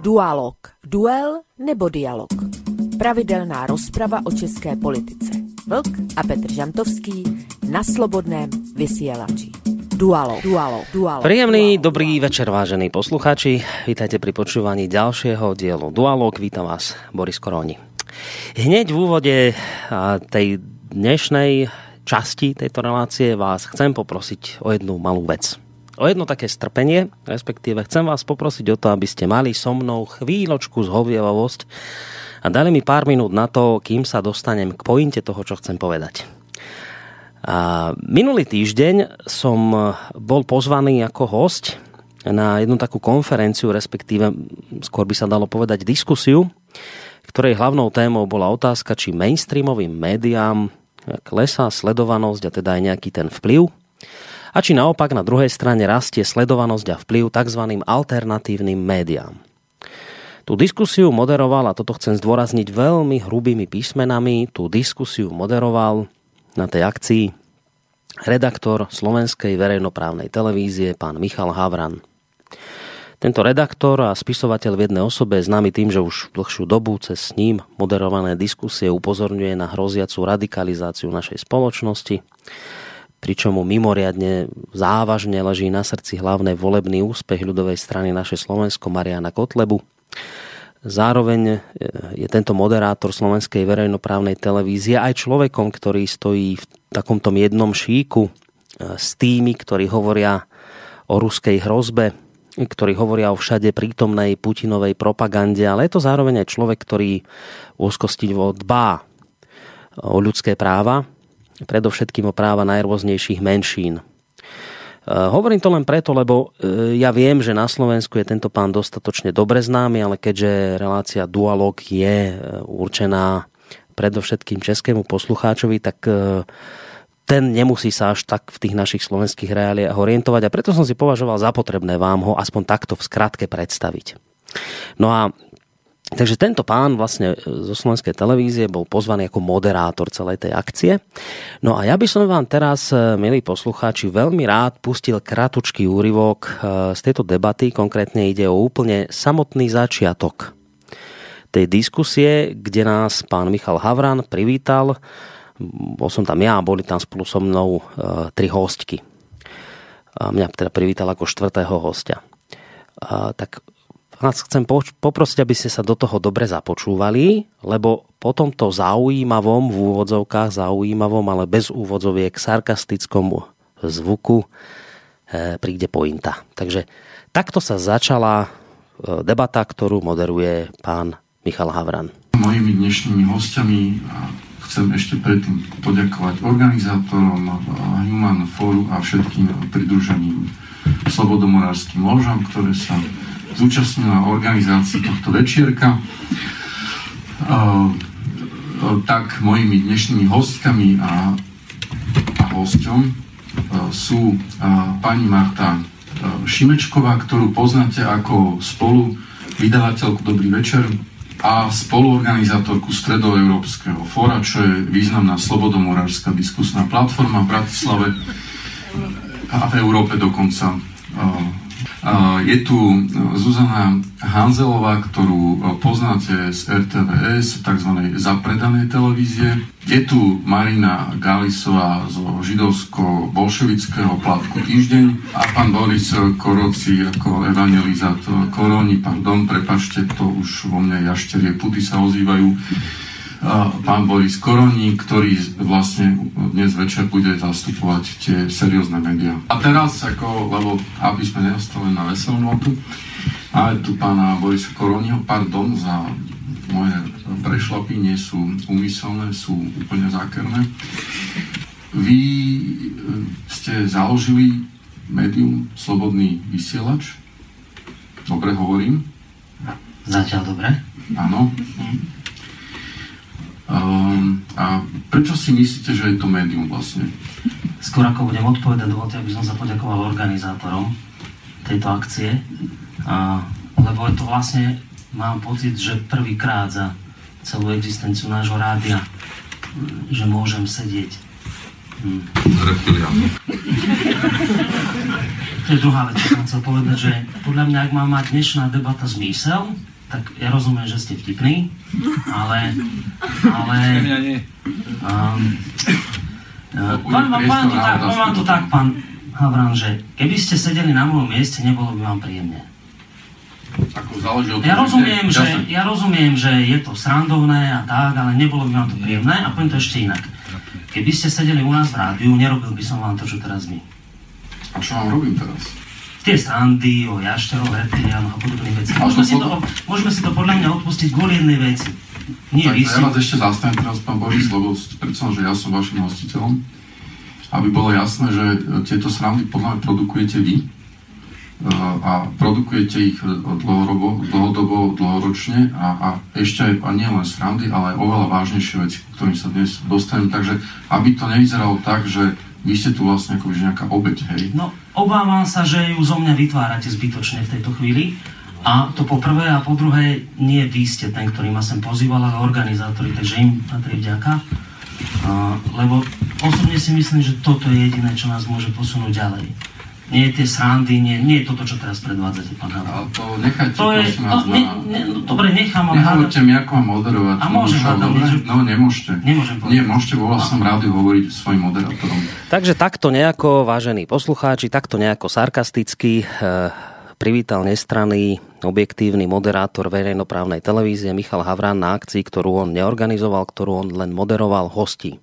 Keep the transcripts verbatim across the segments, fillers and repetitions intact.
Dualog. Duel nebo dialog. Pravidelná rozprava o české politice. Vlk a Petr Žantovský na Slobodném vysielači. Dualog. Dualog. Dualog. Príjemný Dualog. dobrý večer, vážení poslucháči. Vítajte pri počúvaní ďalšieho dielu Dualog. Vítam vás, Boris Koroni. Hneď v úvode tej dnešnej časti tejto relácie vás chcem poprosiť o jednu malú vec. O jedno také strpenie, respektíve chcem vás poprosiť o to, aby ste mali so mnou chvíľočku zhovievavosť a dali mi pár minút na to, kým sa dostanem k pointe toho, čo chcem povedať. A minulý týždeň som bol pozvaný ako hosť na jednu takú konferenciu, respektíve skôr by sa dalo povedať diskusiu, ktorej hlavnou témou bola otázka, či mainstreamovým médiám klesá sledovanosť a teda aj nejaký ten vplyv, a či naopak na druhej strane rastie sledovanosť a vplyv tzv. Alternatívnym médiám. Tú diskusiu moderoval, a toto chcem zdôrazniť veľmi hrubými písmenami, tú diskusiu moderoval na tej akcii redaktor Slovenskej verejnoprávnej televízie, pán Michal Havran. Tento redaktor a spisovateľ v jednej osobe je známy tým, že už dlhšiu dobu cez s ním moderované diskusie upozorňuje na hroziacu radikalizáciu našej spoločnosti, pričom mu mimoriadne závažne leží na srdci hlavne volebný úspech ľudovej strany Naše Slovensko Mariana Kotlebu. Zároveň je tento moderátor Slovenskej verejnoprávnej televízie aj človekom, ktorý stojí v takomto jednom šíku s tými, ktorí hovoria o ruskej hrozbe, ktorí hovoria o všade prítomnej Putinovej propagande, ale je to zároveň aj človek, ktorý úzkostivo dbá o ľudské práva, predovšetkým o práva najrôznejších menšín. Hovorím to len preto, lebo ja viem, že na Slovensku je tento pán dostatočne dobre známy, ale keďže relácia Dualog je určená predovšetkým českému poslucháčovi, tak ten nemusí sa až tak v tých našich slovenských reáliách orientovať a preto som si považoval za potrebné vám ho aspoň takto v skratke predstaviť. No a takže tento pán vlastne zo Slovenskej televízie bol pozvaný ako moderátor celej tej akcie. No a ja by som vám teraz, milí poslucháči, veľmi rád pustil kratučký úryvok z tejto debaty. Konkrétne ide o úplne samotný začiatok tej diskusie, kde nás pán Michal Havran privítal. Bol som tam ja a boli tam spolu so mnou tri hostky. Mňa teda privítal ako štvrtého hostia. Tak vás chcem poprosiť, aby ste sa do toho dobre započúvali, lebo po tomto zaujímavom, v úvodzovkách zaujímavom, ale bez úvodzoviek sarkastickom zvuku e, príde pointa. Takže takto sa začala debata, ktorú moderuje pán Michal Havran. Mojimi dnešnými hostiami chcem ešte predtým poďakovať organizátorom Human Foru a všetkým pridruženým slobodomorárskym ložám, ktoré sa zúčastnila organizácii tohto večierka. Uh, tak mojimi dnešnými hostkami a, a hosťom uh, sú uh, pani Marta uh, Šimečková, ktorú poznáte ako spolu vydavateľku Dobrý večer a spoluorganizátorku Stredoeurópskeho fóra, čo je významná slobodomorárska diskusná platforma v Bratislave a v Európe dokonca. Uh, Je tu Zuzana Hanzelová, ktorú poznáte z er té vé es, tzv. Zapredanej televízie. Je tu Marina Galisová zo židovsko-bolševického plátku Týždeň a pán Boris Koroci ako evangelizátor Koroni, pardon, prepačte, to už vo mne jašterie puty sa ozývajú. Pán Boris Koroni, ktorý vlastne dnes večer bude zastupovať tie seriózne médiá. A teraz, ako, lebo aby sme neostali na veselú notu, máme tu pána Borisa Koroniho, pardon za moje prešlapy, nie sú úmyselné, sú úplne zákerné. Vy ste založili médium Slobodný vysielač? Dobre hovorím? Zatiaľ dobre. Áno. Um, a prečo si myslíte, že je to médium vlastne? Skôr ako budem odpovedať, dovolte, aby som sa poďakoval organizátorom tejto akcie, a, lebo je to vlastne, mám pocit, že prvýkrát za celú existenciu nášho rádia, že môžem sedieť. Hm. To je druhá vec, čo som chcel povedať, že podľa mňa, ak má mať dnešná debata zmysel, tak ja rozumiem, že ste vtipní, ale... ale um, poviem vám to tak, poviem vám to tak, pán Havran, že keby ste sedeli na mojom mieste, nebolo by vám príjemne. Ako záleží od ja, rozumiem, že, že, ja rozumiem, že je to srandovné a tak, ale nebolo by vám to príjemné a poviem to ešte inak. Keby ste sedeli u nás v rádiu, nerobil by som vám to, čo teraz my. A čo vám robím teraz? Tie srandy o jašteroch, reptiliánoch a podobných veci. Môžeme si, to, môžeme si to podľa mňa odpustiť kvôli jednej veci. Nie, tak vy ja si... vás ešte zastavím teraz, pán Boris, lebo predstavím, že ja som vašim hostiteľom. Aby bolo jasné, že tieto srandy podľa mňa produkujete vy a produkujete ich dlhodobo, dlhodobo dlhoročne a, a ešte aj a nie len srandy, ale aj oveľa vážnejšie veci, ku ktorým sa dnes dostanem. Takže aby to nevyzeralo tak, že vy ste tu vlastne ako nejaká obeť, hej? No, obávam sa, že ju zo mňa vytvárate zbytočne v tejto chvíli. A to po prvé a po druhé, nie vy ste ten, ktorý ma sem pozýval, ale organizátori, takže im patrí vďaka. Uh, lebo osobne si myslím, že toto je jediné, čo nás môže posunúť ďalej. Nie tie srandy, nie, nie je toto, čo teraz predvádzate, pán Havran. Ale to nechajte, to je, prosím vás, no, ne, ne, no, dobre, nechám, ale... Nehovorte mi, ako mám moderovať. A môžem hádam niečo? No, nemôžete. Nemôžem povedať. Nie, môžete vo vlastnom rádiu hovoriť s svojím moderátorom. Takže takto nejako, vážení poslucháči, takto nejako sarkasticky e, privítal nestranný, objektívny moderátor verejnoprávnej televízie Michal Havran na akcii, ktorú on neorganizoval, ktorú on len moderoval, hostí.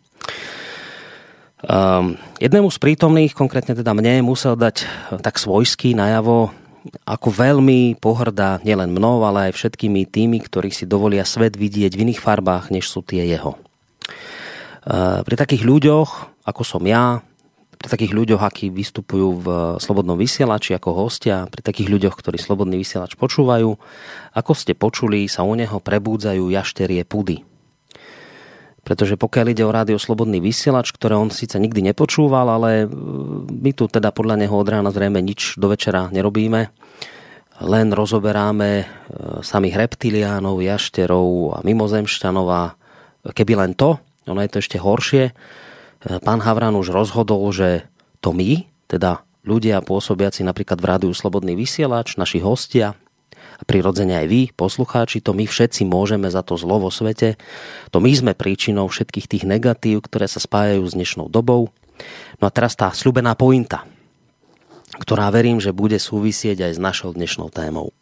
Um, jednému z prítomných, konkrétne teda mne, musel dať tak svojský najavo, ako veľmi pohrdá nielen mnou, ale aj všetkými tými, ktorí si dovolia svet vidieť v iných farbách, než sú tie jeho. Uh, pri takých ľuďoch, ako som ja, pri takých ľuďoch, akí vystupujú v Slobodnom vysielači ako hostia, pri takých ľuďoch, ktorí Slobodný vysielač počúvajú, ako ste počuli, sa u neho prebúdzajú jašterie pudy. Pretože pokiaľ ide o rádio Slobodný vysielač, ktoré on síce nikdy nepočúval, ale my tu teda podľa neho od rána zrejme nič do večera nerobíme. Len rozoberáme samých reptiliánov, jašterov a mimozemšťanov a keby len to, ono je to ešte horšie. Pán Havran už rozhodol, že to my, teda ľudia pôsobiaci napríklad v rádiu Slobodný vysielač, naši hostia, a prirodzene aj vy, poslucháči, to my všetci môžeme za to zlo vo svete. To my sme príčinou všetkých tých negatív, ktoré sa spájajú s dnešnou dobou. No a teraz tá sľubená pointa, ktorá verím, že bude súvisieť aj s našou dnešnou témou.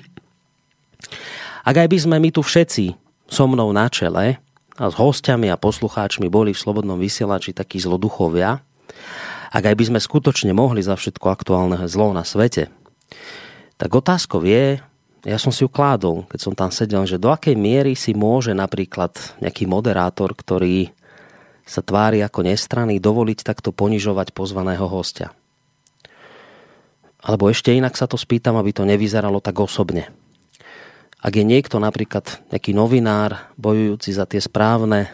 Ak aj by sme my tu všetci so mnou na čele a s hostiami a poslucháčmi boli v Slobodnom vysielači takí zloduchovia, ak aj by sme skutočne mohli za všetko aktuálne zlo na svete, tak otázkou je, ja som si ju kládol, keď som tam sedel, že do akej miery si môže napríklad nejaký moderátor, ktorý sa tvári ako nestranný, dovoliť takto ponižovať pozvaného hostia. Alebo ešte inak sa to spýtam, aby to nevyzeralo tak osobne. Ak je niekto napríklad nejaký novinár, bojujúci za tie správne e,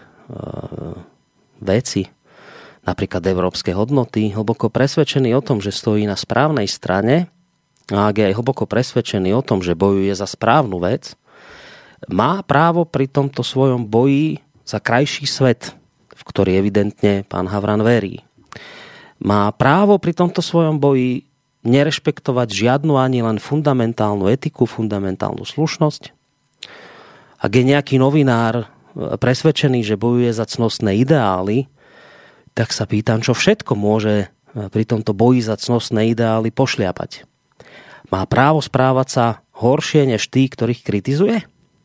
veci, napríklad európske hodnoty, hlboko presvedčený o tom, že stojí na správnej strane, a ak je aj hlboko presvedčený o tom, že bojuje za správnu vec, má právo pri tomto svojom boji za krajší svet, v ktorý evidentne pán Havran verí. Má právo pri tomto svojom boji nerešpektovať žiadnu ani len fundamentálnu etiku, fundamentálnu slušnosť. Ak je nejaký novinár presvedčený, že bojuje za cnostné ideály, tak sa pýtam, čo všetko môže pri tomto boji za cnostné ideály pošliapať. Má právo správať sa horšie než tí, ktorých kritizuje?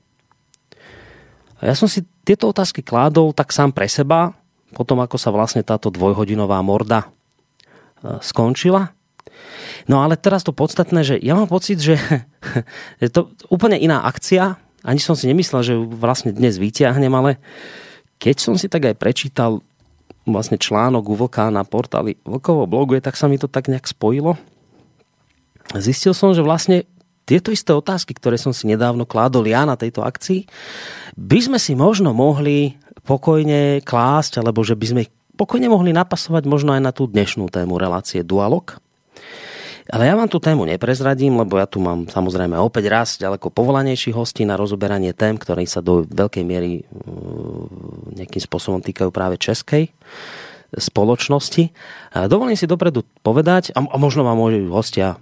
A ja som si tieto otázky kládol tak sám pre seba, potom ako sa vlastne táto dvojhodinová morda skončila. No ale teraz to podstatné, že ja mám pocit, že je to úplne iná akcia. Ani som si nemyslel, že ju vlastne dnes vyťahnem, ale keď som si tak aj prečítal vlastne článok u Vlka na portáli Vlkovo blogu, tak sa mi to tak nejak spojilo. Zistil som, že vlastne tieto isté otázky, ktoré som si nedávno kládol ja na tejto akcii, by sme si možno mohli pokojne klásť, alebo že by sme pokojne mohli napasovať možno aj na tú dnešnú tému relácie Dualog. Ale ja vám tú tému neprezradím, lebo ja tu mám samozrejme opäť raz ďaleko povolanejších hostí na rozoberanie tém, ktoré sa do veľkej miery nejakým spôsobom týkajú práve českej spoločnosti. Dovolím si dopredu povedať, a možno vám môžu hostia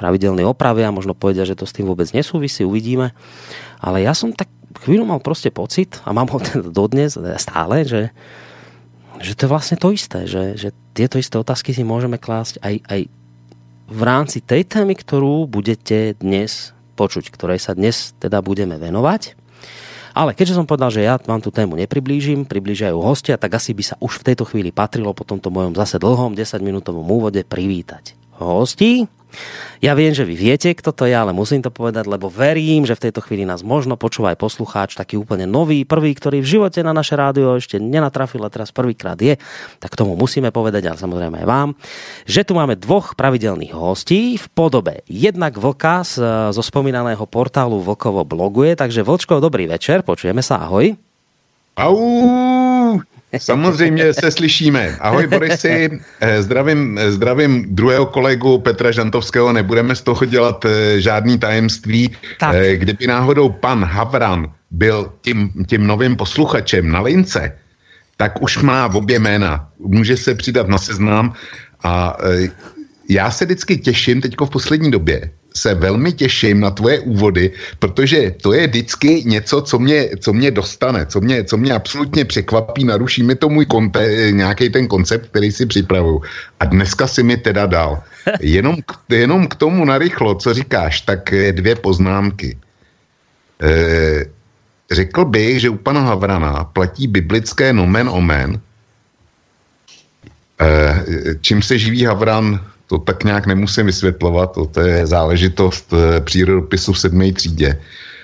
pravidelne opravia, možno povedia, že to s tým vôbec nesúvisí, uvidíme. Ale ja som tak chvíľu mal proste pocit, a mám ho teda dodnes stále, že, že to je vlastne to isté, že, že tieto isté otázky si môžeme klásť aj, aj v rámci tej témy, ktorú budete dnes počuť, ktorej sa dnes teda budeme venovať. Ale keďže som povedal, že ja vám tú tému nepriblížim, priblížia ju hostia, tak asi by sa už v tejto chvíli patrilo po tomto mojom zase dlhom desaťminútovom úvode privítať hostí. Ja viem, že vy viete, kto to je, ale musím to povedať, lebo verím, že v tejto chvíli nás možno počúva aj poslucháč, taký úplne nový, prvý, ktorý v živote na naše rádio ešte nenatrafil a teraz prvýkrát je, tak tomu musíme povedať, ale samozrejme aj vám, že tu máme dvoch pravidelných hostí v podobe jednak Vlka z, zo spomínaného portálu Vlkovo bloguje, takže Vlčko, dobrý večer, počujeme sa, ahoj. Au! Samozřejmě se slyšíme. Ahoj Borisi, zdravím, zdravím druhého kolegu Petra Žantovského, nebudeme z toho dělat žádný tajemství. Tak. Kdyby náhodou pan Havran byl tím, tím novým posluchačem na lince, tak už má obě jména. Může se přidat na seznam a já se vždycky těším teďko v poslední době. Se velmi těším na tvoje úvody, protože to je vždycky něco, co mě, co mě dostane, co mě, co mě absolutně překvapí, naruší mi to můj konte, nějaký ten koncept, který si připravuju. A dneska si mi teda dal. Jenom k, jenom k tomu narychlo, co říkáš, tak dvě poznámky. E, řekl bych, že u pana Havrana platí biblické nomen omen, e, čím se živí Havran, to tak nějak nemusím vysvětlovat, to, to je záležitost e, přírodopisu v sedmé třídě.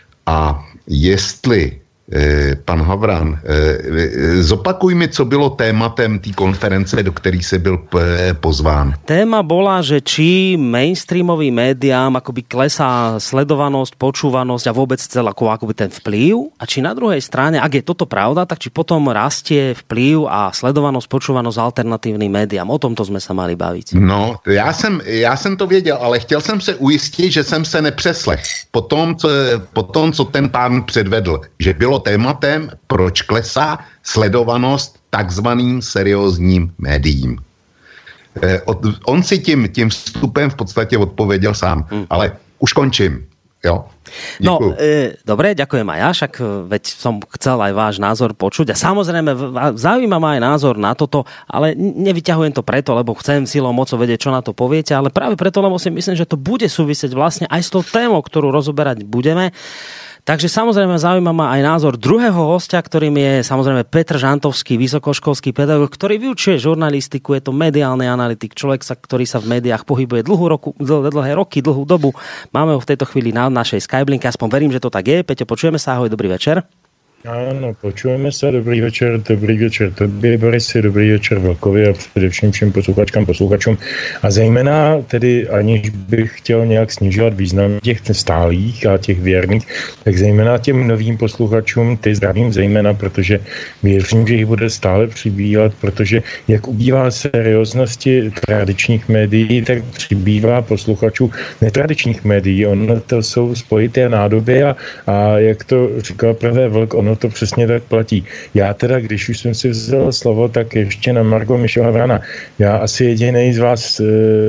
A jestli e, pan Havran, e, zopakuj mi, co bylo tématem té konference, do který se byl p, pozván. Téma bola, že či mainstreamovým médiám akoby klesá sledovanosť, počúvanosť a vôbec celá ako, akoby ten vplyv, a či na druhej strane, ak je toto pravda, tak či potom rastie vplyv a sledovanosť, počúvanosť alternatívnym médiám. O tomto sme sa mali baviť. No, já jsem, já jsem to věděl, ale chtěl jsem se ujistit, že jsem se nepřeslech. Po tom, co, po tom, co ten pán předvedl, že bylo tématem, proč klesá sledovanost takzvaným seriózním médiím. Eh, od, on si tím, tím vstupem v podstatě odpověděl sám, hmm. ale už končím. Jo. No, e, dobre, ďakujem aj ja, však veď som chcel aj váš názor počuť a samozrejme zaujíma ma aj názor na toto, ale nevyťahujem to preto, lebo chcem silou mocou vedieť, čo na to poviete, ale práve preto, lebo si myslím, že to bude súvisieť vlastne aj s tou témou, ktorú rozoberať budeme. Takže samozrejme zaujíma ma aj názor druhého hostia, ktorým je samozrejme Petr Žantovský, vysokoškolský pedagóg, ktorý vyučuje žurnalistiku, je to mediálny analytik, človek, sa, ktorý sa v médiách pohybuje dlhú roku, dl, dlhé roky, dlhú dobu. Máme ho v tejto chvíli na našej Skyblinke, aspoň verím, že to tak je. Peťo, počujeme sa, ahoj, dobrý večer. Ano, počujeme se, dobrý večer, dobrý večer tobě, Borisy, dobrý večer Vlkovi a především všem posluchačkám, posluchačům. A zejména tedy, aniž bych chtěl nějak snižovat význam těch stálých a těch věrných, tak zejména těm novým posluchačům ty zdravím zejména, protože věřím, že jich bude stále přibývat, protože jak ubývá serióznosti tradičních médií, tak přibývá posluchačů netradičních médií. Ono to jsou spojité nádoby a, a jak to říkal prvé Vlk, ono to přesně tak platí. Já teda, když už jsem si vzal slovo, tak ještě na margo Mišo Havrana. Já asi jedinej z vás e,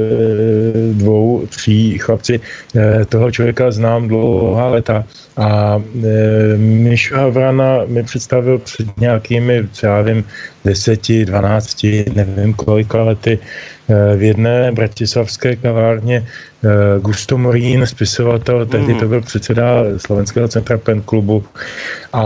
dvou, tří chlapci e, toho člověka znám dlouhá leta a e, Mišo Havrana mi představil před nějakými, co já vím, deseti, dvanácti, nevím kolika lety v jedné bratislavské kavárně Gusto Morín, spisovatel, tehdy to byl předseda Slovenského centra Pen klubu a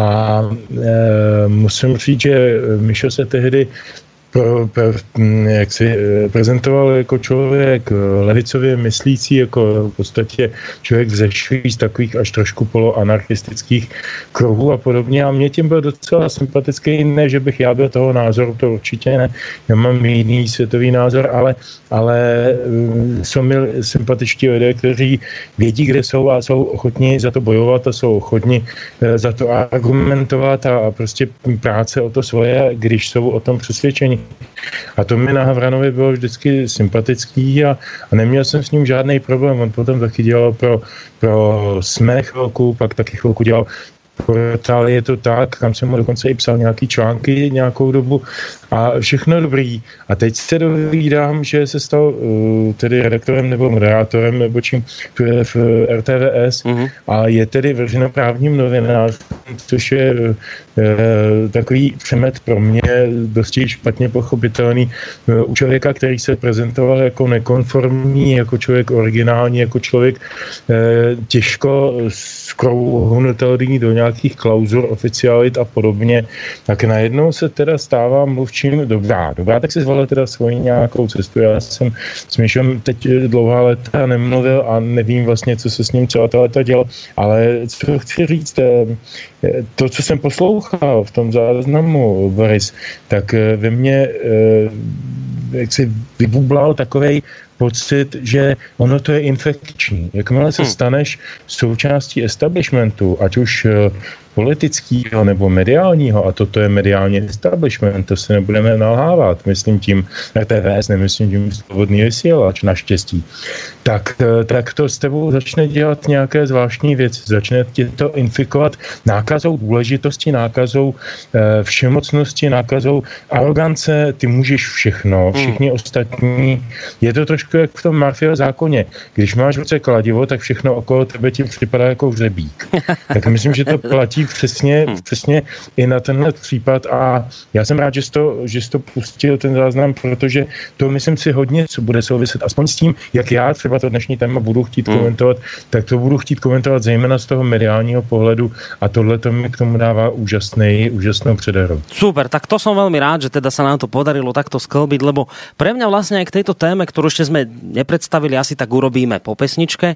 e, musím říct, že Mišo se tehdy pro, pro, jak si prezentoval jako člověk levicově myslící, jako v podstatě člověk vzešlý z takových až trošku poloanarchistických kruhů a podobně. A mě tím byl docela sympatický, ne, že bych já byl toho názoru, to určitě ne. Já mám jiný světový názor, ale, ale jsou mi sympatičtí lidé, kteří vědí, kde jsou a jsou ochotní za to bojovat a jsou ochotní za to argumentovat a, a prostě práce o to svoje, když jsou o tom přesvědčení. A to mi na Havranovi bylo vždycky sympatický a, a neměl jsem s ním žádný problém. On potom taky dělal pro, pro Sme chvilku, pak taky chvilku dělal portál Je to tak, kam jsem mu dokonce i psal nějaký články nějakou dobu a všechno dobrý. A teď se dovídám, že se stal uh, tedy redaktorem nebo moderátorem nebo čím v R T V S mm-hmm. a je tedy veřejnoprávním novinářem, což je uh, takový přemet pro mě dosti špatně pochopitelný uh, u člověka, který se prezentoval jako nekonformní, jako člověk originální, jako člověk uh, těžko skrouhnutelný do nějakých klauzur, oficialit a podobně, tak najednou se teda stává mluvčím dobrá. Dobrá, tak si zvolil teda svoji nějakou cestu. Já jsem s Mišem teď dlouhá léta nemluvil a nevím vlastně, co se s ním celá ta léta dělo, ale co chci říct, to, co jsem poslouchal v tom záznamu, Boris, tak ve mně jak si vybublal takovej pocit, že ono to je infekční. Jakmile se staneš součástí establishmentu, ať už politického nebo mediálního, a toto je mediální establishment, to se nebudeme nalhávat, myslím tím R T V S, nemyslím tím Slobodný vysílač, naštěstí, tak, tak to s tebou začne dělat nějaké zvláštní věci, začne tě to infikovat nákazou důležitosti, nákazou eh, všemocnosti, nákazou arogance, ty můžeš všechno, všichni hmm. ostatní, je to trošku jak v tom Murphyho zákoně, když máš v ruce kladivo, tak všechno okolo tebe ti připadá jako hřebík. Tak myslím, že to platí přesně, přesně i na tenhle případ a já jsem rád, že jsi to, že jsi to pustil ten záznam, protože to myslím si hodně, co bude souviset aspoň s tím, jak já třeba to dnešní téma budu chtít hmm. komentovat, tak to budu chtít komentovat zejména z toho mediálního pohledu a tohle to mi k tomu dává úžasný, úžasnou předehru. Super, tak to som veľmi rád, že teda sa nám to podarilo takto sklbiť, lebo pre mňa vlastne aj k tejto téme, ktorú ešte sme nepredstavili, asi tak urobíme po pesničke.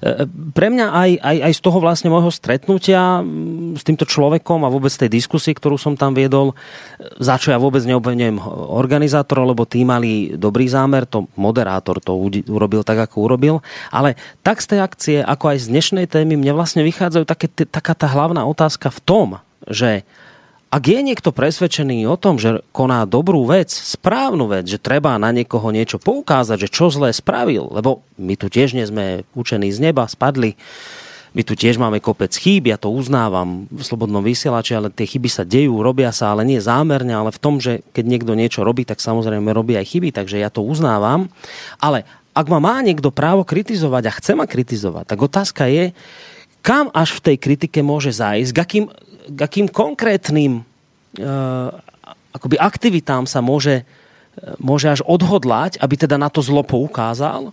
Pre mňa aj, aj, aj z toho vlastne môjho stretnutia s týmto človekom a vôbec tej diskusie, ktorú som tam viedol, za čo ja vôbec neobviňujem organizátorov, lebo tí mali dobrý zámer, to moderátor to urobil tak, ako urobil, ale tak z tej akcie, ako aj z dnešnej témy, mne vlastne vychádzajú také, taká tá hlavná otázka v tom, že ak je niekto presvedčený o tom, že koná dobrú vec, správnu vec, že treba na niekoho niečo poukázať, že čo zlé spravil, lebo my tu tiež nie sme učení z neba, spadli, my tu tiež máme kopec chýb, ja to uznávam v Slobodnom vysielači, ale tie chyby sa dejú, robia sa, ale nie zámerne, ale v tom, že keď niekto niečo robí, tak samozrejme robí aj chyby, takže ja to uznávam. Ale ak ma má niekto právo kritizovať a chce ma kritizovať, tak otázka je, kam až v tej kritike môže zájsť, k akým, k akým konkrétnym uh, akoby aktivitám sa môže, môže až odhodlať, aby teda na to zlo poukázal.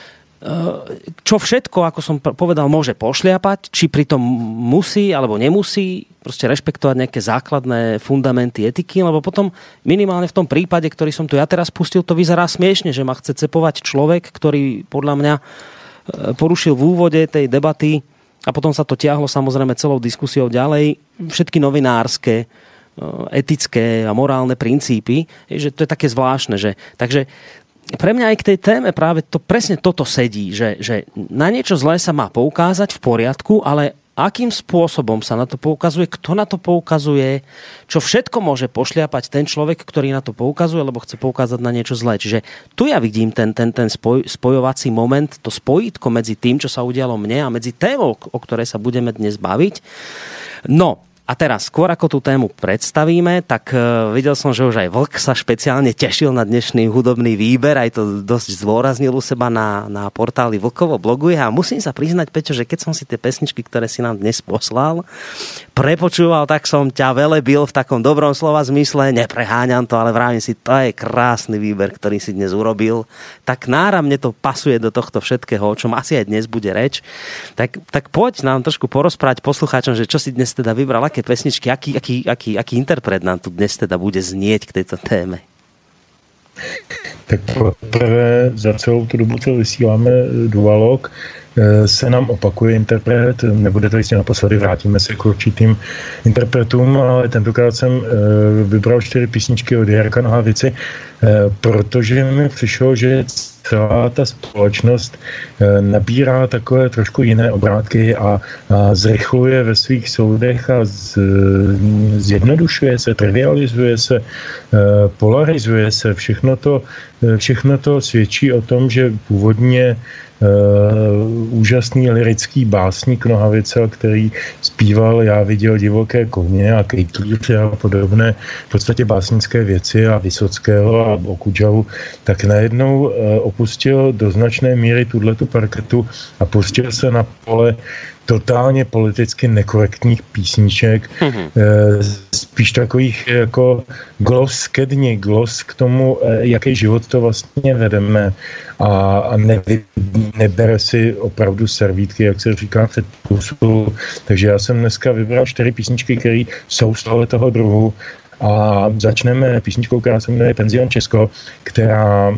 Čo všetko, ako som povedal, môže pošliapať, či pritom musí alebo nemusí proste rešpektovať nejaké základné fundamenty etiky, lebo potom minimálne v tom prípade, ktorý som tu ja teraz pustil, to vyzerá smiešne, že ma chce cepovať človek, ktorý podľa mňa porušil v úvode tej debaty a potom sa to tiahlo samozrejme celou diskusiou ďalej, všetky novinárske, etické a morálne princípy, že to je také zvláštne, že takže pre mňa aj k tej téme práve to presne toto sedí, že, že na niečo zlé sa má poukázať v poriadku, ale akým spôsobom sa na to poukazuje, kto na to poukazuje, čo všetko môže pošliapať ten človek, ktorý na to poukazuje, lebo chce poukázať na niečo zlé. Čiže tu ja vidím ten, ten, ten spoj, spojovací moment, to spojítko medzi tým, čo sa udialo mne a medzi témou, o ktorej sa budeme dnes baviť. No, a teraz, skôr ako tú tému predstavíme, tak uh, videl som, že už aj Vlk sa špeciálne tešil na dnešný hudobný výber, aj to dosť zdôraznil u seba na, na portáli Vlkovo bloguje a musím sa priznať, Peťo, že keď som si tie pesničky, ktoré si nám dnes poslal, prepočúval, tak som ťa velebil v takom dobrom slova zmysle, nepreháňam to, ale vravím si, to je krásny výber, ktorý si dnes urobil, tak náramne to pasuje do tohto všetkého, o čom asi aj dnes bude reč. Tak, tak poď nám trošku porozprávať poslucháčom, že čo si dnes teda vybral, aké pesničky, aký, aký, aký, aký interpret nám tu dnes teda bude znieť k tejto téme? Tak prvé za celou tu dobu, co vysíláme Dualog, se nám opakuje interpret, nebude to jistě naposledy, vrátíme se k určitým interpretům, ale tentokrát jsem vybral čtyři písničky od Jarka Nohavici, protože mi přišlo, že celá ta společnost nabírá takové trošku jiné obrátky a, a zrychluje ve svých soudech a z, zjednodušuje se, trivializuje se, polarizuje se. Všechno to, všechno to svědčí o tom, že původně úžasný lyrický básník Nohavica, který zpíval Já viděl divoké koně a Kejklíř a podobné v podstatě básnické věci a Vysockého a Okudžavu, tak najednou opustil do značné míry tuhletu parketu a pustil se na pole totálně politicky nekorektních písniček, mm-hmm. spíš takových jako glos ke dni, glos k tomu, jaký život to vlastně vedeme a, a ne, nebere si opravdu servítky, jak se říká před pusu. Takže já jsem dneska vybral čtyři písničky, které jsou z tohoto druhu. A začneme písničkou, která se jmenuje Penzion Česko, která e,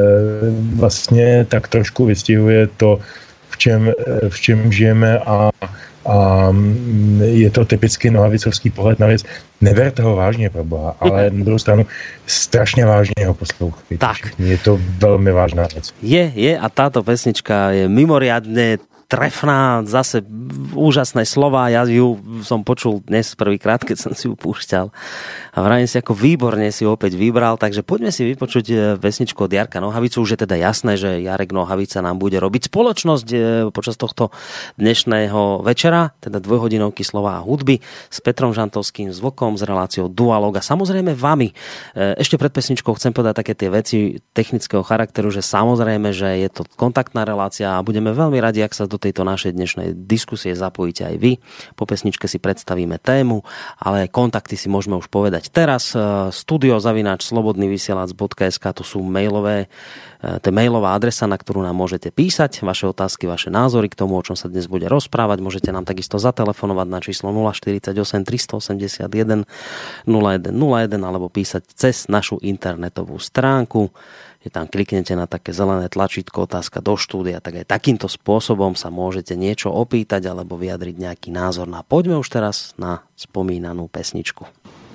vlastně tak trošku vystihuje to, v čem, v čem žijeme a, a je to typicky nohavicovský pohled na věc. Neberte ho vážně, pro boha, ale na druhou stranu strašně vážně ho poslouchejte. Tak. Je to velmi vážná věc. Je, je a táto pesnička je mimoriadne trefná, zase úžasné slova, ja ju som počul dnes prvýkrát, keď som si ju púšťal a vravím si, ako výborne si opäť vybral, takže poďme si vypočuť pesničku od Jarka Nohavicu. Už je teda jasné, že Jarek Nohavica nám bude robiť spoločnosť počas tohto dnešného večera, teda dvojhodinovky slova a hudby s Petrom Žantovským, s Vlkom, s reláciou Dualog a samozrejme vami. Ešte pred pesničkou chcem povedať také tie veci technického charakteru, že samozrejme, že je to kontaktná relácia a budeme veľmi radi, ak sa do tejto našej dnešnej diskusie zapojíte aj vy. Po pesničke si predstavíme tému, ale kontakty si môžeme už povedať teraz. Studio zavináč slobodnyvysielac bodka es ká, to sú mailové, to je mailová adresa, na ktorú nám môžete písať vaše otázky, vaše názory k tomu, o čom sa dnes bude rozprávať. Môžete nám takisto zatelefonovať na číslo nula štyridsaťosem tristoosemdesiatjeden nula jeden nula jeden alebo písať cez našu internetovú stránku. Je tam kliknete na také zelené tlačítko otázka do štúdia, tak aj takýmto spôsobom sa môžete niečo opýtať alebo vyjadriť nejaký názor. No a poďme už teraz na spomínanú pesničku.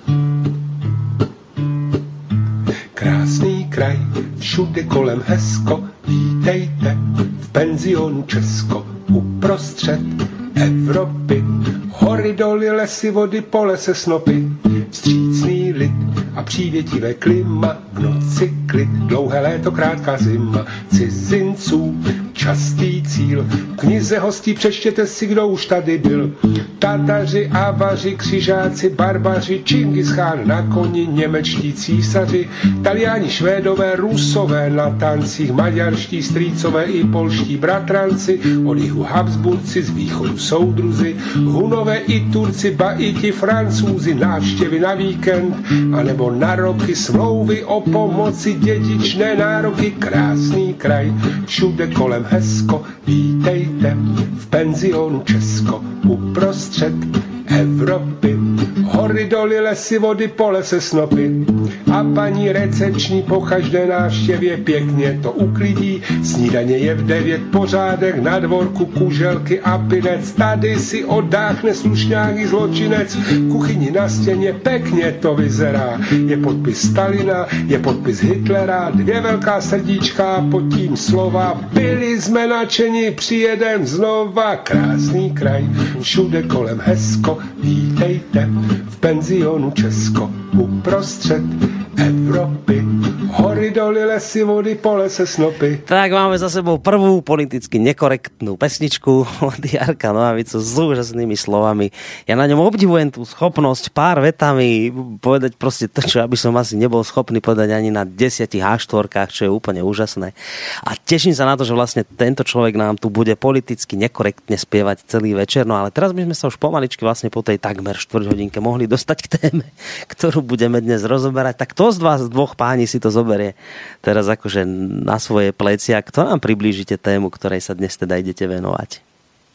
Krásný kraj, všude kolem hezko, vítejte v penzionu Česko, uprostřed Evropy. Hory, doly, lesy, vody, pole se snopy, vstřícný lid a přívětivé klima, v noci klid, dlouhé léto, krátká zima, cizinců častý cíl. V knize hostí přečtěte si, kdo už tady byl. Tataři, Avaři, křižáci, barbaři, Čingischán na koni, němečtí císaři, Taliáni, Švédové, Rusové na tancích, maďarští strýcové i polští bratranci, od jihu Habsburci, z východu soudruzi, Hunové i Turci, ba i ti Francúzi, návštěvy na víkend, anebo na roky, smlouvy o pomoci, dědičné nároky, krásný kraj, všude kolem hezko, vítejte v penzionu Česko, uprostřed Evropy. Hory, doly, lesy, vody, pole se snopy. A paní recepční po každé návštěvě pěkně to uklidí. Snídaně je v devět, pořádek na dvorku, kuželky a pinec. Tady si oddáchne slušňák zločinec. Kuchyni na stěně pěkně to vyzerá. Je podpis Stalina, je podpis Hitlera, dvě velká srdíčka, pod tím slova. Byli jsme nadšeni, přijedem znova. Krásný kraj, všude kolem hezko, vítejte v penzionu Česko, uprostřed Evropy. Hory, doly, lesy, vody, pole se snopy. Tak máme za sebou prvú politicky nekorektnú pesničku od Jarka Nohavicu s úžasnými slovami. Ja na ňom obdivujem tú schopnosť pár vetami povedať proste to, čo aby som asi nebol schopný povedať ani na desiatich há štyri, čo je úplne úžasné. A teším sa na to, že vlastne tento človek nám tu bude politicky nekorektne spievať celý večer. No ale teraz by sme sa už pomaličky vlastne po tej takmer štvrťhodinke mohli dostať k téme, ktorú budeme dnes rozoberať. Tak to z vás dvoch páni si to zoberie teraz akože na svoje plecia. Kto nám priblížite tému, ktorej sa dnes teda idete venovať?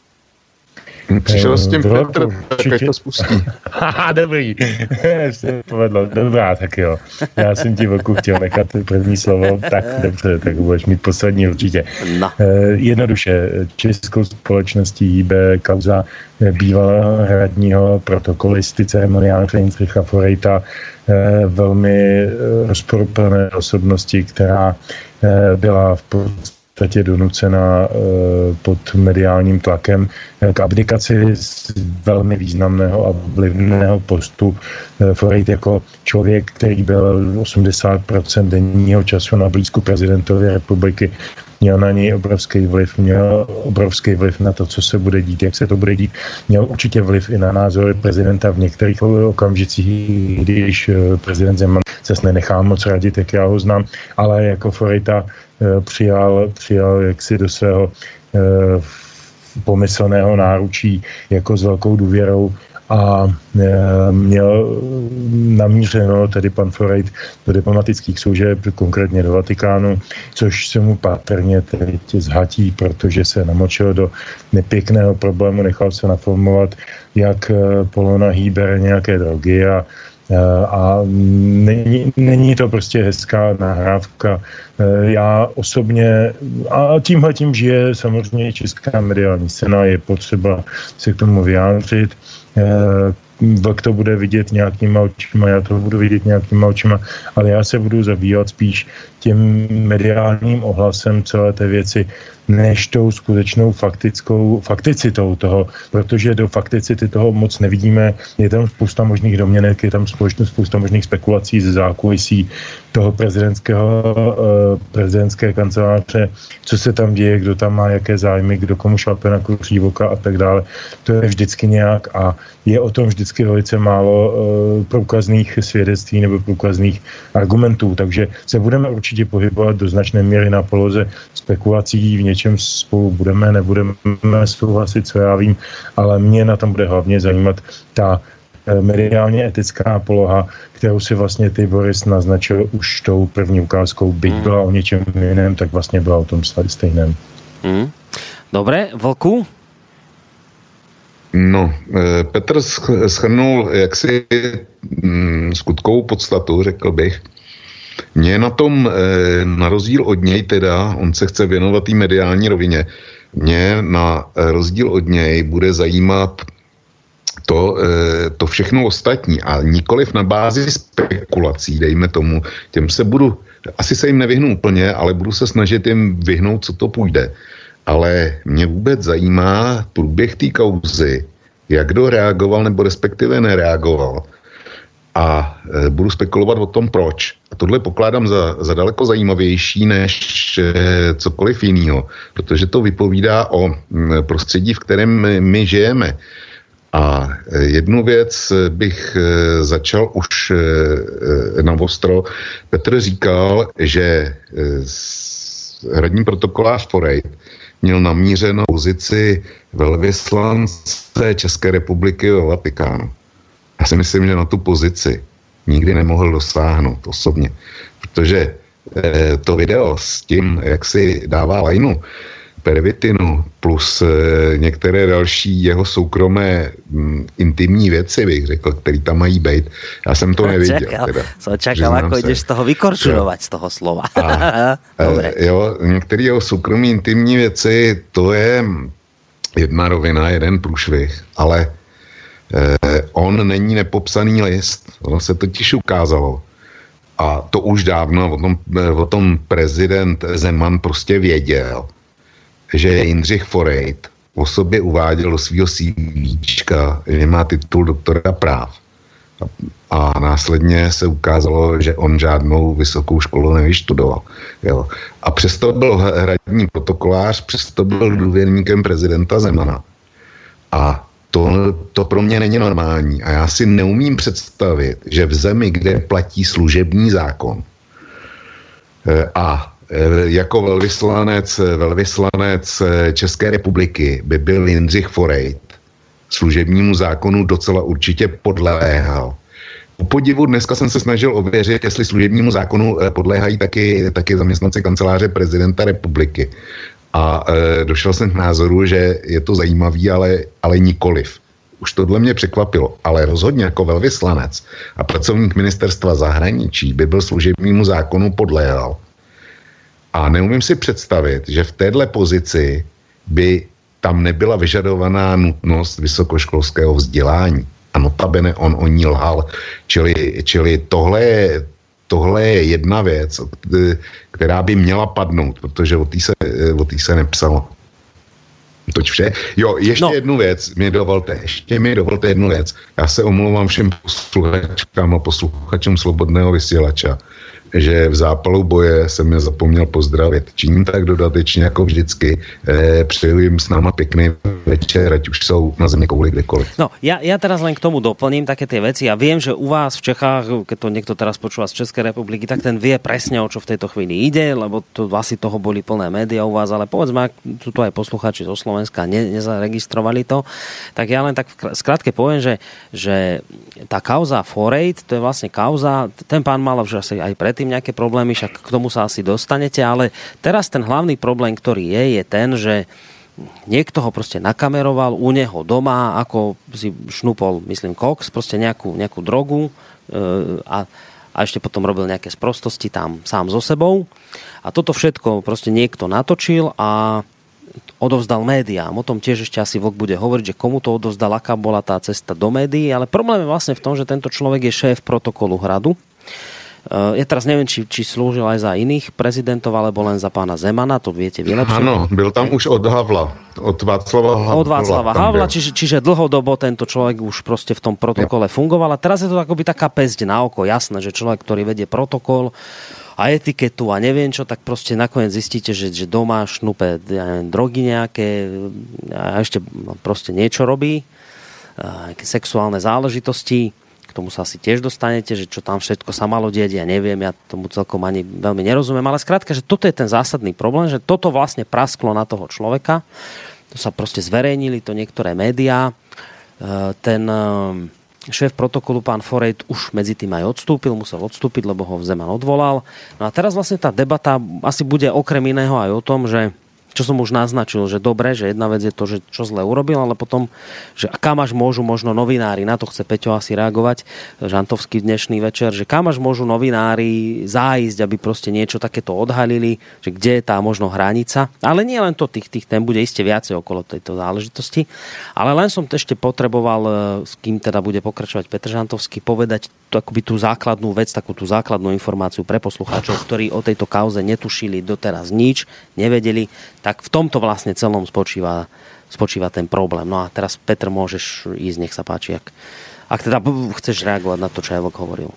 Přišel s tím Petr, tak to spustí. Haha, dobrý. Se povedlo. Dobrá, tak jo. Já jsem ti Vlku chtěl nechat první slovo. Tak dobře, tak budeš mít poslední určitě. No. Jednoduše, českou společností hýbe kauza bývalého hradního protokolisty ceremoniáře Jindřicha Forejta, velmi rozporuplné osobnosti, která byla v podstatě je donucena pod mediálním tlakem k abdikaci z velmi významného a vlivného postu. Forejt jako člověk, který byl osmdesát procent denního času na blízku prezidentově republiky, měl na něj obrovský vliv, měl obrovský vliv na to, co se bude dít, jak se to bude dít, měl určitě vliv i na názory prezidenta v některých okamžicích, když prezident Zeman se nenechá moc radit, jak já ho znám, ale jako Forejta přijal, přijal jaksi do svého pomyslného náručí jako s velkou důvěrou a měl namířeno tedy pan Forejt do diplomatických služeb, konkrétně do Vatikánu, což se mu patrně teď zhatí, protože se namočil do nepěkného problému, nechal se naformovat, jak polonahý bere nějaké drogy a a není, není to prostě hezká nahrávka. Já osobně, a tímhle tím žije samozřejmě česká mediální scéna, je potřeba se k tomu vyjádřit. Vlk to bude vidět nějakýma očima, já to budu vidět nějakýma očima, ale já se budu zabývat spíš tím mediálním ohlasem celé té věci, než tou skutečnou faktickou fakticitou toho, protože do fakticity toho moc nevidíme. Je tam spousta možných domněnek, je tam spousta možných spekulací ze zákulisí toho prezidentského, prezidentské kanceláře, co se tam děje, kdo tam má jaké zájmy, kdo komu šlape na kuří voka a tak dále. To je vždycky nějak a je o tom vždycky velice málo průkazných svědectví nebo průkazných argumentů, takže se budeme určitě pohybovat do značné míry na poloze spekulací, v něčem spolu budeme, nebudeme souhlasit, co já vím, ale mě na tom bude hlavně zajímat ta mediálně etická poloha, kterou si vlastně ty Boris naznačil už tou první ukázkou, byť hmm. byla o něčem jiném, tak vlastně byla o tom stejném. Hmm. Dobre, Vlku? No, Petr shrnul jaksi skutkovou podstatu, řekl bych. Mě na tom, na rozdíl od něj teda, on se chce věnovat té mediální rovině, mě na rozdíl od něj bude zajímat to, to všechno ostatní a nikoliv na bázi spekulací, dejme tomu, těm se budu, asi se jim nevyhnu úplně, ale budu se snažit jim vyhnout, co to půjde. Ale mě vůbec zajímá průběh té kauzy, jak kdo reagoval nebo respektive nereagoval. A e, budu spekulovat o tom, proč. A tohle pokládám za, za daleko zajímavější než e, cokoliv jiného, protože to vypovídá o m, prostředí, v kterém my, my žijeme. A e, jednu věc bych e, začal už e, na ostro. Petr říkal, že e, hradní protokolář Forejt měl namířenou pozici velvyslance České republiky ve Vatikánu. Já si myslím, že na tu pozici nikdy nemohl dosáhnout osobně, protože eh, to video s tím, jak si dává lajnu pervitinu plus eh, některé další jeho soukromé m, intimní věci, bych řekl, který tam mají být. Já jsem to neviděl. Čakal, teda, som čakal, ako se. Ideš z toho vykorčulovať, z toho slova. A, Dobre. Jo, některé jeho soukromé intimní věci, to je jedna rovina, jeden průšvih, ale eh, on není nepopsaný list. Ono se totiž ukázalo. A to už dávno, o tom, o tom prezident Zeman prostě věděl, že Jindřich Forejt o sobě uváděl do svého CVčka, že má titul doktora práv. A, a následně se ukázalo, že on žádnou vysokou školu nevyštudoval. Jo. A přesto byl hradní protokolář, přesto byl důvěrníkem prezidenta Zemana. A to, to pro mě není normální. A já si neumím představit, že v zemi, kde platí služební zákon a jako velvyslanec, velvyslanec České republiky by byl Jindřich Forejt služebnímu zákonu docela určitě podléhal. Po podivu dneska jsem se snažil ověřit, jestli služebnímu zákonu podléhají taky, taky zaměstnanci kanceláře prezidenta republiky. A e, došel jsem k názoru, že je to zajímavý, ale, ale nikoliv. Už tohle mě překvapilo, ale rozhodně jako velvyslanec a pracovník ministerstva zahraničí by byl služebnímu zákonu podléhal. A neumím si představit, že v téhle pozici by tam nebyla vyžadovaná nutnost vysokoškolského vzdělání. A notabene on o ní lhal. Čili, čili tohle, je, tohle je jedna věc, která by měla padnout, protože o té se, o té se nepsalo. Toť vše. Jo, ještě no. jednu věc mi dovolte, ještě mi dovolte jednu věc. Já se omlouvám všem posluchačkám a posluchačům Slobodného vysílača. že v zápalu boje jsem je zapomněl pozdravit. Činím tak dodatečně jako vždycky. E, přeju jim s náma pěkný večer, ať už jsou na zemi kouli kdekoliv. No, ja, ja teraz len k tomu doplním také tie veci. Ja viem, že u vás v Čechách, keď to niekto teraz počúva z Českej republiky, tak ten vie presne, o čo v tejto chvíli ide, lebo to asi toho boli plné médiá u vás, ale povedzme, ak sú tu aj poslucháči zo Slovenska, ne, nezaregistrovali to, tak ja len tak skrátke poviem, že, že tá kauza Forejt, to je vlastne kauza, ten pán mal už asi aj predtým nejaké problémy, však k tomu sa asi dostanete, ale teraz ten hlavný problém, ktorý je, je ten, že niekto ho proste nakameroval u neho doma, ako si šnúpol, myslím, koks, proste nejakú, nejakú drogu e, a, a ešte potom robil nejaké sprostosti tam sám so sebou. A toto všetko proste niekto natočil a odovzdal médiám. O tom tiež ešte asi Vlk bude hovoriť, že komu to odovzdal, aká bola tá cesta do médií, ale problém je vlastne v tom, že tento človek je šéf protokolu Hradu. Ja teraz neviem, či, či slúžil aj za iných prezidentov, alebo len za pána Zemana, to viete vy lepšie. Áno, byl tam už od Havla, od Václava Havla. Od Václava Havla, čiže, čiže dlhodobo tento človek už proste v tom protokole fungoval. A teraz je to akoby taká päsť na oko, jasné, že človek, ktorý vedie protokol a etiketu a neviem čo, tak proste nakoniec zistíte, že, že doma šnupe ja neviem, drogy nejaké a ešte proste niečo robí, nejaké sexuálne záležitosti. K tomu sa asi tiež dostanete, že čo tam všetko sa malo dieť, ja neviem, ja tomu celkom ani veľmi nerozumiem, ale skrátka, že toto je ten zásadný problém, že toto vlastne prasklo na toho človeka, to sa proste zverejnili, to niektoré médiá, ten šéf protokolu, pán Forejt, už medzi tým aj odstúpil, musel odstúpiť, lebo ho Zeman odvolal. No a teraz vlastne tá debata asi bude okrem iného aj o tom, že čo som už naznačil, že dobre, že jedna vec je to, že čo zle urobil, ale potom, že kam až môžu možno novinári, na to chce Peťo asi reagovať, Žantovský dnešný večer, že kam až môžu novinári zájsť, aby proste niečo takéto odhalili, že kde je tá možno hranica. Ale nie len to, tých, tých tém bude iste viacej okolo tejto záležitosti. Ale len som ešte potreboval, s kým teda bude pokračovať Petr Žantovský, povedať akoby tú základnú vec, takú tú základnú informáciu pre poslucháčov, ktorí o tejto kauze netušili doteraz nič, nevedeli, tak v tomto vlastne celom spočíva, spočíva ten problém. No a teraz, Petr, môžeš ísť, nech sa páči, ak, ak teda chceš reagovať na to, čo aj Vlk hovoril.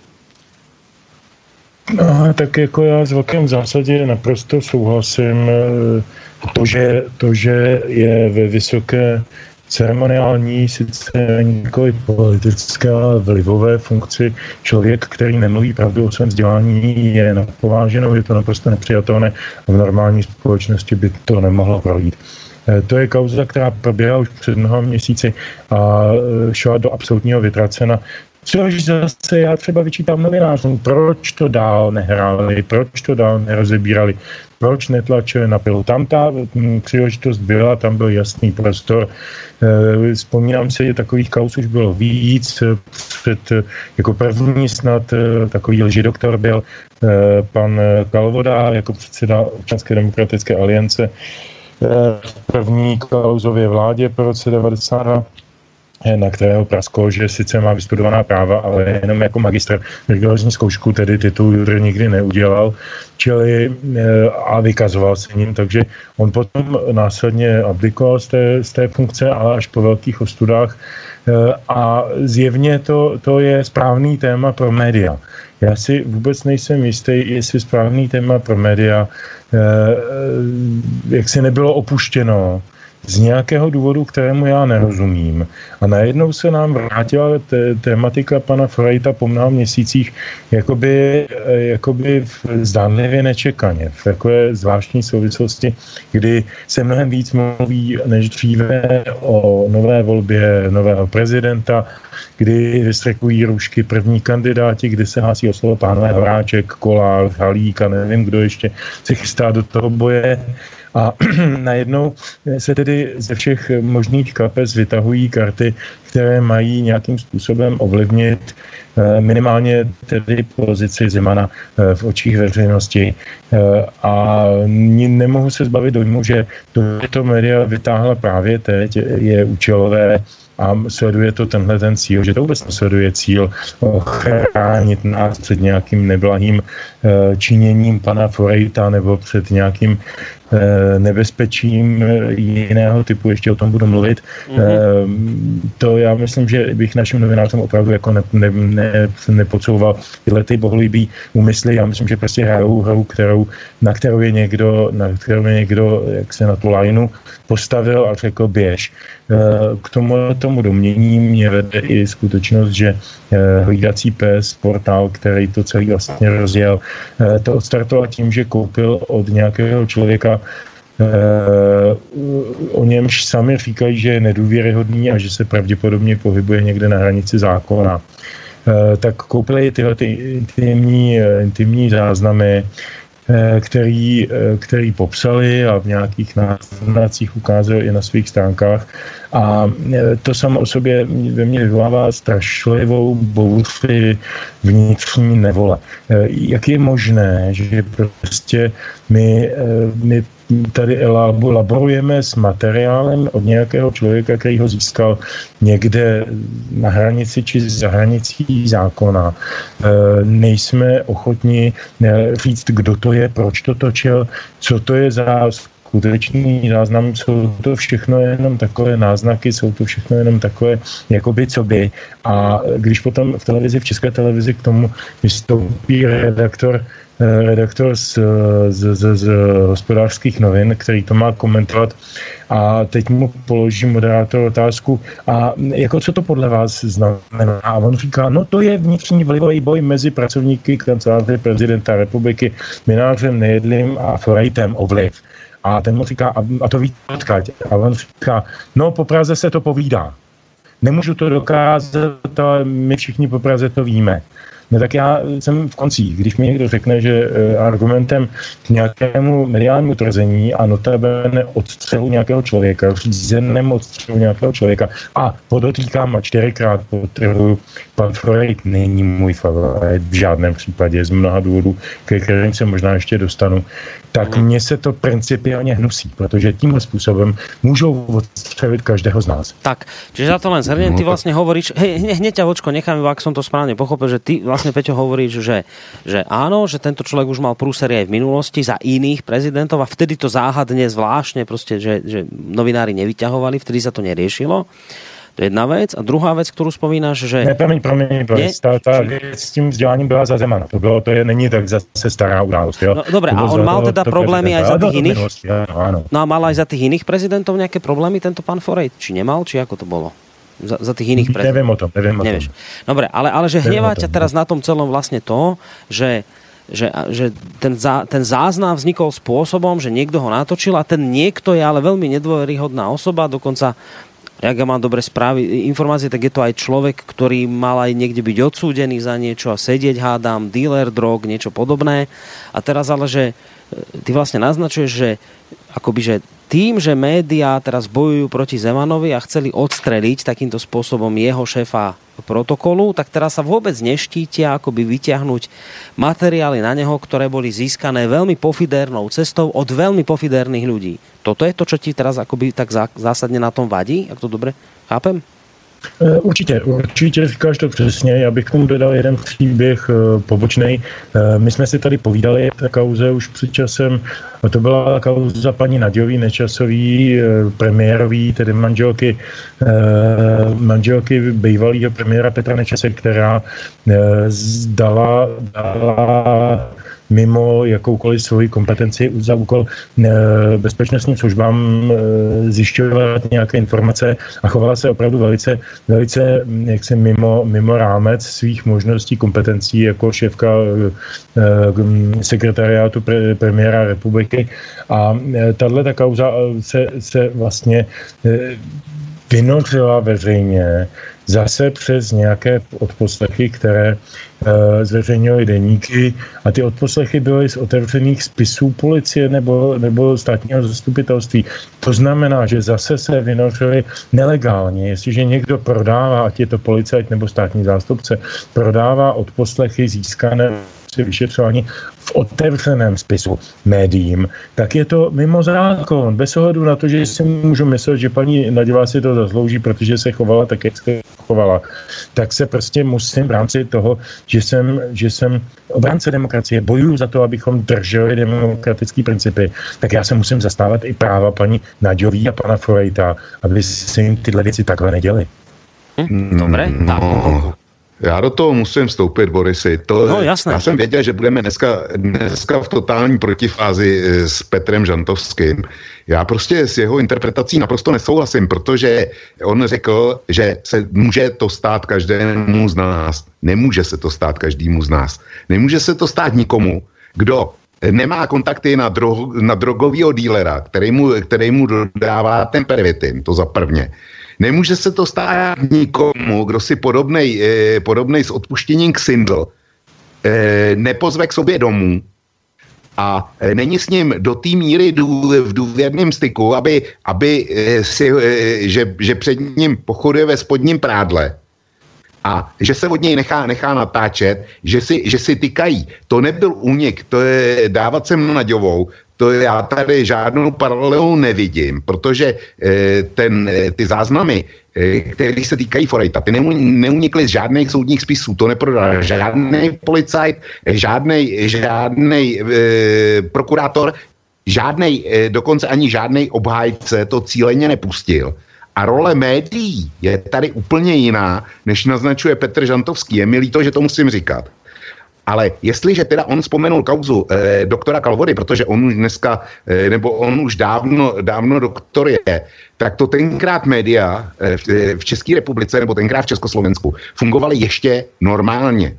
No, tak jako já s Vlkem v zásadě naprosto souhlasím. To, že, to, že je ve vysoké ceremoniální, sice nikoli politické, ale vlivové funkci člověk, který nemluví pravdu o svém vzdělání, je napováženou, je to naprosto nepřijatelné a v normální společnosti by to nemohlo projít. To je kauza, která proběhla už před mnoha měsíci a šla do absolutního vytracena. Což zase já třeba vyčítám novinářům, proč to dál nehráli, proč to dál nerozebírali, proč netlačili na pilu. Tam ta příležitost byla, tam byl jasný prostor. Vzpomínám si, že takových kauz už bylo víc. Před, jako první snad takový lžidoktor byl pan Kalvoda jako předseda Občanské demokratické aliance v první kauzově vládě po roce devadesát dva. Na kterého prasklo, že sice má vystudovaná práva, ale jenom jako magistr rigorozní zkoušku, tedy titul judr nikdy neudělal, čili a vykazoval se ním, takže on potom následně abdikoval z té, z té funkce, ale až po velkých ostudách a zjevně to, to je správný téma pro média. Já si vůbec nejsem jistý, jestli správný téma pro média, jak se nebylo opuštěno z nějakého důvodu, kterému já nerozumím. A najednou se nám vrátila t- tématika pana Forejta po mnoha měsících jakoby, jakoby zdánlivě nečekaně, v takové zvláštní souvislosti, kdy se mnohem víc mluví než dříve o nové volbě nového prezidenta, kdy vystrekují růžky první kandidáti, kdy se hásí o slovo pánové Horáček, Kolář, Halík a nevím, kdo ještě se chystá do toho boje. A najednou se tedy ze všech možných kapes vytahují karty, které mají nějakým způsobem ovlivnit minimálně tedy pozici Zemana v očích veřejnosti. A nemohu se zbavit dojmu, že to média vytáhla právě teď, je účelové a sleduje to tenhle ten cíl, že to vůbec nesleduje cíl ochránit nás před nějakým neblahým činěním pana Forejta nebo před nějakým nebezpečím jiného typu, ještě o tom budu mluvit. Mm-hmm. To já myslím, že bych našim novinářům opravdu jako ne, ne, ne, nepodsouval tyhle ty bohulibý úmysly. Já myslím, že prostě hrajou hru, kterou, na kterou je někdo, na kterou je někdo, jak se na tu lajnu postavil a řekl běž. K tomu, tomu domění mě vede i skutečnost, že Hlídací pes, portál, který to celý vlastně rozjel, to odstartoval tím, že koupil od nějakého člověka, o němž sami říkají, že je nedůvěryhodný a že se pravděpodobně pohybuje někde na hranici zákona. Tak koupili tyhle ty intimní, intimní záznamy, který, který popsali a v nějakých náznacích ukázali i na svých stránkách. A to samo o sobě ve mně vyvolává strašlivou bouři vnitřní nevole. Jak je možné, že prostě my, my tady laborujeme s materiálem od nějakého člověka, který ho získal někde na hranici či za hranicí zákona. Nejsme ochotni říct, kdo to je, proč to točil, co to je za skutečný záznam, jsou to všechno jenom takové náznaky, jsou to všechno jenom takové jakoby co by. A když potom v televizi, v České televizi k tomu vystoupí redaktor redaktor z, z, z, z Hospodářských novin, který to má komentovat a teď mu položí moderátor otázku a jako co to podle vás znamená? A on říká, no to je vnitřní vlivový boj mezi pracovníky kanceláře prezidenta republiky Mynářem, Nejedlým a Forejtem o vliv. A ten mu říká, a, a to víte odkud? A on říká, no po Praze se to povídá. Nemůžu to dokázat, ale my všichni po Praze to víme. No tak já jsem v koncích, když mi někdo řekne, že argumentem k nějakému mediálnímu tvrzení a notabene odstřelu nějakého člověka, řízeném odstřelu nějakého člověka a podotýkám a čtyřikrát podtrhuju, pan Freud není můj favorit v žádném případě z mnoha důvodů, ke kterým se možná ještě dostanu, tak mně se to principiálně hnusí, protože tímhle způsobem můžou odstřelit každého z nás. Tak, čiže za to len zhrnem, ty vlastne hovoríš, hej, hneď ťa vočko, nechám, ak som to správne pochopil, že ty vlastne, Peťo, hovoríš, že, že áno, že tento človek už mal prúsery aj v minulosti za iných prezidentov a vtedy to záhadne zvláštne proste, že, že novinári nevyťahovali, vtedy sa to neriešilo. To je jedna vec. A druhá vec, ktorú spomínaš, že... Ne, promiň, promiň, tá, tá vec s tím vzděláním byla za Zemana. To bylo, to je, není tak zase stará událost, jo? No, dobre, a on mal teda problémy aj za tých iných? Áno, áno. No a mal aj za tých iných prezidentov nejaké problémy tento pán Forejt? Či nemal, či ako to bolo? Za, za tých iných prezidentov? Neviem o tom, neviem o Nevieš. tom. Dobre, ale, ale že hnevá ťa teraz na tom celom vlastne to, že že, že ten, zá, ten záznam vznikol spôsobom, že niekto ho natočil a ten niekto je ale veľmi nedôveryhodná osoba, dokonca jak ja mám dobre správy, informácie, tak je to aj človek, ktorý mal aj niekde byť odsúdený za niečo a sedieť, hádam, dealer drog, niečo podobné. A teraz ale, že ty vlastne naznačuješ, že akoby, že tým, že médiá teraz bojujú proti Zemanovi a chceli odstreliť takýmto spôsobom jeho šéfa protokolu, tak teraz sa vôbec neštítia akoby vyťahnuť materiály na neho, ktoré boli získané veľmi pofidérnou cestou od veľmi pofidérnych ľudí. Toto je to, čo ti teraz akoby tak zásadne na tom vadí, ak to dobre chápem? Určitě, určitě říkáš to přesně. Já bych k tomu dodal jeden příběh pobočnej. My jsme si tady povídali o kauze už před časem. To byla kauza paní Naďový Nečasový, premiérový, tedy manželky, manželky bývalého premiéra Petra Nečase, která dala, dala mimo jakoukoliv svoji kompetenci za úkol bezpečnostním službám zjišťovat nějaké informace a chovala se opravdu velice, velice jaksi mimo, mimo rámec svých možností, kompetencí jako šéfka sekretariátu pre, premiéra republiky. A tahle ta kauza se, se vlastně vynořila veřejně zase přes nějaké odposlechy, které e, zveřejnily deníky a ty odposlechy byly z otevřených spisů policie nebo, nebo státního zastupitelství. To znamená, že zase se vynořily nelegálně. Jestliže někdo prodává, ať je to policajt nebo státní zástupce, prodává odposlechy získané vyšetřování v otevřeném spisu médiím, tak je to mimo zákon. Bez ohledu na to, že si můžu myslet, že paní Naďová si to zaslouží, protože se chovala tak, jak se chovala, tak se prostě musím v rámci toho, že jsem, že jsem obránce demokracie, bojuju za to, abychom drželi demokratické principy, tak já se musím zastávat i práva paní Naďový a pana Forejta, aby se jim tyhle věci takhle neděly. Hm, dobre, tak. Já do toho musím vstoupit, Borisy. To, no, jasné. Já jsem věděl, že budeme dneska, dneska v totální protifázi s Petrem Žantovským. Já prostě s jeho interpretací naprosto nesouhlasím, protože on řekl, že se může to stát každému z nás. Nemůže se to stát každému z nás. Nemůže se to stát nikomu, kdo nemá kontakty na, dro, na drogovýho dílera, který mu, který mu dodává ten pervitin, to za prvně. Nemůže se to stát nikomu, kdo si podobnej, eh, podobnej s odpuštěním ksindl eh, nepozve k sobě domů a eh, není s ním do té míry dů, v důvěrném styku, aby, aby eh, si, eh, že, že před ním pochoduje ve spodním prádle a že se od něj nechá, nechá natáčet, že si, že si tykají. To nebyl únik, to je dávat se mnou naďovou. To já tady žádnou paralelu nevidím, protože e, ten, e, ty záznamy, e, které se týkají Forejta, ty neunikly z žádných soudních spisů, to neprodal žádný policajt, žádný žádnej, e, prokurátor, žádnej, e, dokonce ani žádný obhájce to cíleně nepustil. A role médií je tady úplně jiná, než naznačuje Petr Žantovský. Je mi líto, že to musím říkat. Ale jestliže teda on vzpomenul kauzu eh, doktora Kalvody, protože on už dneska, eh, nebo on už dávno, dávno doktor je, tak to tenkrát média eh, v, v České republice, nebo tenkrát v Československu, fungovaly ještě normálně.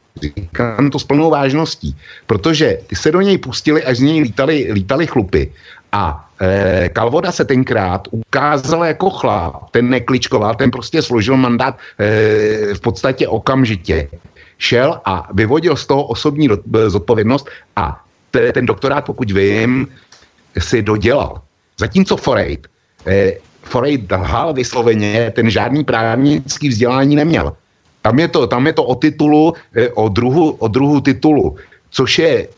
Říkám to s plnou vážností, protože ty se do něj pustili, až z něj lítali, lítali chlupy. A eh, Kalvoda se tenkrát ukázal jako chlap, ten nekličkoval, ten prostě složil mandát eh, v podstatě okamžitě. Šel a vyvodil z toho osobní zodpovědnost a t- ten doktorát, pokud vím, si dodělal. Zatímco Forejt, eh, Forejt lhal vysloveně, ten žádný právnický vzdělání neměl. Tam je to, tam je to o titulu, eh, o, druhu, o druhu titulu, což je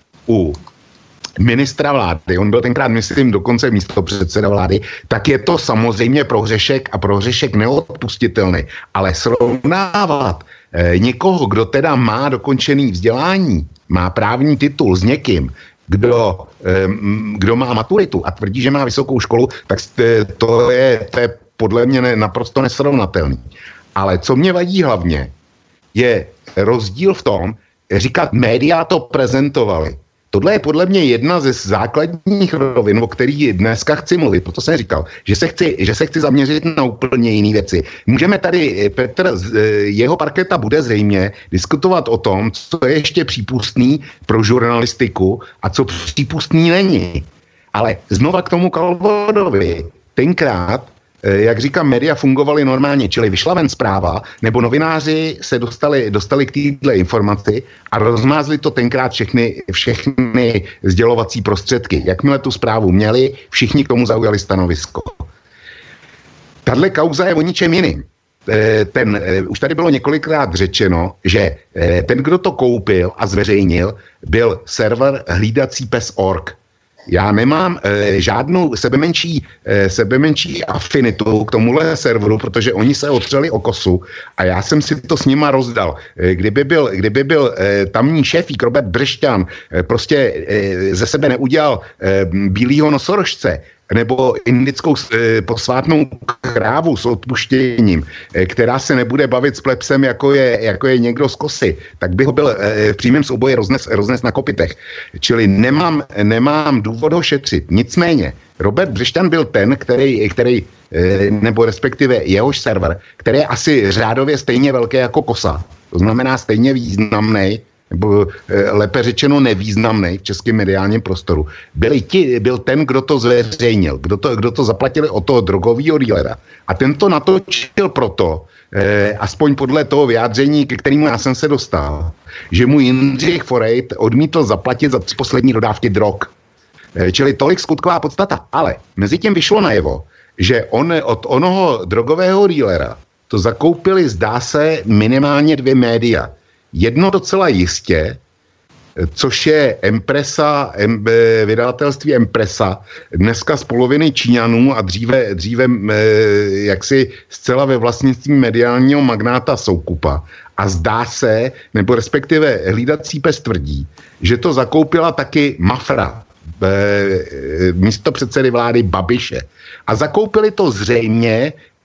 u ministra vlády, on byl tenkrát, myslím, dokonce místopředseda vlády, tak je to samozřejmě prohřešek a prohřešek neodpustitelný. Ale srovnávat eh, někoho, kdo teda má dokončený vzdělání, má právní titul s někým, kdo, eh, kdo má maturitu a tvrdí, že má vysokou školu, tak to je, to je podle mě ne, naprosto nesrovnatelný. Ale co mě vadí hlavně, je rozdíl v tom, říkat, média to prezentovali. Tohle je podle mě jedna ze základních rovin, o kterých dneska chci mluvit, proto jsem říkal, že se chci, že se chci zaměřit na úplně jiné věci. Můžeme tady, Petr, jeho parketa bude zřejmě diskutovat o tom, co je ještě přípustný pro žurnalistiku a co přípustný není. Ale znova k tomu Kalvodovi. Tenkrát, jak říkám, média fungovaly normálně, čili vyšla ven zpráva, nebo novináři se dostali, dostali k téhle informaci a rozmázli to tenkrát všechny, všechny sdělovací prostředky. Jakmile tu zprávu měli, všichni k tomu zaujali stanovisko. Tahle kauza je o ničem jiným. Ten, už tady bylo několikrát řečeno, že ten, kdo to koupil a zveřejnil, byl server hlídací pes tečka org. Já nemám e, žádnou sebemenší, e, sebemenší afinitu k tomuhle serveru, protože oni se otřeli o kosu a já jsem si to s nima rozdal. E, kdyby byl, kdyby byl e, tamní šéfík Robert Brešťan e, prostě e, ze sebe neudělal e, bílýho nosorožce, nebo indickou e, posvátnou krávu s odpuštěním, e, která se nebude bavit s plebsem, jako je, jako je někdo z kosy, tak by ho byl e, v přímém souboji roznes, roznes na kopitech. Čili nemám, nemám důvod ho šetřit. Nicméně, Robert Břešťan byl ten, který, který e, nebo respektive jehož server, který je asi řádově stejně velký jako kosa. To znamená stejně významný, nebo lépe řečeno nevýznamný v českém mediálním prostoru, byli ti, byl ten, kdo to zveřejnil, kdo to, kdo to zaplatili od toho drogového dílera. A ten to natočil proto, eh, aspoň podle toho vyjádření, ke kterému já jsem se dostal, že mu Jindřich Forejt odmítl zaplatit za tři poslední dodávky drog. Eh, čili tolik skutková podstata. Ale mezi tím vyšlo najevo, že on od onoho drogového dílera to zakoupili, zdá se, minimálně dvě média. Jedno docela jistě, což je Empresa, em, vydavatelství Empresa, dneska z poloviny Číňanů a dříve, dříve e, jaksi zcela ve vlastnictví mediálního magnáta Soukupa. A zdá se, nebo respektive hlídací pes tvrdí, že to zakoupila taky Mafra, e, místo předsedy vlády Babiše. A zakoupili to zřejmě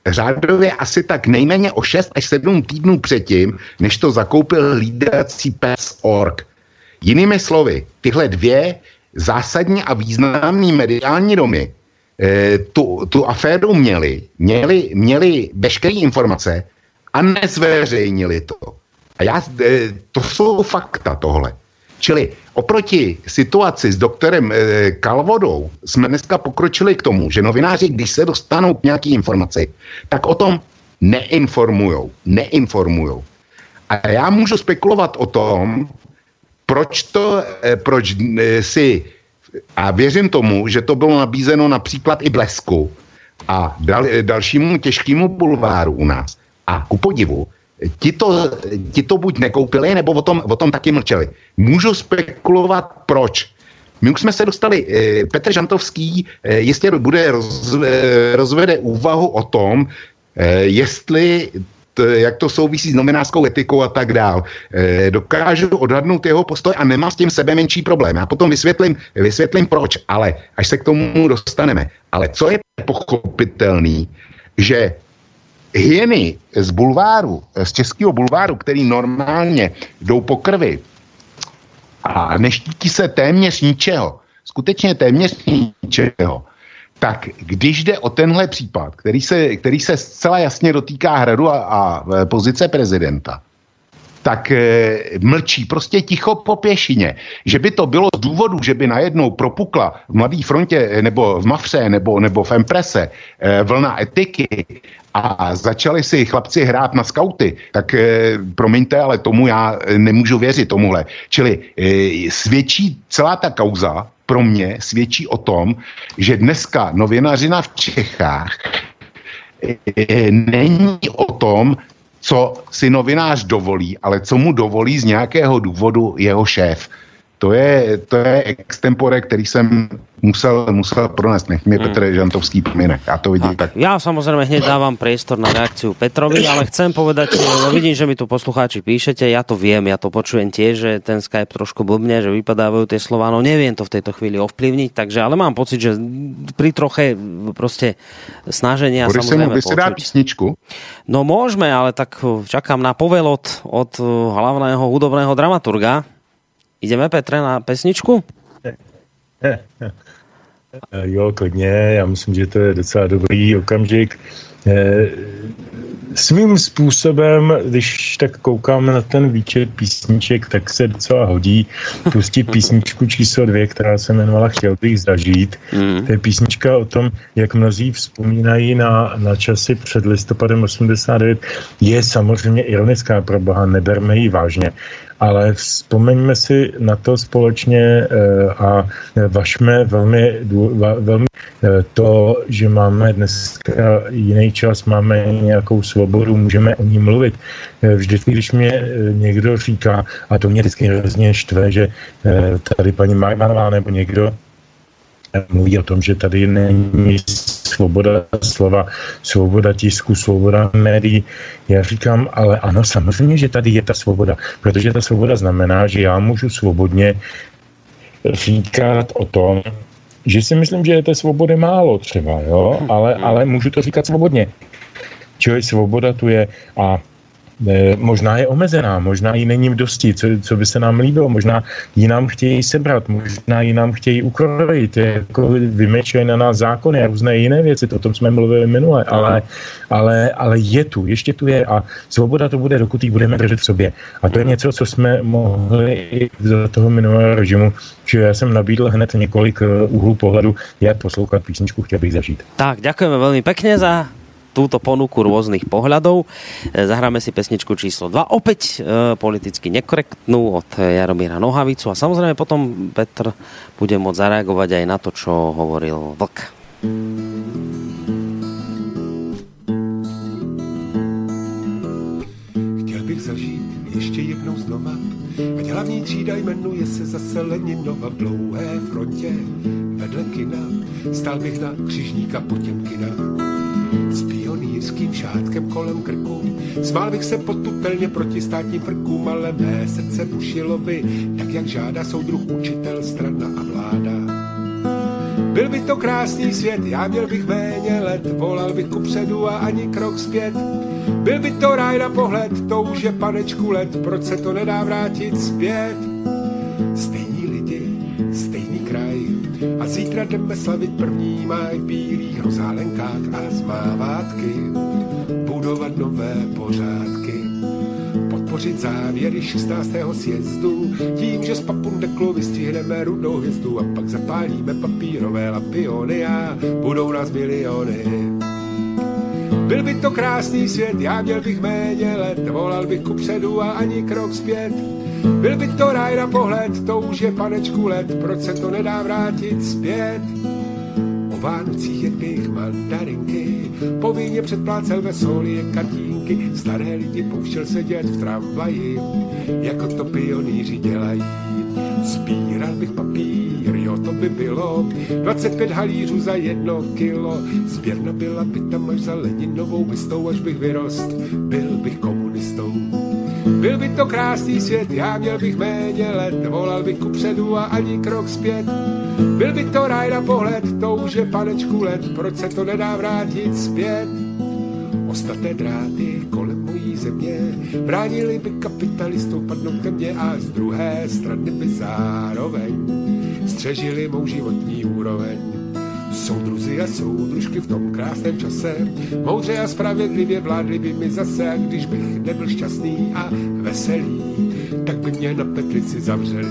řádově asi tak nejméně o šest až sedm týdnů předtím, než to zakoupil hlídací pes org. Jinými slovy, tyhle dvě zásadní a významné mediální domy e, tu, tu aféru měli, měli, měli veškeré informace a nezveřejnili to. A já, e, to jsou fakta tohle. Čili oproti situaci s doktorem e, Kalvodou jsme dneska pokročili k tomu, že novináři, když se dostanou k nějaký informaci, tak o tom neinformujou. Neinformujou. A já můžu spekulovat o tom, proč to, e, proč e, si, a věřím tomu, že to bylo nabízeno například i Blesku a dal, e, dalšímu těžkému bulváru u nás. A ku podivu, Ti to, ti to buď nekoupili, nebo o tom, o tom taky mlčeli. Můžu spekulovat, proč. My už jsme se dostali, eh, Petr Žantovský eh, jistě bude roz, eh, rozvede úvahu o tom, eh, jestli, t, jak to souvisí s novinářskou etikou a tak dál. Eh, dokážu odhadnout jeho postoj a nemá s tím sebe menší problém. Já potom vysvětlím, vysvětlím proč, ale až se k tomu dostaneme. Ale co je pochopitelný, že hyeny z bulváru, z českého bulváru, který normálně jdou po krvi a neštítí se téměř ničeho, skutečně téměř ničeho, tak když jde o tenhle případ, který se, který se zcela jasně dotýká hradu a, a pozice prezidenta, tak e, mlčí prostě ticho po pěšině. Že by to bylo z důvodu, že by najednou propukla v Mladé frontě nebo v Mafře nebo, nebo v Emprese e, vlna etiky a začali si chlapci hrát na skauty, tak e, promiňte, ale tomu já nemůžu věřit tomuhle. Čili e, svědčí celá ta kauza pro mě svědčí o tom, že dneska novinařina v Čechách e, není o tom, co si novinář dovolí, ale co mu dovolí z nějakého důvodu jeho šéf. To je, to je extempore, který jsem musel, musel pronést. Nech mě hmm. Petr Žantovský pomine. Já to vidím tak. tak. Ja samozrejme hneď dávam priestor na reakciu Petrovi, ale chcem povedať, no vidím, že mi tu poslucháči píšete, ja to viem, ja to počujem tiež, že ten Skype trošku blbne, že vypadávajú tie slová, no neviem to v tejto chvíli ovplyvniť, takže, ale mám pocit, že pri troche proste snaženia Budeš samozrejme počuť. Budeš si dať písničku? No môžeme, ale tak čakám na povel od, od hlavného hudobného dramaturga. Ideme, Petre, na pesničku? Jo, klidně, já myslím, že to je docela dobrý okamžik. Svým způsobem, když tak koukám na ten výčet písniček, tak se docela hodí pustit písničku číslo dvě, která se jmenovala Chtěl bych zažít. Mm. To je písnička o tom, jak mnozí vzpomínají na, na časy před listopadem osmdesát devět. Je samozřejmě ironická, pro boha, neberme ji vážně. Ale vzpomeňme si na to společně a važme velmi, velmi to, že máme dneska jiný čas, máme nějakou svobodu, můžeme o ní mluvit. Vždycky, když mě někdo říká, a to mě vždycky hrozně štve, že tady paní Marvanová nebo někdo mluví o tom, že tady není svoboda slova, svoboda tisku, svoboda médií. Já říkám, ale ano, samozřejmě, že tady je ta svoboda, protože ta svoboda znamená, že já můžu svobodně říkat o tom, že si myslím, že je té svobody málo třeba, jo, ale, ale můžu to říkat svobodně. Čili svoboda tu je a E, možná je omezená, možná jí není dosti, co, co by se nám líbilo, možná ji nám chtějí sebrat, možná ji nám chtějí ukrojit, jako vymečují na nás zákony a různé jiné věci, o tom jsme mluvili minule, ale, ale, ale je tu, ještě tu je a svoboda to bude, dokud ji budeme držet v sobě. A to je něco, co jsme mohli i za toho minulého režimu, že já jsem nabídl hned několik úhlů pohledu, jak poslouchat písničku Chtěl bych zažít. Tak, ďakujeme veľmi pekne za túto ponuku rôznych pohľadov. Zahráme si pesničku číslo dva, opäť e, politicky nekorektnú od Jaromíra Nohavicu a samozrejme potom Petr bude môcť zareagovať aj na to, čo hovoril Vlk. Chtěl bych zažít ještě jednou znova, ať hlavní třída jmenuje se zase Leninova v dlouhé frontě vedle kina. Stál bych na křižníka Potěmkina s pionýrským šátkem kolem krku. Smál bych se potutelně proti státním frkům, ale mé srdce bušilo by, tak jak žádá soudruh učitel, strana a vláda. Byl by to krásný svět, já měl bych méně let, volal bych kupředu a ani krok zpět. Byl by to ráj na pohled, to už je panečku let, proč se to nedá vrátit zpět? Stejní lidi, stejný kraj, a zítra jdeme slavit první máj v bílých rozálenkách a zmávátky, budovat nové pořádky, podpořit závěry šestnáctého sjezdu, tím, že z papundeklu vystřihneme rudou hvězdu a pak zapálíme papírové lampiony a budou nás miliony. Byl by to krásný svět, já měl bych méně let, volal bych kupředu a ani krok zpět. Byl by to ráj na pohled, to už je panečku let, proč se to nedá vrátit zpět? O Vánocích jedných mandarinky, povinně předplácel vesolie kartínky, staré lidi pouštěl sedět v tramvaji, jako to pionýři dělají. Sbíral bych papír, jo to by bylo, dvacet pět halířů za jedno kilo, sběrna byla by tam až za Leninovou bystou, až bych vyrost, byl bych komunistou. Byl by to krásný svět, já měl bych méně let, volal bych kupředu a ani krok zpět. Byl by to ráj na pohled, to už je panečku let, proč se to nedá vrátit zpět? Ostatné dráty kolem mojí země bránili by kapitalistům padnout ke mně a z druhé strany by zároveň střežili mou životní úroveň. Soudruzi a soudružky v tom krásném čase moudře a spravedlivě vládli by mi zase, a když bych nebyl šťastný a veselý, tak by mě na petlici zavřeli.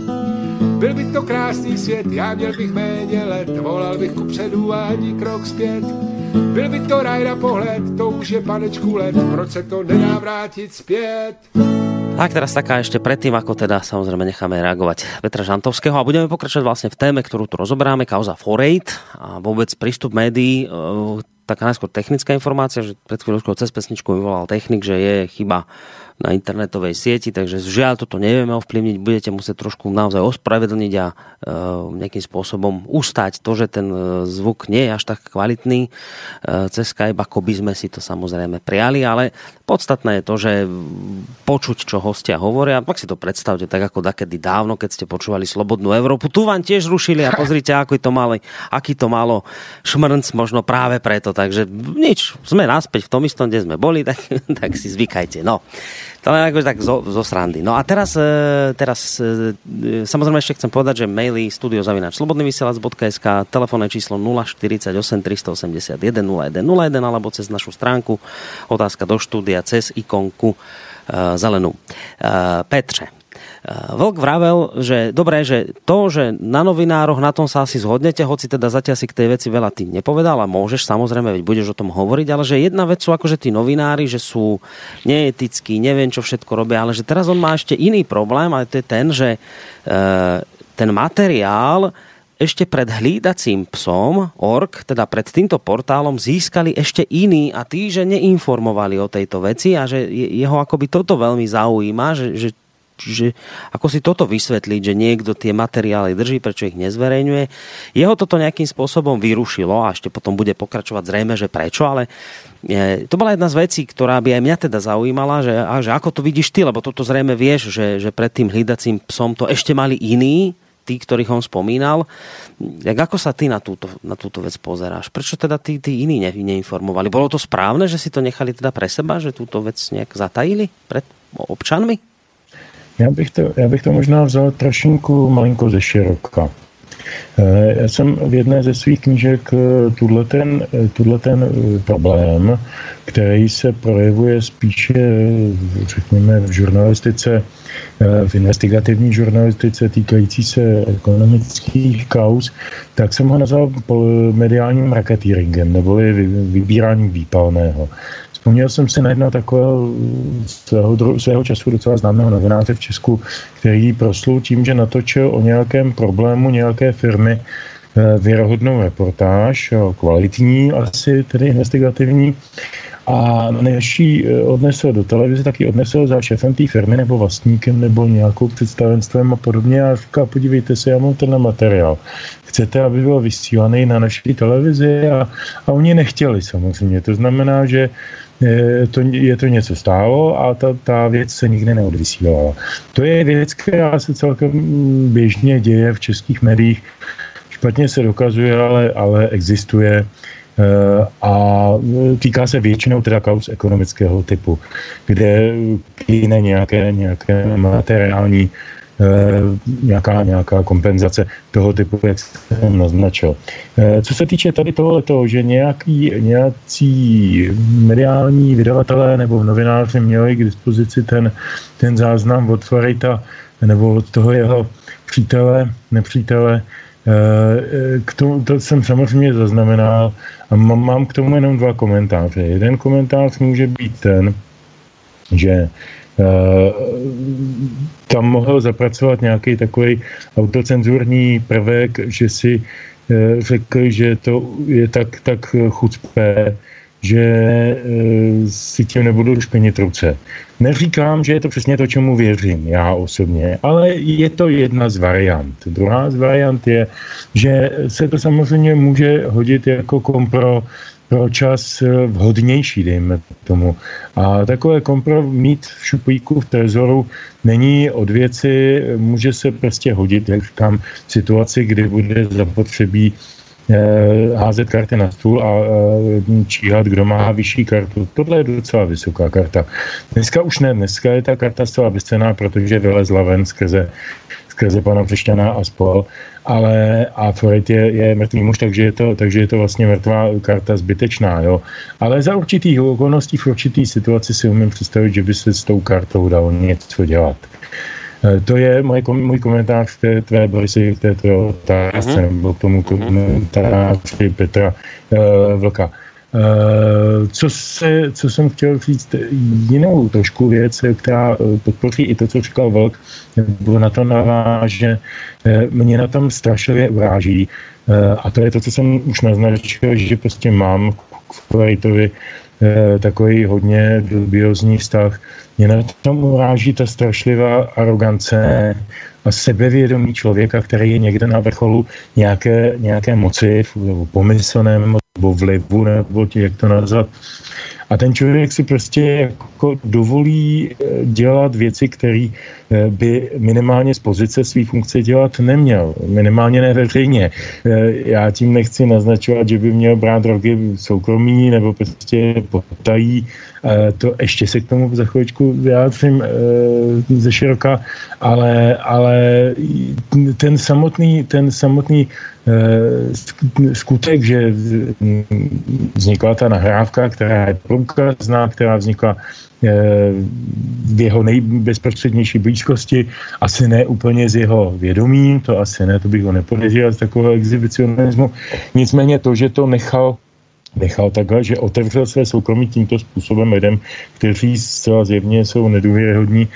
Byl by to krásný svět, já měl bych méně let, volal bych kupředu a ani krok zpět. Byl by to ráj na pohled, to už je panečku let, proč se to nedá vrátit zpět? Tak teraz taká ešte predtým, ako teda samozrejme necháme reagovať Petra Žantovského a budeme pokračovať vlastne v téme, ktorú tu rozoberáme, kauza Forate a vôbec prístup médií. Taká najskôr technická informácia, že pred chvíľočkou cez pesničku vyvolal technik, že je chyba na internetovej sieti, takže žiaľ toto nevieme ovplyvniť, budete musieť trošku naozaj ospravedlniť a e, nejakým spôsobom ustať to, že ten zvuk nie je až tak kvalitný e, cez Skype, ako by sme si to samozrejme prijali, ale podstatné je to, že počuť, čo hostia hovoria, pak si to predstavte tak ako dakedy dávno, keď ste počúvali Slobodnú Európu, tu vám tiež rušili a pozrite, aký to malo, aký to malo šmrnc, možno práve preto, takže nič, sme naspäť v tom istom, kde sme boli, tak, tak si zvykajte, no. To len akože tak zo, zo srandy. No a teraz, teraz samozrejme ešte chcem povedať, že maily studio zavináč slobodný vysielač bodka es ká, telefónne číslo nula štyridsaťosem tristoosemdesiatjeden nula jeden nula jeden alebo cez našu stránku otázka do štúdia cez ikonku uh, zelenú. Uh, Petře, Vlk vravel, že dobré, že to, že na novinároch na tom sa asi zhodnete, hoci teda zatiaľ si k tej veci veľa ty nepovedal a môžeš, samozrejme, veď budeš o tom hovoriť, ale že jedna vec sú akože tí novinári, že sú neetickí, neviem čo všetko robia, ale že teraz on má ešte iný problém a to je ten, že e, ten materiál ešte pred hlídacím psom org, teda pred týmto portálom získali ešte iní a tí, že neinformovali o tejto veci a že jeho akoby toto veľmi zaujíma, že, že Čiže ako si toto vysvetliť, že niekto tie materiály drží, prečo ich nezverejňuje. Jeho toto nejakým spôsobom vyrušilo a ešte potom bude pokračovať zrejme, že prečo, ale to bola jedna z vecí, ktorá by aj mňa teda zaujímala, že, a že ako to vidíš ty, lebo toto zrejme vieš, že, že pred tým hlídacím psom to ešte mali iní, tí, ktorých on spomínal. Jak ako sa ty na túto, na túto vec pozeráš? Prečo teda tí, tí iní ne, neinformovali? Bolo to správne, že si to nechali teda pre seba, že túto vec nejak zatajili pred občanmi? Já bych, to, já bych to možná vzal trošinku malinko ze široka. Já jsem v jedné ze svých knížek tuhle ten, tuhle ten problém, který se projevuje spíše, řekněme, v žurnalistice, v investigativní žurnalistice týkající se ekonomických kauz, tak jsem ho nazval mediálním racketeeringem, neboli vybíráním výpalného. Vzpomněl jsem si na jednoho takového svého, svého času docela známého novináře v Česku, který proslul tím, že natočil o nějakém problému nějaké firmy věrohodnou reportáž, kvalitní asi, tedy investigativní, a než ji odnesl do televize, tak ji odnesl za šéfem té firmy nebo vlastníkem nebo nějakou představenstvem a podobně a říká, podívejte se, já mám tenhle materiál. Chcete, aby byl vysílaný na naší televizi? A, a oni nechtěli samozřejmě. To znamená, že je to, je to něco stálo a ta, ta věc se nikdy neodvysílala. To je věc, která se celkem běžně děje v českých médiích špatně se dokazuje, ale, ale existuje a týká se většinou teda kauz ekonomického typu, kde jiné nějaké, nějaké materiální nějaká, nějaká kompenzace toho typu, jak jsem naznačil. Co se týče tady tohoto, že nějaký, nějací mediální vydavatelé nebo novináři měli k dispozici ten, ten záznam od Farita nebo od toho jeho přítele, nepřítele, K tomu, to jsem samozřejmě zaznamenal a mám, mám k tomu jenom dva komentáře. Jeden komentář může být ten, že uh, tam mohl zapracovat nějaký takový autocenzurní prvek, že si uh, řekl, že to je tak, tak chucpé, že e, si tím nebudu špinit ruce. Neříkám, že je to přesně to, čemu věřím, já osobně, ale je to jedna z variant. Druhá z variant je, že se to samozřejmě může hodit jako kompro pro čas vhodnější, dejme tomu. A takové kompro mít v šuplíku, v trezoru není od věci, může se prostě hodit, jak říkám, v situaci, kdy bude zapotřebí házet karty na stůl a číhat, kdo má vyšší kartu. Tohle je docela vysoká karta. Dneska už ne, dneska je ta karta zcela bezcenná, protože vylezla ven skrze, skrze pana Přešťana a spol, ale a Floyd je, je mrtvý muž, takže je, to, takže je to vlastně mrtvá karta zbytečná, jo. Ale za určitých okolností, v určitý situaci si umím představit, že by se s tou kartou dalo něco dělat. To je můj, můj komentář k té tvé, Borisy, k té tvé otázce, uh-huh. nebo k tomu komentáři Petra uh, Vlka. Uh, co, se, co jsem chtěl říct, jinou trošku věc, která podpoří i to, co říkal Vlk, nebo na to naváže, mě na tom strašlivě uráží. Uh, a to je to, co jsem už naznačil, že prostě mám k Floritovi uh, takový hodně dubiozní vztah. Mě na tom uráží ta strašlivá arogance a sebevědomí člověka, který je někde na vrcholu nějaké, nějaké moci, nebo pomyslném, nebo vlivu, nebo jak to nazvat. A ten člověk si prostě jako dovolí dělat věci, které by minimálně z pozice své funkce dělat neměl. Minimálně neveřejně. Já tím nechci naznačovat, že by měl brát drogy soukromí nebo prostě potají. To ještě se k tomu za chvíličku vyjádřím ze široka, ale, ale ten samotný, ten samotný skutek, že vznikla ta nahrávka, která je průkazná, která vznikla v jeho nejbezprostřednější blízkosti, asi ne úplně z jeho vědomí, to asi ne, to bych ho nepodezříval z takového exhibicionismu. Nicméně to, že to nechal nechal takhle, že otevřel své soukromí tímto způsobem lidem, kteří zcela zjevně jsou nedůvěryhodní,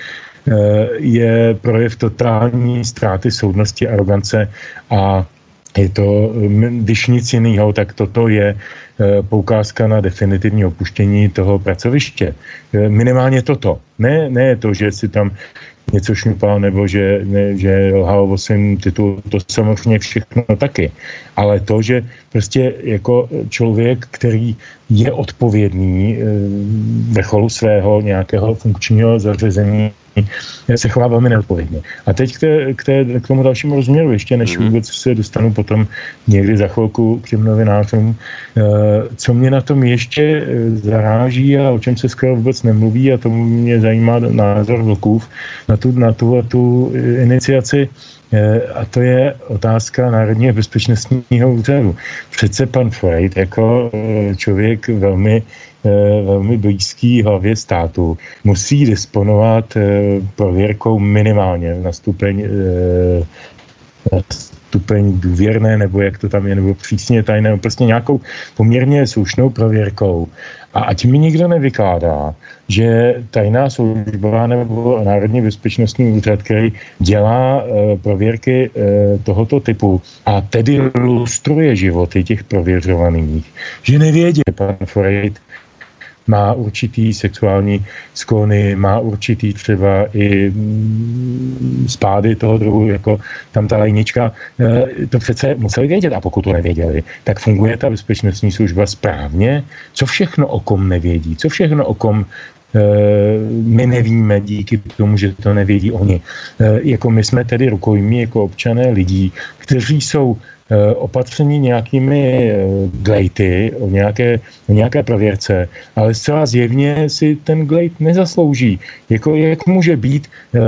je projev totální ztráty soudnosti, arogance a je to, když nic jiného, tak toto je poukázka na definitivní opuštění toho pracoviště. Minimálně toto. Ne, ne to, že si tam něco šňupal, nebo že, ne, že lhal o svým titulu, to samozřejmě všechno taky. Ale to, že prostě jako člověk, který je odpovědný vrcholu svého nějakého funkčního zařazení, se chová velmi neodpovědně. A teď k, té, k, té, k tomu dalšímu rozměru, ještě než vůbec se dostanu potom někdy za chvilku k těm novinářům, co mě na tom ještě zaráží a o čem se skoro vůbec nemluví, a tomu mě zajímá názor Vlkův na tu, na tu, tu iniciaci, a to je otázka Národního bezpečnostního úřadu. Přece pan Freud jako člověk velmi, velmi blízký hlavě státu musí disponovat prověrkou minimálně na stupeň, na stupeň důvěrné, nebo jak to tam je, nebo přísně tajné, prostě nějakou poměrně slušnou prověrkou. A ať mi nikdo nevykládá, že tajná služba nebo Národní bezpečnostní úřad, který dělá e, prověrky e, tohoto typu a tedy lustruje životy těch prověřovaných, že nevědí, pan Freud má určitý sexuální sklony, má určitý třeba i spády toho druhu, jako tam ta lajnička. To přece museli vědět, a pokud to nevěděli, tak funguje ta bezpečnostní služba správně. Co všechno o kom nevědí, co všechno o kom my nevíme díky tomu, že to nevědí oni. Jako my jsme tedy rukojmí jako občané lidí, kteří jsou opatření nějakými glejty, o nějaké, o nějaké prověrce, ale zcela zjevně si ten glejt nezaslouží. Jako, jak může být uh,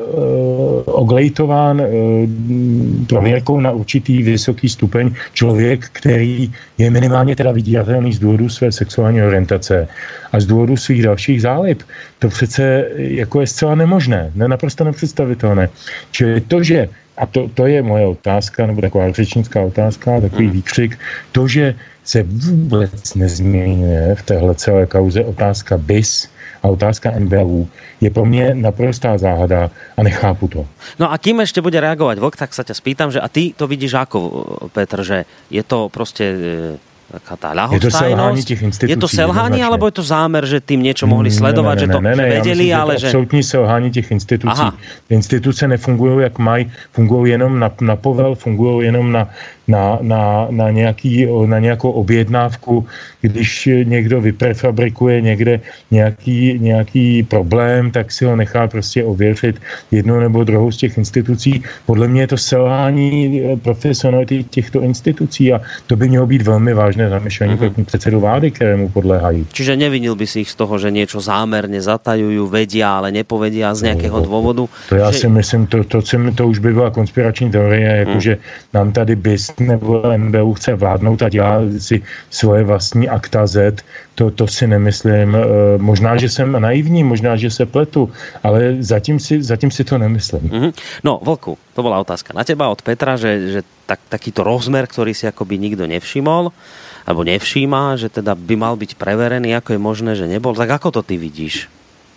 uh, oglejtován uh, prověrkou na určitý vysoký stupeň člověk, který je minimálně teda vydíratelný z důvodu své sexuální orientace a z důvodu svých dalších zálib. To přece jako je zcela nemožné, ne, naprosto nepředstavitelné. Čili to, že, a to, to je moje otázka, nebo taková řečnická otázka, takový výkřik, to, že se vůbec nezměňuje v téhle celé kauze otázka B I S a otázka N B U, je pro mě naprostá záhada a nechápu to. No a kým ešte bude reagovať Vlk, tak sa ťa spýtam, že a ty to vidíš ako, Petr, že je to proste taká tá ľahostajnosť? Je to selhanie, alebo je to zámer, že tým niečo mohli sledovať, ne, ne, ne, že to ne, ne, vedeli, ja myslím, ale že... že... absolutní selhání těch institucí. Aha. Instituce nefungují jak mají, fungují jenom na, na povel, fungují jenom na, na, na, na, nějaký, na nějakou objednávku, když někdo vyprefabrikuje někde nějaký, nějaký problém, tak si ho nechá prostě ověřit jednou nebo druhou z těch institucí. Podle mě je to selhání profesionality těchto institucí a to by mělo být velmi vážné zamyšlení mm-hmm. předsedu vlády, kterému podléhají. Čiže nevinil by si ich z toho, že niečo zámerne zatajujú, vedia, ale nepovedia z nejakého no, dôvodu? To já že... si myslím, to, to, to už by byla konspirační teorie, jakože mm. nám tady B I S nebo N B U chce vládnout a dělá si svoje vlastní akta Z, to, to si nemyslím. Možná, že jsem naivní, možná, že se pletu, ale zatím si, zatím si to nemyslím. Mm-hmm. No, Vlku, to bola otázka na teba od Petra, že, že tak, takýto rozmer, ktorý si akoby nikto nevšimol, alebo nevšíma, že teda by mal byť preverený, ako je možné, že nebol. Tak ako to ty vidíš?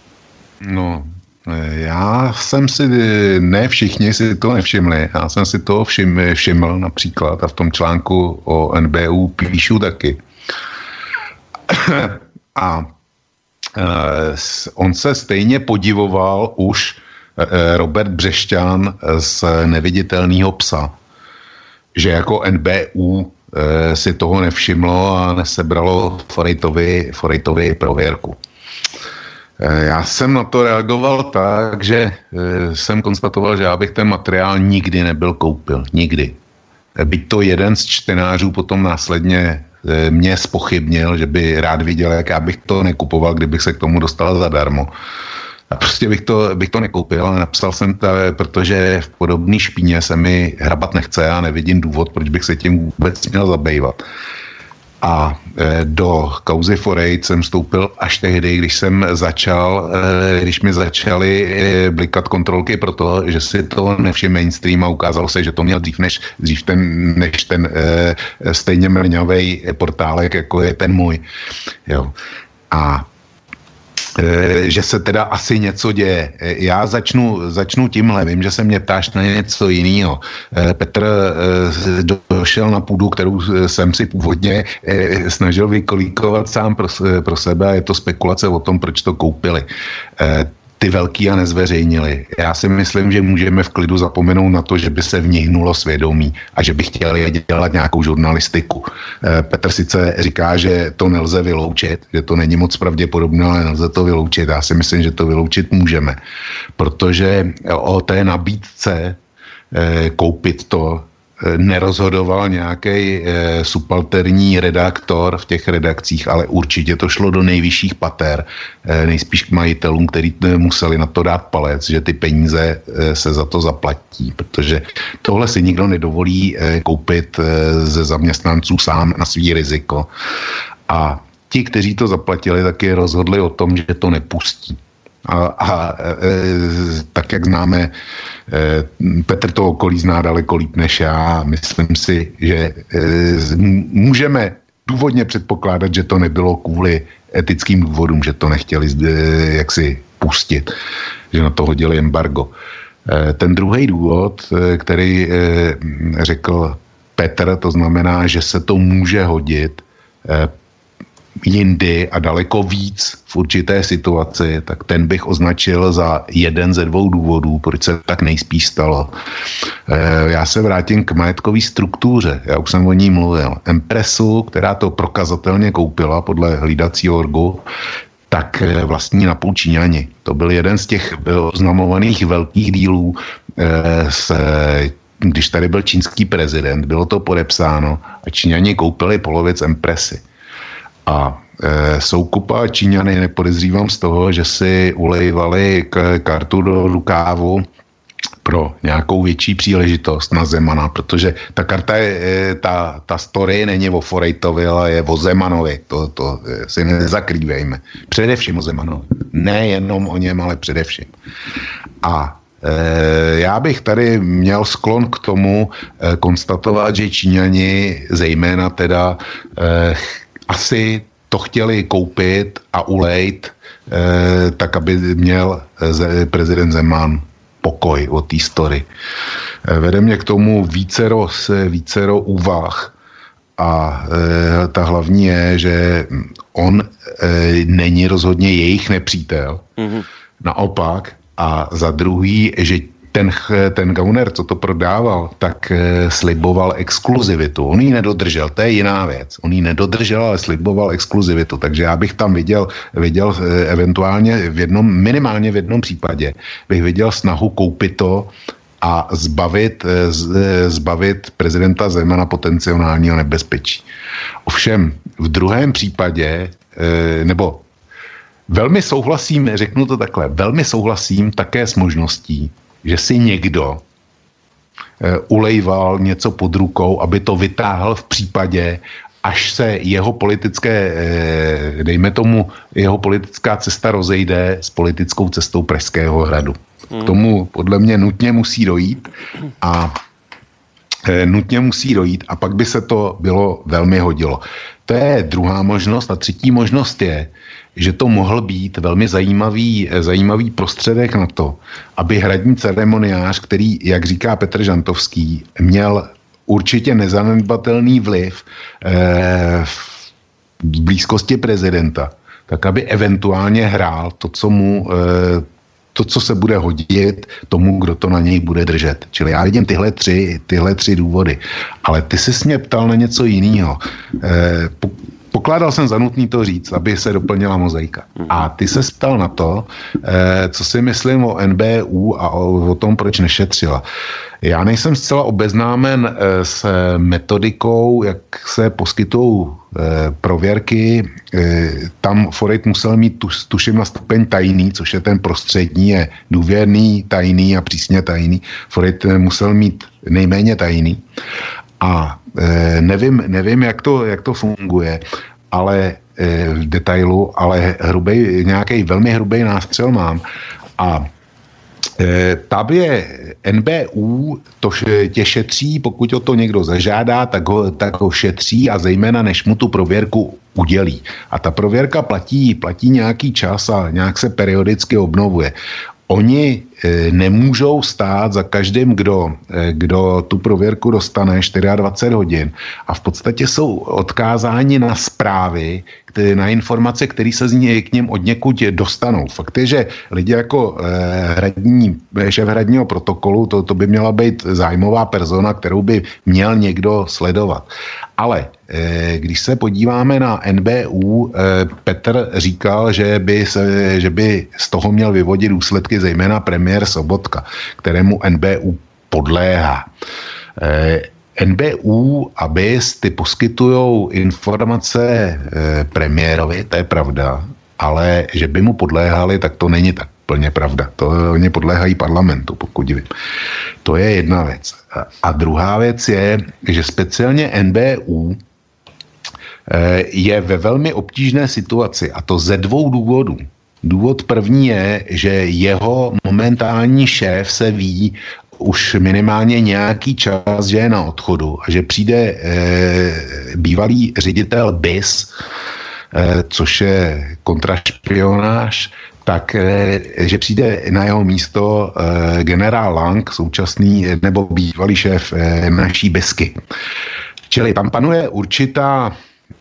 No, já jsem si, ne všichni si to nevšimli, já jsem si to všim, všiml například a v tom článku o N B U píšu taky. A on se stejně podivoval už Robert Břešťan z Neviditelného psa, že jako N B U si toho nevšimlo a nesebralo Forejtovi, Forejtovi prověrku. Já jsem na to reagoval tak, že jsem konstatoval, že já bych ten materiál nikdy nebyl koupil. Nikdy. Byť to jeden z čtenářů potom následně mě zpochybnil, že by rád viděl, jak já bych to nekupoval, kdybych se k tomu dostal zadarmo. A prostě bych to, bych to nekoupil, ale napsal jsem to, protože v podobné špíně se mi hrabat nechce a nevidím důvod, proč bych se tím vůbec měl zabývat. A do kauzy Forejt jsem vstoupil až tehdy, když jsem začal, když mi začaly blikat kontrolky pro to, že si to nevšiml mainstream a ukázalo se, že to měl dřív než, dřív ten, než ten stejně mrňavej portálek, jako je ten můj. Jo. A že se teda asi něco děje. Já začnu, začnu tímhle, vím, že se mě ptáš na něco jiného. Petr došel na půdu, kterou jsem si původně snažil vykolíkovat sám pro, pro sebe a je to spekulace o tom, proč to koupili. Ty velký a nezveřejnili. Já si myslím, že můžeme v klidu zapomenout na to, že by se v nich hnulo svědomí a že by chtěli dělat nějakou žurnalistiku. Petr sice říká, že to nelze vyloučit, že to není moc pravděpodobné, ale nelze to vyloučit. Já si myslím, že to vyloučit můžeme, protože o té nabídce koupit to nerozhodoval nějaký e, subalterní redaktor v těch redakcích, ale určitě to šlo do nejvyšších pater, e, nejspíš k majitelům, kteří museli na to dát palec, že ty peníze e, se za to zaplatí, protože tohle si nikdo nedovolí e, koupit e, ze zaměstnanců sám na svý riziko. A ti, kteří to zaplatili, taky rozhodli o tom, že to nepustí. A, a e, tak, jak známe, e, Petr to okolí zná daleko líp než já. Myslím si, že e, můžeme důvodně předpokládat, že to nebylo kvůli etickým důvodům, že to nechtěli e, jaksi pustit, že na to hodili embargo. E, ten druhý důvod, e, který e, řekl Petr, to znamená, že se to může hodit e, jindy a daleko víc v určité situaci, tak ten bych označil za jeden ze dvou důvodů, proč se tak nejspíš stalo. E, já se vrátím k majetkové struktuře. Já už jsem o ní mluvil. Empressu, která to prokazatelně koupila podle hlídacího orgu, tak vlastní napůl Číňani. To byl jeden z těch oznamovaných velkých dílů e, s když tady byl čínský prezident, bylo to podepsáno a Číňani koupili polovic Empressy. A e, Soukupa a Číňany nepodezřívám z toho, že si ulejvali k, kartu do rukávu pro nějakou větší příležitost na Zemana, protože ta karta je, ta, ta story není o Forejtovi, ale je o Zemanovi. To, to si nezakrývejme. Především o Zemanovi. Nejenom o něm, ale především. A e, já bych tady měl sklon k tomu e, konstatovat, že Číňani zejména teda e, asi to chtěli koupit a ulejt e, tak, aby měl e, prezident Zeman pokoj o té story. Vede mě k tomu vícero, vícero úvah a e, ta hlavní je, že on e, není rozhodně jejich nepřítel. Mm-hmm. Naopak. A za druhý, že ten, ten Gauner, co to prodával, tak e, sliboval exkluzivitu. On ji nedodržel, to je jiná věc. On ji nedodržel, ale sliboval exkluzivitu. Takže já bych tam viděl, viděl e, eventuálně v jednom, minimálně v jednom případě, bych viděl snahu koupit to a zbavit, e, z, e, zbavit prezidenta Zemana potenciálního nebezpečí. Ovšem, v druhém případě, e, nebo velmi souhlasím, řeknu to takhle, velmi souhlasím také s možností, že si někdo e, ulejval něco pod rukou, aby to vytáhl v případě, až se jeho politické, e, dejme tomu, jeho politická cesta rozejde s politickou cestou Pražského hradu. Hmm. K tomu podle mě nutně musí dojít a e, nutně musí dojít a pak by se to bylo velmi hodilo. To je druhá možnost a třetí možnost je, že to mohl být velmi zajímavý, zajímavý prostředek na to, aby hradní ceremoniář, který, jak říká Petr Žantovský, měl určitě nezanedbatelný vliv eh, v blízkosti prezidenta, tak aby eventuálně hrál to, co mu, eh, to, co se bude hodit tomu, kdo to na něj bude držet. Čili já vidím tyhle tři, tyhle tři důvody. Ale ty jsi mě ptal na něco jiného. Eh, Pokládal jsem za nutný to říct, aby se doplnila mozaika. A ty se ptal na to, eh, co si myslím o N B U a o, o tom, proč nešetřila. Já nejsem zcela obeznámen eh, s metodikou, jak se poskytují eh, prověrky. Eh, tam Forejt musel mít, tu, tuším, na stupeň tajný, což je ten prostřední, je důvěrný, tajný a přísně tajný. Forejt musel mít nejméně tajný. A e, nevím, nevím jak, to, jak to funguje, ale e, v detailu, ale hrubej, nějaký velmi hrubý nástřel mám. A e, tam je N B U, to tě šetří, pokud o to někdo zažádá, tak ho, tak ho šetří a zejména než mu tu prověrku udělí. A ta prověrka platí, platí nějaký čas a nějak se periodicky obnovuje. Oni e, nemůžou stát za každým, kdo, e, kdo tu prověrku dostane dvacet čtyři hodin a v podstatě jsou odkázáni na zprávy, které, na informace, které se z ní, k něm od někud dostanou. Fakt je, že lidi jako e, hradní, šéf hradního protokolu, to, to by měla být zájmová persona, kterou by měl někdo sledovat. Ale e, když se podíváme na N B U, e, Petr říkal, že by, se, že by z toho měl vyvodit důsledky zejména premiér Sobotka, kterému N B U podléhá. E, N B U a B I S ty poskytujou informace e, premiérovi, to je pravda, ale že by mu podléhali, tak to není tak plně pravda. To oni podléhají parlamentu, pokud vím. To je jedna věc. A, a druhá věc je, že speciálně N B U e, je ve velmi obtížné situaci a to ze dvou důvodů. Důvod první je, že jeho momentální šéf se ví už minimálně nějaký čas, že je na odchodu a že přijde e, bývalý ředitel B I S, e, což je kontrašpionáž, tak e, že přijde na jeho místo e, generál Lang, současný nebo bývalý šéf e, naší Besky. Čili tam panuje určitá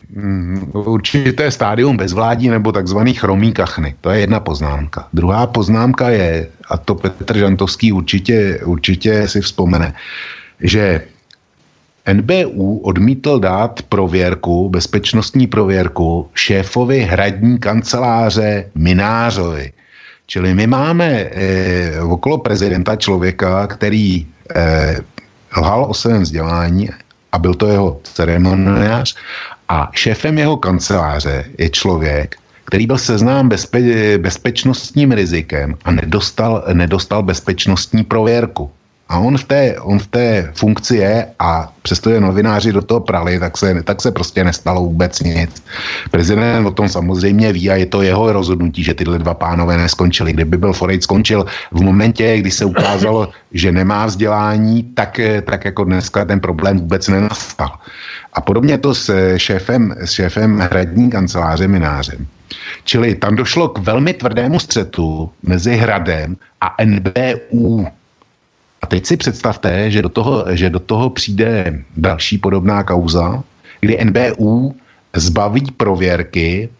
určité stádium bezvládí nebo takzvaný chromý kachny. To je jedna poznámka. Druhá poznámka je, a to Petr Žantovský určitě, určitě si vzpomene, že N B U odmítl dát prověrku, bezpečnostní prověrku šéfovi hradní kanceláře Minářovi. Čili my máme eh, okolo prezidenta člověka, který eh, lhal o svém vzdělání a byl to jeho ceremoniář a šéfem jeho kanceláře je člověk, který byl seznám bezpe- bezpečnostním rizikem a nedostal, nedostal bezpečnostní prověrku. A on v té, on v té funkci je a přestože novináři do toho prali, tak se, tak se prostě nestalo vůbec nic. Prezident o tom samozřejmě ví a je to jeho rozhodnutí, že tyhle dva pánové neskončili. Kdyby byl Forejt skončil v momentě, kdy se ukázalo, že nemá vzdělání, tak, tak jako dneska ten problém vůbec nenastal. A podobně to s šéfem, s šéfem hradní kanceláře Mynářem. Čili tam došlo k velmi tvrdému střetu mezi Hradem a N B U. A teď si představte, že do toho, že do toho přijde další podobná kauza, kdy N B U zbaví prověrky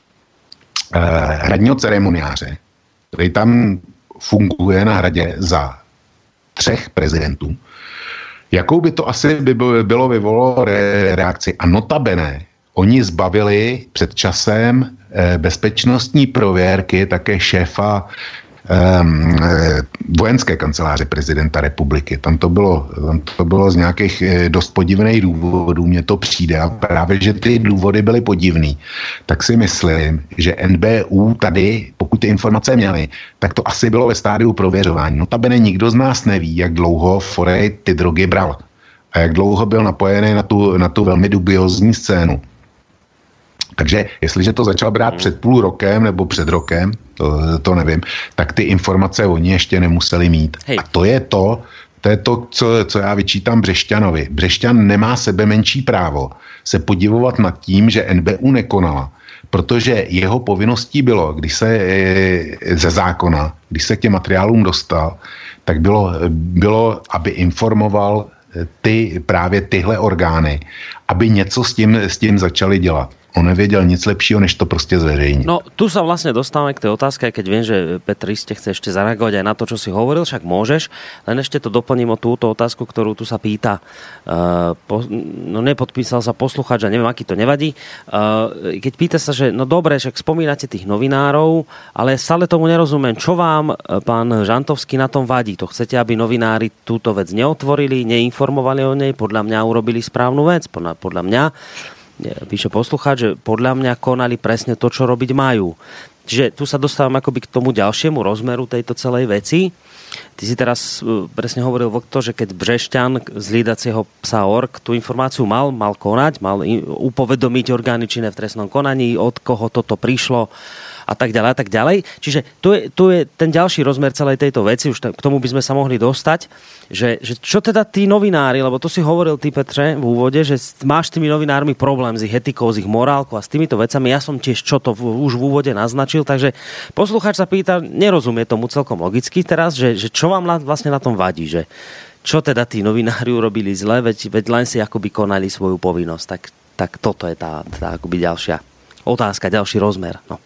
eh, hradního ceremoniáře, který tam funguje na hradě za třech prezidentů. Jakou by to asi by bylo vyvolalo re, reakci? A notabene, oni zbavili před časem eh, bezpečnostní prověrky také šéfa Um, vojenské kanceláře prezidenta republiky. Tam to bylo, tam to bylo z nějakých eh, dost podivných důvodů, mně to přijde a právě, že ty důvody byly podivný, tak si myslím, že N B U tady, pokud ty informace měly, tak to asi bylo ve stádiu prověřování. Notabene nikdo z nás neví, jak dlouho Forejt ty drogy bral a jak dlouho byl napojený na tu, na tu velmi dubiozní scénu. Takže jestliže to začal brát před půl rokem nebo před rokem, to, to nevím, tak ty informace oni ještě nemuseli mít. Hej. A to je to, to je to, co, co já vyčítám Břešťanovi. Břešťan nemá sebe menší právo se podivovat nad tím, že N B U nekonala, protože jeho povinností bylo, když se ze zákona, když se k těm materiálům dostal, tak bylo, bylo aby informoval ty, právě tyhle orgány, aby něco s tím, s tím začali dělat. On nevěděl nic lepšího, než to prostě zverejniť. No, tu sa vlastne dostávame k tej otázke, keď viem, že Petr iste chce ešte zareagovať aj na to, čo si hovoril, však môžeš, len ešte to doplním o túto otázku, ktorú tu sa pýta. Uh, po, no nepodpísal sa poslucháč a neviem, aký to nevadí. Uh, keď pýta sa, že no dobre, však spomínate tých novinárov, ale stále tomu nerozumiem. Čo vám, pán Žantovský, na tom vadí? To chcete, aby novinári túto vec neotvorili, neinformovali o nej? Podľa mňa urobili správnu vec. Podľa, podľa mňa píše poslucháč, že podľa mňa konali presne to, čo robiť majú. Čiže tu sa dostávam akoby k tomu ďalšiemu rozmeru tejto celej veci. Ty si teraz presne hovoril, Vlk, že keď Břešťan z hlídacieho psa org tú informáciu mal, mal konať, mal upovedomiť orgány činné v trestnom konaní, od koho toto prišlo a tak ďalej a tak ďalej. Čiže tu je, tu je ten ďalší rozmer celej tejto veci, už k tomu by sme sa mohli dostať, že, že čo teda tí novinári, lebo to si hovoril ty, Petre, v úvode, že máš s tými novinármi problém s ich etikou, s ich morálkou a s týmito vecami. Ja som tiež čo to v, už v úvode naznačil, takže poslucháč sa pýta, nerozumie tomu celkom logicky teraz, že, že čo vám vlastne na tom vadí, že čo teda tí novinári urobili zle, veď, veď len si akoby konali svoju povinnosť. Tak, tak toto je tá, tá akoby ďalšia otázka, ďalší rozmer. No.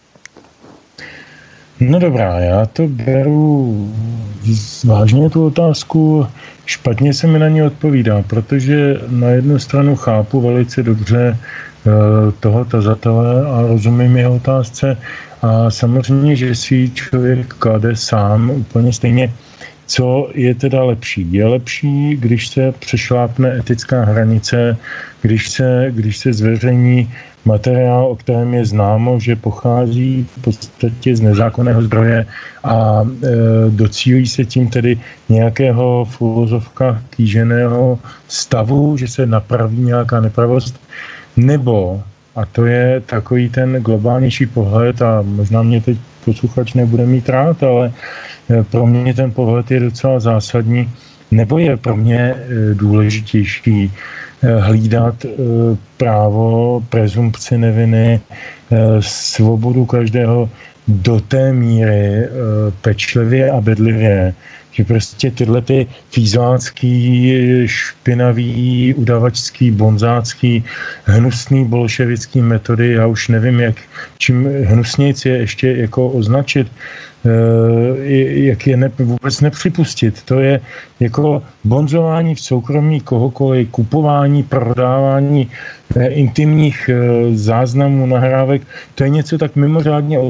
No dobrá, já to beru vážně tu otázku, špatně se mi na ní odpovídá, protože na jednu stranu chápu velice dobře toho tazatele a rozumím jeho otázce a samozřejmě, že si člověk klade sám úplně stejně, co je teda lepší. Je lepší, když se přešlápne etická hranice, když se, když se zveřejní materiál, o kterém je známo, že pochází v podstatě z nezákonného zdroje a e, docílí se tím tedy nějakého v uvozovkách kýženého stavu, že se napraví nějaká nepravost, nebo, a to je takový ten globálnější pohled a možná mě teď posluchač nebude mít rád, ale pro mě ten pohled je docela zásadní, nebo je pro mě důležitější hlídat právo, prezumpci neviny, svobodu každého do té míry pečlivě a bedlivě, že prostě tyhle ty fízlácký, špinavý, udavačský, bonzácký, hnusný bolševický metody, já už nevím, jak, čím hnusnějc je ještě jako označit, jak je ne, vůbec nepřipustit. To je jako bonzování v soukromí kohokoliv, kupování, prodávání intimních záznamů, nahrávek. To je něco tak mimořádně odporného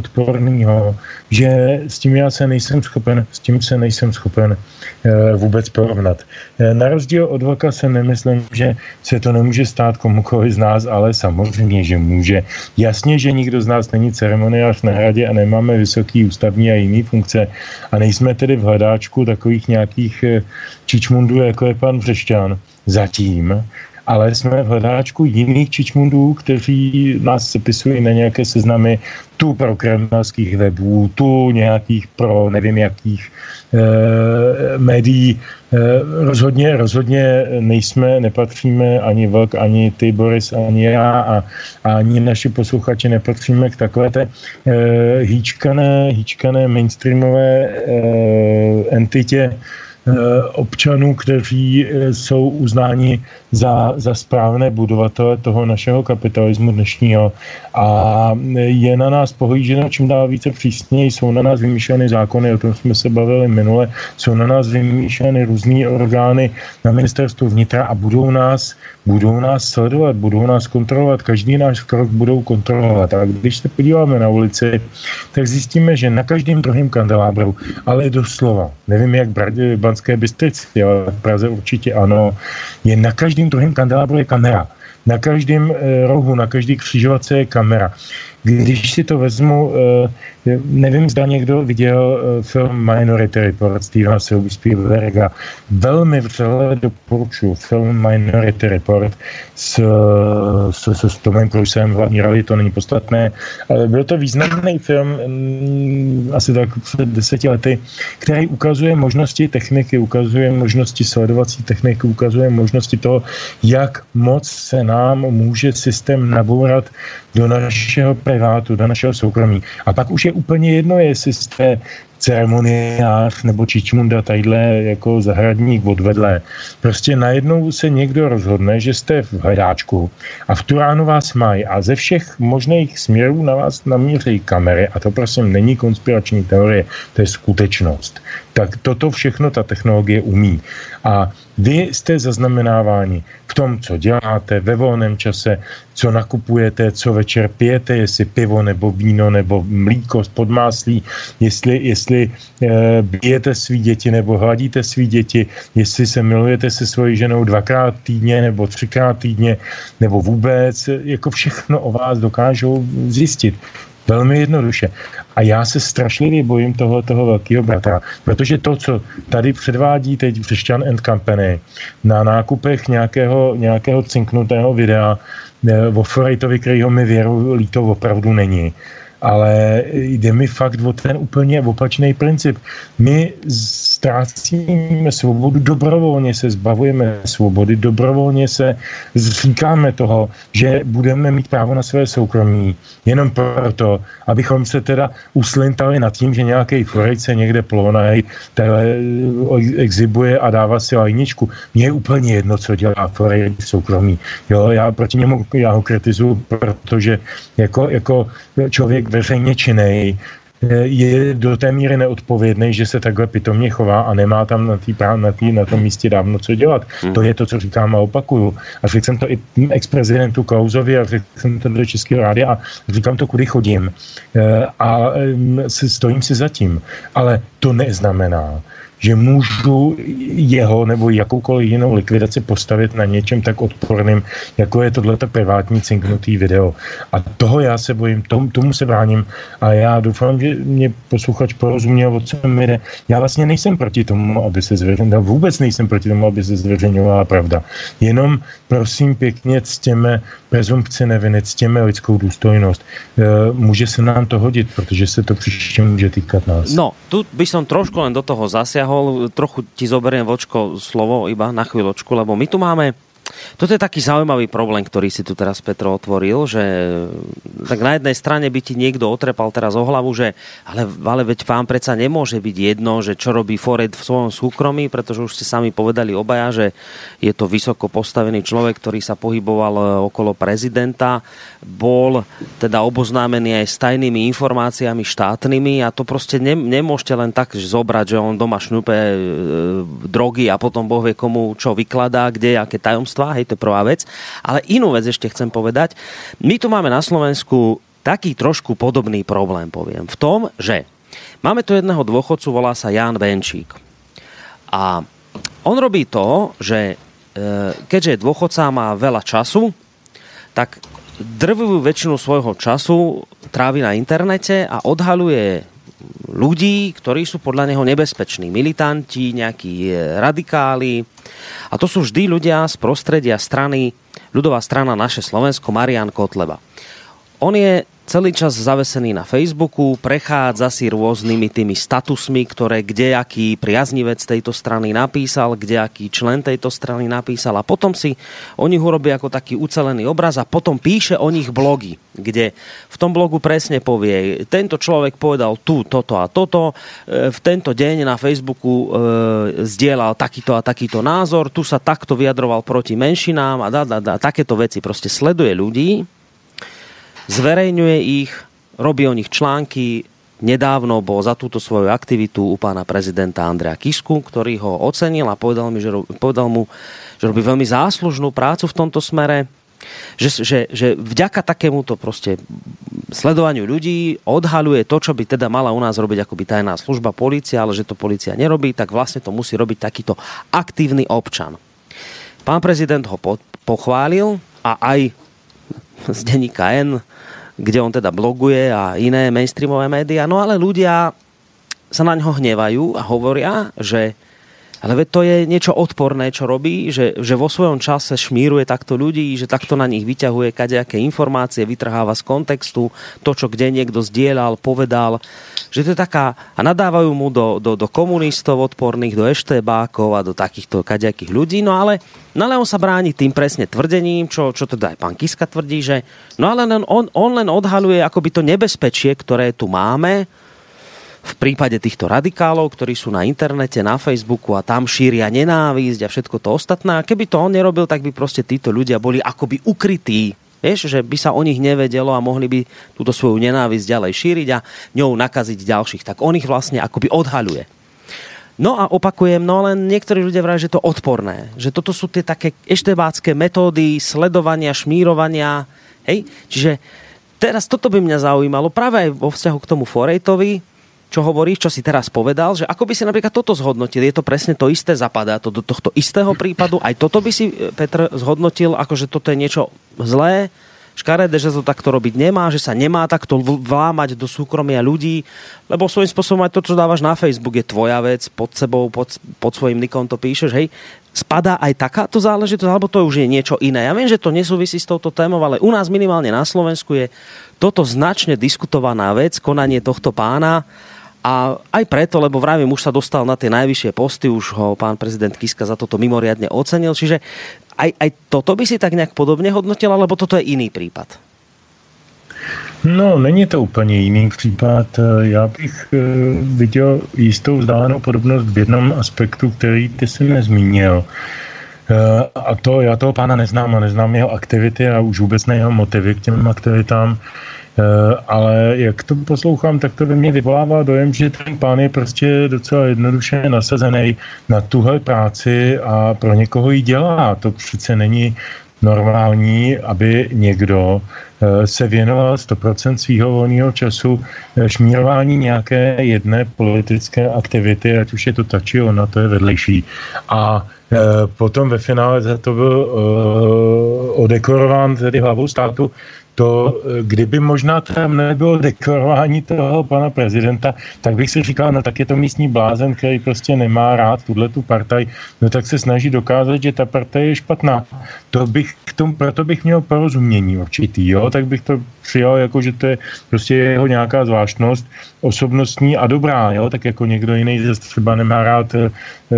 odporného, že s tím já se nejsem schopen, s tím se nejsem schopen e, vůbec porovnat. E, na rozdíl od Vlka se nemyslím, že se to nemůže stát komukoliv z nás, ale samozřejmě, že může. Jasně, že nikdo z nás není ceremoniář na hradě a nemáme vysoký ústavní a jiný funkce a nejsme tedy v hledáčku takových nějakých e, čičmundů, jako je pan Břešťan. Zatím. Ale jsme v hledáčku jiných čičmundů, kteří nás sepisují na nějaké seznamy tu pro kremlských webů, tu nějakých pro nevím jakých e, médií. E, rozhodně, rozhodně nejsme, nepatříme ani Vlk, ani ty, Boris, ani já a, a ani naši posluchači nepatříme k takové té e, hýčkané, hýčkané mainstreamové e, entitě občanů, kteří jsou uznáni za, za správné budovatele toho našeho kapitalismu dnešního a je na nás pohlíženo čím dál více přísněji, jsou na nás vymýšleny zákony, o tom jsme se bavili minule, jsou na nás vymýšleny různý orgány na ministerstvu vnitra a budou nás, budou nás sledovat, budou nás kontrolovat, každý náš krok budou kontrolovat. A když se podíváme na ulici, tak zjistíme, že na každém druhém kandelábru, ale doslova, nevím jak v Banské Bystrici, ale v Praze určitě ano, je na každém druhém kandelábru je kamera. Na každém e, rohu, na každý křižovatce je kamera. Když si to vezmu, e, nevím, zda někdo viděl e, film Minority Report Stevena Spielberga. Velmi vřele doporučuji film Minority Report s, s, s, s Tomem Cruisem v hlavní roli, to není podstatné, ale byl to významný film m, asi tak před deseti lety, který ukazuje možnosti techniky, ukazuje možnosti sledovací techniky, ukazuje možnosti toho, jak moc se nám může systém nabourat do našeho privátu, do našeho soukromí. A pak už je úplně jedno, jestli jste ceremoniář nebo čičmunda tadyhle jako zahradník odvedle. Prostě najednou se někdo rozhodne, že jste v hledáčku a v tu ránu vás mají a ze všech možných směrů na vás namíří kamery a to prosím není konspirační teorie, to je skutečnost. Tak toto všechno ta technologie umí. A vy jste zaznamenáváni v tom, co děláte ve volném čase, co nakupujete, co večer pijete, jestli pivo nebo víno nebo mlíko z podmáslí, jestli, jestli e, bijete svý děti nebo hladíte svý děti, jestli se milujete se svojí ženou dvakrát týdně nebo třikrát týdně, nebo vůbec, jako všechno o vás dokážou zjistit. Velmi jednoduše. A já se strašlivě bojím toho, toho velkého bratra, protože to, co tady předvádí teď Břešťan and Company na nákupech nějakého, nějakého cinknutého videa o Forejtovi, kterýho mi věru líto opravdu není. Ale jde mi fakt o ten úplně opačný princip. My ztrácíme svobodu, dobrovolně se zbavujeme svobody, dobrovolně se zříkáme toho, že budeme mít právo na své soukromí. Jenom proto, abychom se teda uslintali nad tím, že nějaký Forejt se někde plonej, exhibuje a dává si lajničku. Mně je úplně jedno, co dělá Forejt v soukromí. Jo, já proti němu já ho kritizuju, protože jako, jako člověk veřejně činnej je do té míry neodpovědný, že se takhle pitomně chová a nemá tam na, tý, na, tý, na tom místě dávno co dělat. Hmm. To je to, co říkám a opakuju. A řekl jsem to i ex-prezidentu Klausovi a řekl jsem to do Českého rádia a říkám to, kudy chodím. A stojím si za tím. Ale to neznamená, že můžu jeho nebo jakoukoliv jinou likvidaci postavit na něčem tak odporným, jako je tohleto privátní cinknutý video. A toho já se bojím, tomu, tomu se bráním a já doufám, že mě posluchač porozuměl, o co mi jde. Já vlastně nejsem proti tomu, aby se zveřejňovala, vůbec nejsem proti tomu, aby se zveřejňovala pravda. Jenom prosím pěkně ctěme prezumpci neviny, ctěme lidskou důstojnost. E, může se nám to hodit, protože se to příště může týkat nás. No, tu by som trošku len do toho zasiahol, trochu ti zoberiem, Vočko, slovo iba na chvíľočku, lebo my tu máme, toto je taký zaujímavý problém, ktorý si tu teraz Petro otvoril, že tak na jednej strane by ti niekto otrepal teraz o hlavu, že ale, ale veď vám predsa nemôže byť jedno, že čo robí Forejt v svojom súkromí, pretože už ste sami povedali obaja, že je to vysoko postavený človek, ktorý sa pohyboval okolo prezidenta, bol teda oboznámený aj s tajnými informáciami štátnymi a to proste ne, nemôžete len tak zobrať, že on doma šňupe e, drogy a potom Boh vie komu čo vykladá, kde, aké tajomstvá. Hej, to je prvá vec. Ale inú vec ešte chcem povedať. My tu máme na Slovensku taký trošku podobný problém, poviem. V tom, že máme tu jedného dôchodcu, volá sa Ján Benčík. A on robí to, že keďže dôchodca má veľa času, tak drvivú väčšinu svojho času trávi na internete a odhaľuje ľudí, ktorí sú podľa neho nebezpeční. Militanti, nejakí radikáli. A to sú vždy ľudia z prostredia strany, ľudová strana Naše Slovensko, Marián Kotleba. On je celý čas zavesený na Facebooku, prechádza si rôznymi tými statusmi, ktoré kdejaký priaznivec tejto strany napísal, kdejaký člen tejto strany napísal a potom si o nich urobí ako taký ucelený obraz a potom píše o nich blogy, kde v tom blogu presne povie, tento človek povedal tu, toto a toto, v tento deň na Facebooku e, zdieľal takýto a takýto názor, tu sa takto vyjadroval proti menšinám a dá, dá, dá, takéto veci proste sleduje ľudí, zverejňuje ich, robí o nich články. Nedávno bol za túto svoju aktivitu u pána prezidenta Andreja Kisku, ktorý ho ocenil a povedal, mi, že, povedal mu, že robí veľmi záslužnú prácu v tomto smere, že, že, že vďaka takémuto proste sledovaniu ľudí odhaľuje to, čo by teda mala u nás robiť akoby tajná služba, polícia, ale že to polícia nerobí, tak vlastne to musí robiť takýto aktívny občan. Pán prezident ho po, pochválil a aj z denníka N, kde on teda bloguje a iné mainstreamové médiá. No ale ľudia sa na ňo hnevajú a hovoria, že ale veď to je niečo odporné, čo robí, že, že vo svojom čase šmíruje takto ľudí, že takto na nich vyťahuje kadejaké informácie, vytrháva z kontextu to, čo kde niekto zdieľal, povedal, že to je taká, a nadávajú mu do, do, do komunistov odporných, do eštébákov a do takýchto kadejakých ľudí, no ale, no ale on sa bráni tým presne tvrdením, čo, čo teda aj pán Kiska tvrdí, že no ale on, on len odhaľuje akoby to nebezpečie, ktoré tu máme, v prípade týchto radikálov, ktorí sú na internete, na Facebooku a tam šíria nenávisť a všetko to ostatné. A keby to on nerobil, tak by proste títo ľudia boli akoby ukrytí. Vieš, že by sa o nich nevedelo a mohli by túto svoju nenávisť ďalej šíriť a ňou nakaziť ďalších. Tak on ich vlastne akoby odhaľuje. No a opakujem, no len niektorí ľudia vrajú, že to odporné. Že toto sú tie také eštebácké metódy sledovania, šmírovania. Hej? Čiže teraz toto by mňa zaujímalo práve aj vo vzťahu k tomu Forejtovi, čo hovoríš, čo si teraz povedal, že ako by si napríklad toto zhodnotil, je to presne to isté, zapadá to do tohto istého prípadu, aj toto by si, Petr, zhodnotil, ako že toto je niečo zlé, škaredé, že to takto robiť nemá, že sa nemá takto vlámať do súkromia ľudí, lebo svojím spôsobom aj to, čo dávaš na Facebook, je tvoja vec, pod sebou, pod, pod svojím nikom to píšeš, hej, spadá aj takáto záležitosť, alebo to už je niečo iné. Ja viem, že to nesúvisí s touto témou, ale u nás minimálne na Slovensku je toto značne diskutovaná vec, konanie tohto pána. A aj preto, lebo vravím, už sa dostal na tie najvyššie posty, už ho pán prezident Kiska za toto mimoriadne ocenil, čiže aj, aj toto by si tak nejak podobne hodnotil, alebo toto je iný prípad? No, není to úplně jiný případ. Já bych viděl jistou vzdálenou podobnost v jednom aspektu, který ty jsi nezmínil. A to, já toho pána neznám a neznám jeho aktivity a už vůbec ne jeho motivy k těm aktivitám. Ale jak to poslouchám, tak to ve mně vyvolává dojem, že ten pán je prostě docela jednoduše nasazený na tuhle práci a pro někoho ji dělá. To přece není normální, aby někdo se věnoval sto procent svýho volného času šmírování nějaké jedné politické aktivity, ať už je to ta či ona, to je vedlejší. A potom ve finále za to byl odekorován tedy hlavou státu. To, kdyby možná tam nebylo dekorování toho pana prezidenta, tak bych si říkal, no tak je to místní blázen, který prostě nemá rád tuhletu partaj, no tak se snaží dokázat, že ta partaj je špatná. To bych k tomu, proto bych měl porozumění určitý, jo, tak bych to přijal jako, že to je prostě jeho nějaká zvláštnost osobnostní a dobrá, jo, tak jako někdo jiný zase třeba nemá rád, e,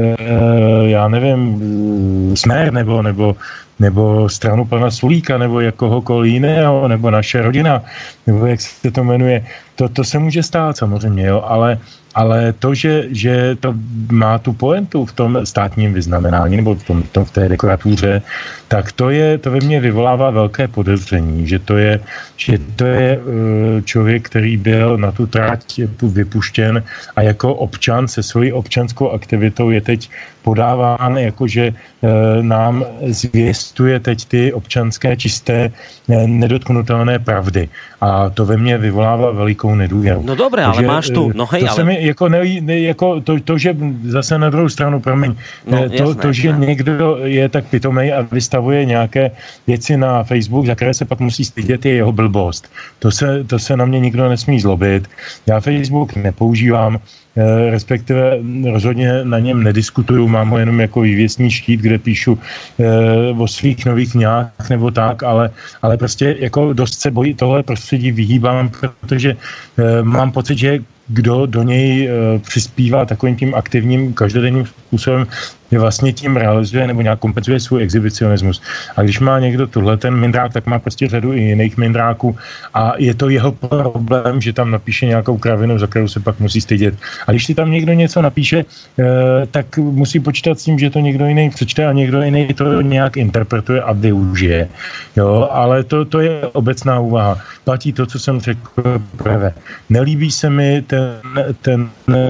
já nevím, Smer nebo, nebo nebo stranu pana Sulíka, nebo jakohokoliv jiného, nebo naše rodina, nebo jak se to jmenuje. To, to se může stát samozřejmě, jo, ale Ale to, že, že to má tu pointu v tom státním vyznamenání nebo v, tom, tom, v té dekoratuře, tak to, je, to ve mně vyvolává velké podezření, že to je, že to je člověk, který byl na tu trať vypuštěn a jako občan se svojí občanskou aktivitou je teď podáván, jakože nám zvěstuje teď ty občanské čisté nedotknutelné pravdy. A to ve mně vyvolává velikou nedůvěru. No dobré, ale máš tu, no hej, to ale... se mi jako, ne, ne, jako to, to, že zase na druhou stranu, promiň, no, to, jasné, to, že jasné. Někdo je tak pitomej a vystavuje nějaké věci na Facebook, za které se pak musí stydět, je jeho blbost. To se, to se na mě nikdo nesmí zlobit. Já Facebook nepoužívám, respektive rozhodně na něm nediskutuju, mám ho jenom jako vývěsní štít, kde píšu e, o svých nových knihách nebo tak, ale, ale prostě jako dost se bojí tohle prostředí vyhýbám, protože e, mám pocit, že kdo do něj e, přispívá takovým tím aktivním každodenním způsobem, je vlastně tím realizuje nebo nějak kompenzuje svůj exhibicionismus. A když má někdo tuhle ten mindrák, tak má prostě řadu i jiných mindráků a je to jeho problém, že tam napíše nějakou kravinu, za kterou se pak musí stydět. A když si tam někdo něco napíše, e, tak musí počítat s tím, že to někdo jiný přečte a někdo jiný to nějak interpretuje a využije. Jo, ale to, to je obecná úvaha. Platí to, co jsem řekl prvé. Nelíbí se mi ten, ten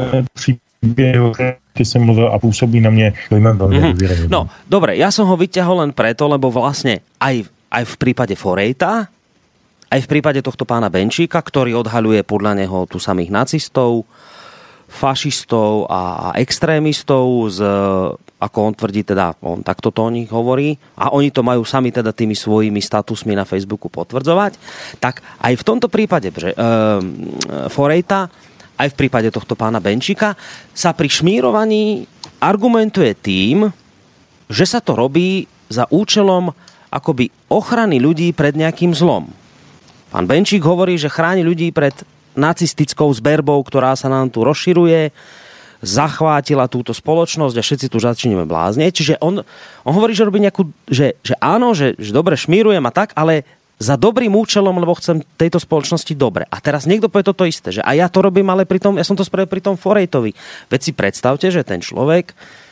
příběh, keď som mluvil a pôsobí na mne dojmem veľmi mm-hmm. No, dobre, ja som ho vyťahol len preto, lebo vlastne aj, aj v prípade Forejta, aj v prípade tohto pána Benčíka, ktorý odhaľuje podľa neho tu samých nacistov, fašistov a, a extrémistov z, ako on tvrdí, teda on takto to o nich hovorí a oni to majú sami teda tými svojimi statusmi na Facebooku potvrdzovať, tak aj v tomto prípade že, e, Forejta aj v prípade tohto pána Benčíka sa pri šmírovaní argumentuje tým, že sa to robí za účelom akoby ochrany ľudí pred nejakým zlom. Pán Benčík hovorí, že chráni ľudí pred nacistickou zberbou, ktorá sa nám tu rozširuje, zachvátila túto spoločnosť a všetci tu začneme bláznieť. Čiže on, on hovorí, že robí nejakú, že, že áno, že, že dobre šmírujem a tak, ale za dobrým účelom, lebo chcem tejto spoločnosti dobre. A teraz niekto povie toto isté, že a ja to robím, ale pri tom, ja som to spravil pri tom Forejtovi. Veď si predstavte, že ten človek,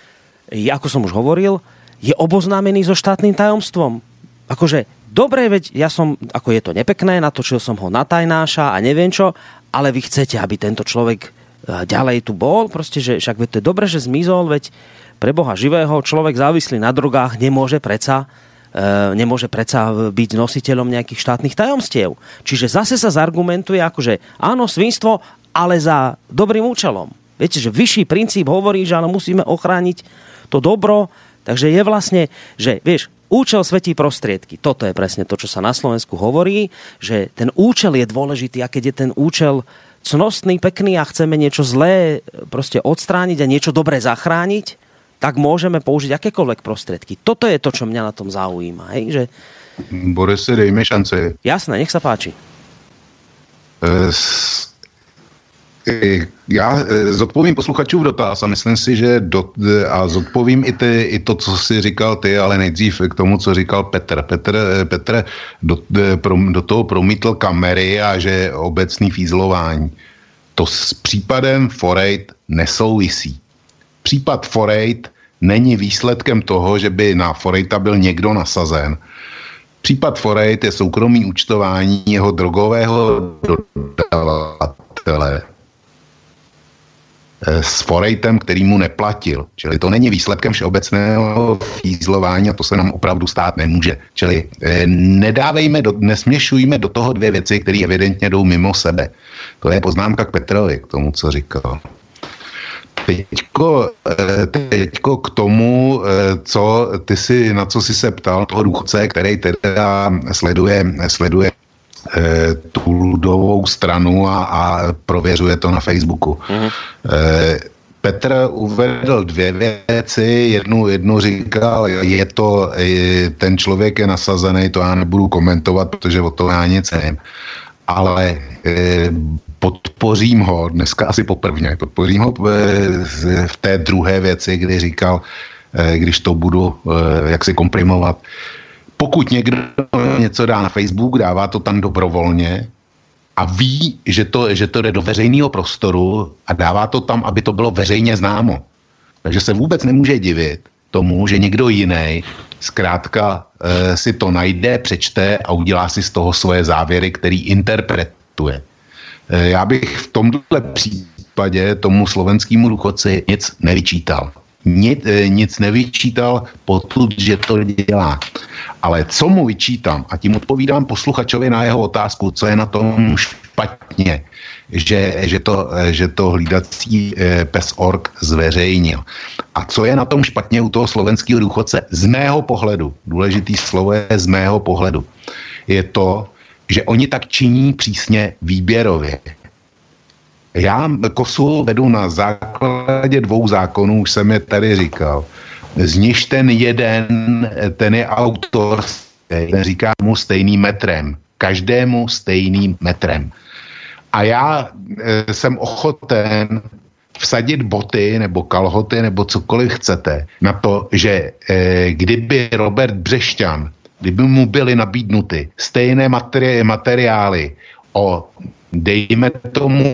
ako som už hovoril, je oboznámený so štátnym tajomstvom. Akože, dobre, veď ja som, ako je to nepekné, natočil som ho na tajnáša a neviem čo, ale vy chcete, aby tento človek ďalej tu bol, proste, že však veď to je dobre, že zmizol, veď pre Boha živého človek závislý na drogách nemôže predsa nemôže predsa byť nositeľom nejakých štátnych tajomstiev. Čiže zase sa zargumentuje akože áno, svinstvo, ale za dobrým účelom. Viete, že vyšší princíp hovorí, že ale musíme ochrániť to dobro, takže je vlastne, že vieš, účel svetí prostriedky. Toto je presne to, čo sa na Slovensku hovorí, že ten účel je dôležitý a keď je ten účel cnostný, pekný a chceme niečo zlé proste odstrániť a niečo dobré zachrániť, tak môžeme použiť akékoľvek prostriedky. Toto je to, čo mňa na tom zaujíma. Hej? Že... Borise, dejme šance. Jasné, nech sa páči. S... Já zodpovím posluchačův dotaz a myslím si, že do, a zodpovím i, ty, i to, co jsi říkal ty, ale nejdřív k tomu, co říkal Petr. Petr, Petr do, do, do toho promítl kamery a že obecný fízlování. To s případem Forejt nesouvisí. Případ Forejt není výsledkem toho, že by na Forejta byl někdo nasazen. Případ Forejt je soukromý účtování jeho drogového dodavatele s Forejtem, který mu neplatil. Čili to není výsledkem všeobecného fízlování a to se nám opravdu stát nemůže. Čili nedávejme, do, nesměšujme do toho dvě věci, které evidentně jdou mimo sebe. To je poznámka k Petrovi, k tomu, co říkal. Teďko, teďko k tomu, co ty si, na co jsi se ptal, toho důchodce, který teda sleduje, sleduje tu ludovou stranu a, a prověřuje to na Facebooku. Mm-hmm. Petr uvedl dvě věci, jednu, jednu říkal, je to, ten člověk je nasazený, to já nebudu komentovat, protože o to já nic nevím. Ale podpořím ho, dneska asi poprvně, podpořím ho v té druhé věci, kdy říkal, když to budu jaksi komprimovat, pokud někdo něco dá na Facebook, dává to tam dobrovolně a ví, že to, že to jde do veřejného prostoru a dává to tam, aby to bylo veřejně známo. Takže se vůbec nemůže divit tomu, že někdo jiný zkrátka e, si to najde, přečte a udělá si z toho svoje závěry, který interpretuje. E, já bych v tomhle případě tomu slovenskému důchodci nic nevyčítal. Nic, e, nic nevyčítal potud, že to dělá. Ale co mu vyčítám, a tím odpovídám posluchačovi na jeho otázku, co je na tom špatně, že, že, to, že to hlídací pes org zveřejnil. A co je na tom špatně u toho slovenského důchodce? Z mého pohledu, důležitý slovo je z mého pohledu, je to, že oni tak činí přísně výběrově. Já kosu vedu na základě dvou zákonů, už jsem je tady říkal. Z nich ten jeden, ten je autor, ten říká mu stejným metrem. Každému stejným metrem. A já e, jsem ochoten vsadit boty nebo kalhoty nebo cokoliv chcete na to, že e, kdyby Robert Břešťan, kdyby mu byly nabídnuty stejné materi- materiály o, dejme tomu,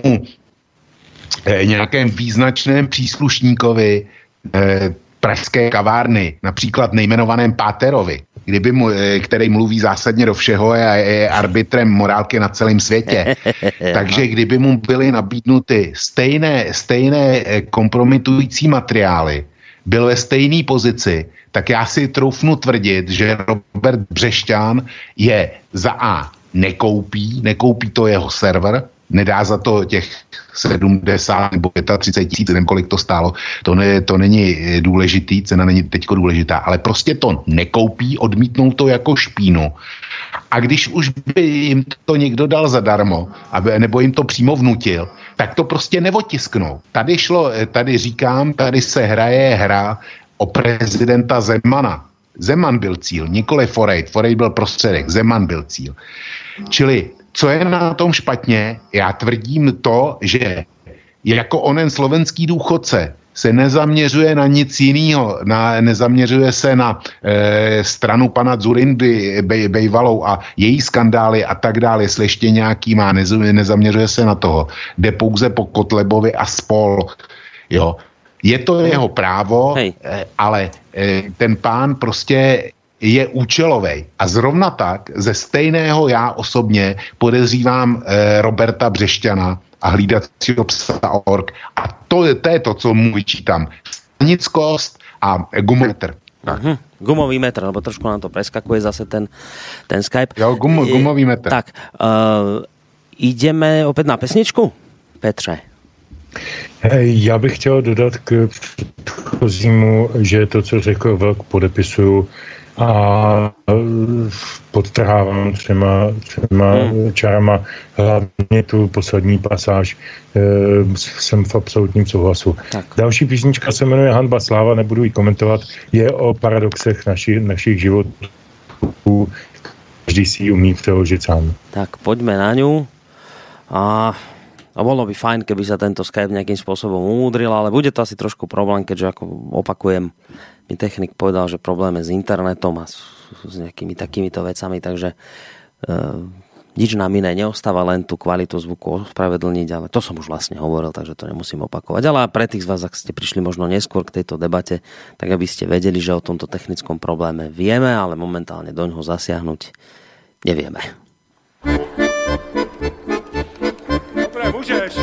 e, nějakém význačném příslušníkovi e, pražské kavárny, například nejmenovaném Páterovi, kdyby mu, který mluví zásadně do všeho a je arbitrem morálky na celém světě. Takže kdyby mu byly nabídnuty stejné, stejné kompromitující materiály, byl ve stejné pozici, tak já si troufnu tvrdit, že Robert Břešťan je za A nekoupí, nekoupí to jeho server, nedá za to těch sedmdesát nebo třicet pět tisíc, nevím, kolik to stálo, to, ne, to není důležitý, cena není teďko důležitá, ale prostě to nekoupí, odmítnou to jako špínu. A když už by jim to někdo dal zadarmo, aby, nebo jim to přímo vnutil, tak to prostě neotisknou. Tady šlo, tady říkám, tady se hraje hra o prezidenta Zemana. Zeman byl cíl, nikoli Forejt. Forejt byl prostředek, Zeman byl cíl. Čili co je na tom špatně? Já tvrdím to, že jako onen slovenský důchodce se nezaměřuje na nic jiného, na, nezaměřuje se na e, stranu pana Dzurindy bej, bejvalou a její skandály a tak dále, jestli ještě nějaký má, nez, nezaměřuje se na toho. Jde pouze po Kotlebovi a spol. Jo. Je to jeho právo, e, ale e, ten pán prostě je účelovej. A zrovna tak ze stejného já osobně podezřívám e, Roberta Břešťana a hlídacího psa org. A to je, to je to, co mu vyčítám. Stanickost a gumometr. Uh-huh. Gumový metr, lebo trošku nám to preskakuje zase ten, ten Skype. Jo, gum, gumový metr. Tak, uh, ideme opět na pesničku, Petře. Já bych chtěl dodat k předchozímu, že to, co řekl Vlk, podepisuju a podtrhávám třema, třema hmm. čárama, hlavně tu poslední pasáž, e, jsem v absolutním souhlasu. Tak. Další písnička se jmenuje Hanba sláva, nebudu ji komentovat, je o paradoxech naši, našich životů, každý si ji umí přeložit sám. Tak poďme na ňu a A bolo by fajn, keby sa tento Skype nejakým spôsobom umúdril, ale bude to asi trošku problém, keďže, ako opakujem, mi technik povedal, že problém je s internetom a s, s nejakými takýmito vecami, takže e, nič nám iné neostáva, len tú kvalitu zvuku ospravedlniť, ale to som už vlastne hovoril, takže to nemusím opakovať. Ale pre tých z vás, ak ste prišli možno neskôr k tejto debate, tak aby ste vedeli, že o tomto technickom probléme vieme, ale momentálne doňho zasiahnuť nevieme. Můžeš.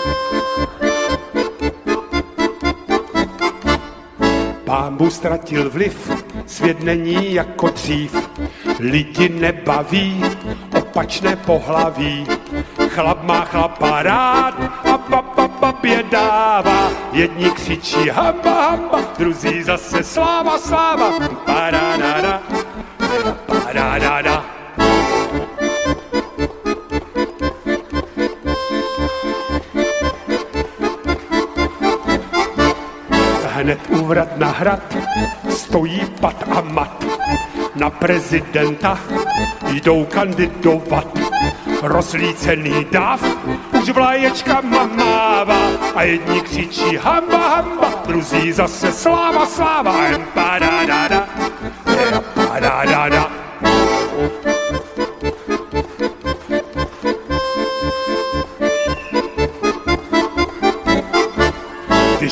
Pán ztratil vliv, svět není jako dřív. Lidi nebaví, opačné pohlaví. Chlap má chlapa rád a baba babě dává. Jedni křičí hamba, hamba, druzí zase sláva, sláva. Paradada, paradada. Hned úvrat na hrad, stojí pat a mat. Na prezidenta jdou kandidovat. Rozlícený dáv už vlaječka mává. A jedni křičí hamba, hamba, druzí zase sláva, sláva. Empadadada, empadadada.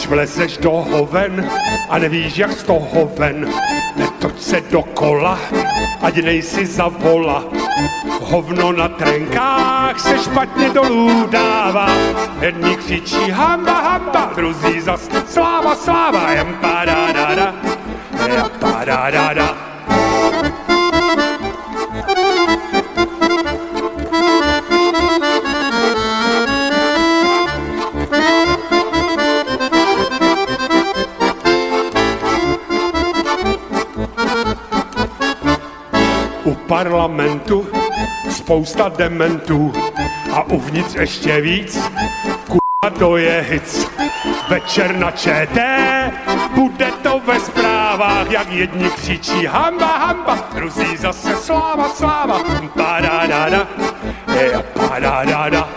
Až vlezeš do hoven a nevíš, jak z toho ven, netoč se dokola, ať nejsi za vola. Hovno na trenkách se špatně dolů dává, jedni křičí hamba, hamba, druzí zas sláva, sláva, jem padadada, jem padadada. U parlamentu spousta dementů a uvnitř ještě víc, k***a to je hic. Večer na ČT, bude to ve zprávách, jak jedni křičí hamba, hamba, druzí zase sláva, sláva, padadada, je padadada.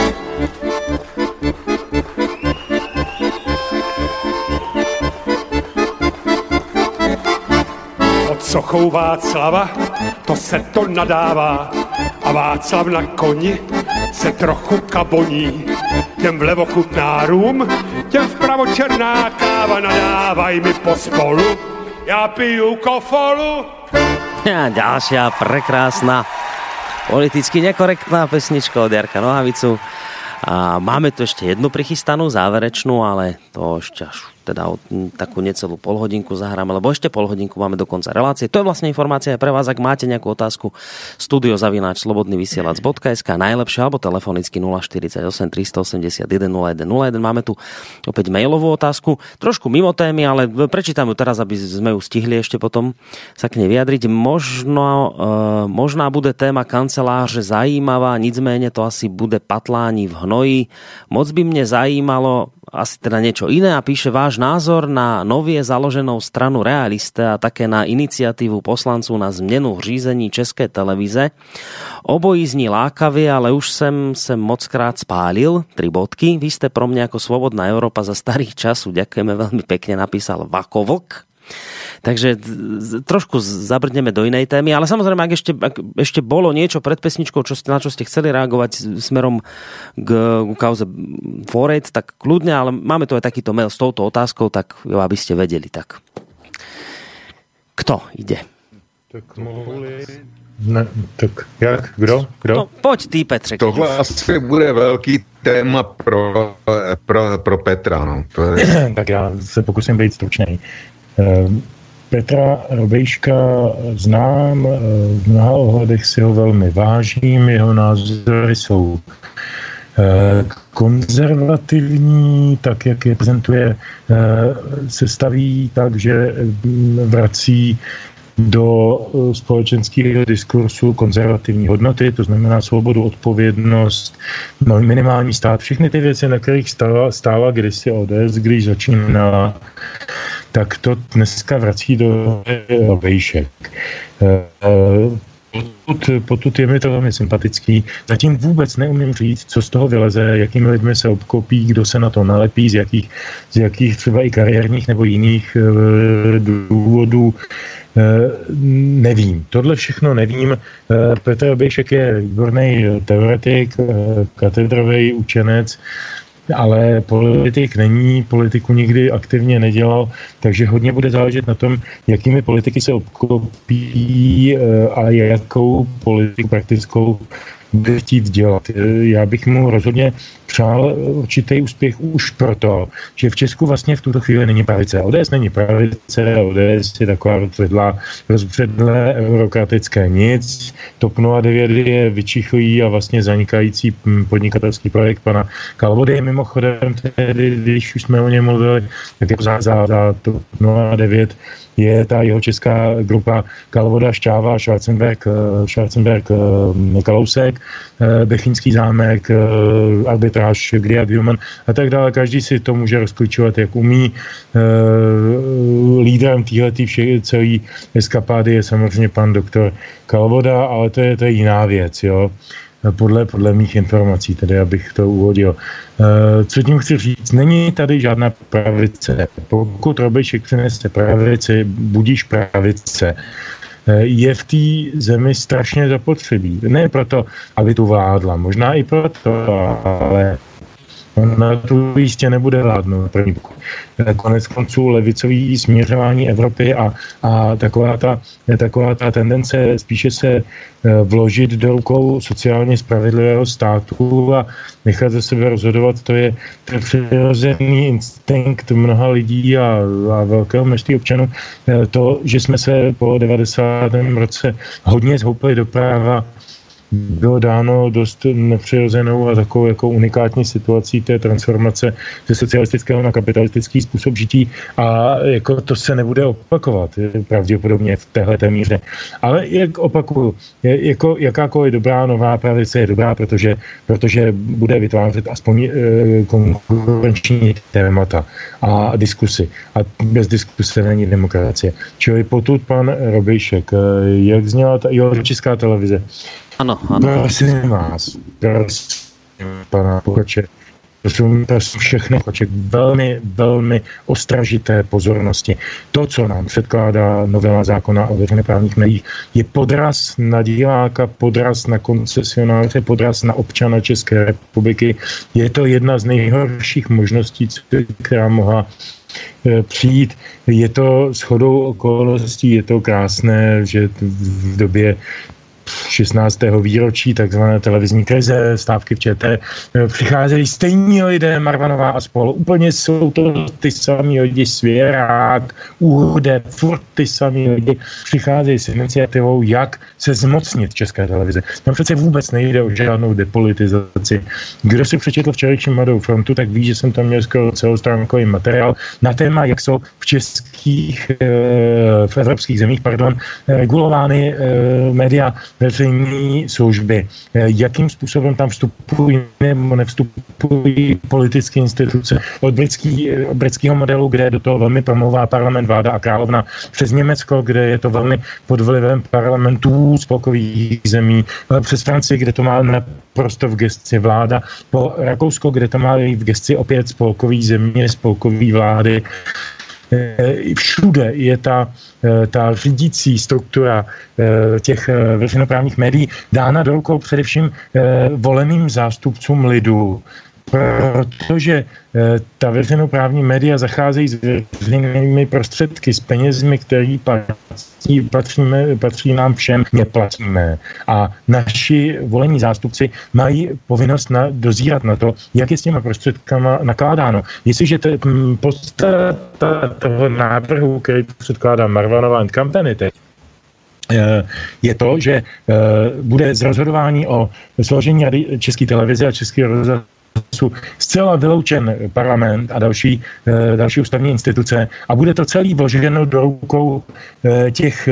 Pod sochou Václava, to se to nadává, a Václav na koni se trochu kaboní. Těm vlevo chutná rum, těm vpravo černá káva, nadávaj mi pospolu, já piju kofolu. A ďalšia prekrásna, politicky nekorektná pesnička od Jarka Nohavicu. A máme tu ešte jednu prichystanú, záverečnú, ale to ešte až teda takú necelú polhodinku zahráme, lebo ešte polhodinku máme do konca relácie. To je vlastne informácia aj pre vás, ak máte nejakú otázku, studio zavináč slobodný vysielač bodka es ká, najlepšie, alebo telefonicky nula štyridsaťosem tristoosemdesiatjeden nula jeden nula jeden. Máme tu opäť mailovú otázku, trošku mimo témy, ale prečítam ju teraz, aby sme ju stihli ešte potom sa k nej vyjadriť. Možno, e, možná bude téma kanceláře zajímavá, nicméně to asi bude patlání v hnoji. Moc by mne zajímalo asi teda niečo iné a píše váš názor na novie založenou stranu Realiste a také na iniciatívu poslanců na změnu v řízení České televize. Obojí zní lákavě, ale už jsem se mockrát spálil. Tri bodky. Vy ste pro mňa ako Slobodná Európa za starých času. Ďakujeme veľmi pekne, napísal Vakovlk. Takže trošku zabrdneme do inej témy, ale samozrejme, ak ešte, ak ešte bolo niečo pred pesničkou, čo ste, na čo ste chceli reagovať smerom k, k kauze Forate, tak kľudne, ale máme tu aj takýto mail s touto otázkou, tak jo, aby ste vedeli. Tak. Kto ide? Tak mohli... Ne, tak jak? Kdo? Kdo? No, pojď ty, Petře. Tohle asi bude velký téma pro, pro, pro Petra. No. To je... Tak já se pokusím být stručnej. Petra Robejška znám, v mnoha ohledech si ho velmi vážím, jeho názory jsou konzervativní, tak jak je prezentuje, se staví tak, že vrací do společenského diskursu konzervativní hodnoty, to znamená svobodu, odpovědnost, no, minimální stát, všechny ty věci, na kterých stála, stála kdysi O D S, když začínala, tak to dneska vrací do Robejšek. Potud, potud je mi to velmi sympatický. Zatím vůbec neumím říct, co z toho vyleze, jakými lidmi se obklopí, kdo se na to nalepí, z jakých, z jakých třeba i kariérních nebo jiných e, důvodů. E, nevím. Tohle všechno nevím. E, Petr Robejšek je výborný teoretik, e, katedrový učenec, ale politik není, politiku nikdy aktivně nedělal, takže hodně bude záležet na tom, jakými politiky se obklopí a jakou politiku praktickou bude chtít dělat. Já bych mu rozhodně přál určitý úspěch už proto, že v Česku vlastně v tuto chvíli není pravice. O D S není pravice, O D S je taková rozvedlá, rozvedlé eurokratické nic. TOP nula devět je vyčichlý a vlastně zanikající podnikatelský projekt pana Kalvody. Mimochodem, tedy, když už jsme o něm mluvili, tak jako za, za, za TOP nula devět je ta jeho česká grupa Kalvoda, Šťáva, Schwarzenberg, Schwarzenberg, Kalousek, Bechyňský zámek, arbitráž, Gria Human a tak dále. Každý si to může rozklíčovat, jak umí. Lídrem téhletý celé eskapády je samozřejmě pan doktor Kalvoda, ale to je, to je jiná věc, jo. Podle, podle mých informací, tedy abych to uvodil. Co tím chci říct? Není tady žádná pravice. Pokud Robejšek přinese pravici, budíš pravice. Je v té zemi strašně zapotřebí. Ne proto, aby tu vládla, možná i proto, ale Ona tu jistě nebude vládnout. Konec konců levicový směřování Evropy a, a taková, ta, taková ta tendence spíše se vložit do rukou sociálně spravedlivého státu a nechat ze sebe rozhodovat, to je, to je přirozený instinkt mnoha lidí a, a velkého množství občanů. To, že jsme se po devadesátém roce hodně zhoupili do práva, bylo dáno dost nepřirozenou a takovou jako unikátní situací té transformace ze socialistického na kapitalistický způsob žití a jako to se nebude opakovat pravděpodobně v téhleté míře. Ale jak opakuju, je, jako jakákoliv dobrá nová pravice je dobrá, protože, protože bude vytvářet aspoň e, konkurenční témata a diskusy. A bez diskuse není demokracie. Čili potud pan Robejšek, jak zněla ta, jo, Česká televize. Ano, ano. Prosím vás, prosím pana Pokoče, prosím, prosím všechny Pokoče, velmi, velmi ostražité pozornosti. To, co nám předkládá novela zákona o veřejnoprávních médiích, je podraz na diváka, podraz na koncesionáře, podraz na občana České republiky. Je to jedna z nejhorších možností, která mohla přijít. Je to shodou okolností, je to krásné, že v době šestnáctého výročí takzvané televizní krize, stávky v ČT, přicházejí stejní lidé, Marvanová a spolu. Úplně jsou to ty samý lidi, Svěrák, Úhde, furt ty samý lidi přicházejí s iniciativou, jak se zmocnit České televize. Tam přece vůbec nejde o žádnou depolitizaci. Kdo si přečetl včerejší Mladou frontu, tak ví, že jsem tam měl skoro celostránkový materiál na téma, jak jsou v českých, v evropských zemích, pardon, regulovány média veřejné služby. Jakým způsobem tam vstupují nebo nevstupují politické instituce od britský, britského modelu, kde do toho velmi promlouvá parlament, vláda a královna, přes Německo, kde je to velmi pod vlivem parlamentů spolkových zemí, přes Francii, kde to má naprosto v gesci vláda, po Rakousko, kde to má v gesci opět spolkový země, spolkový vlády. Všude je ta, ta řídící struktura těch veřejnoprávních médií dána do rukou především voleným zástupcům lidu, protože ta veřejnoprávní média zacházejí s veřejnými prostředky, s penězmi, které patří, patříme, patří nám všem, neplatíme. A naši volení zástupci mají povinnost na, dozírat na to, jak je s těma prostředkama nakládáno. Jestliže to podstata toho návrhu, který předkládá Marvanová and Company teď, je to, že bude z rozhodování o složení Rady České televize a Českého rozhlasu zcela vyloučen parlament a další, další ústavní instituce a bude to celý vloženo do rukou těch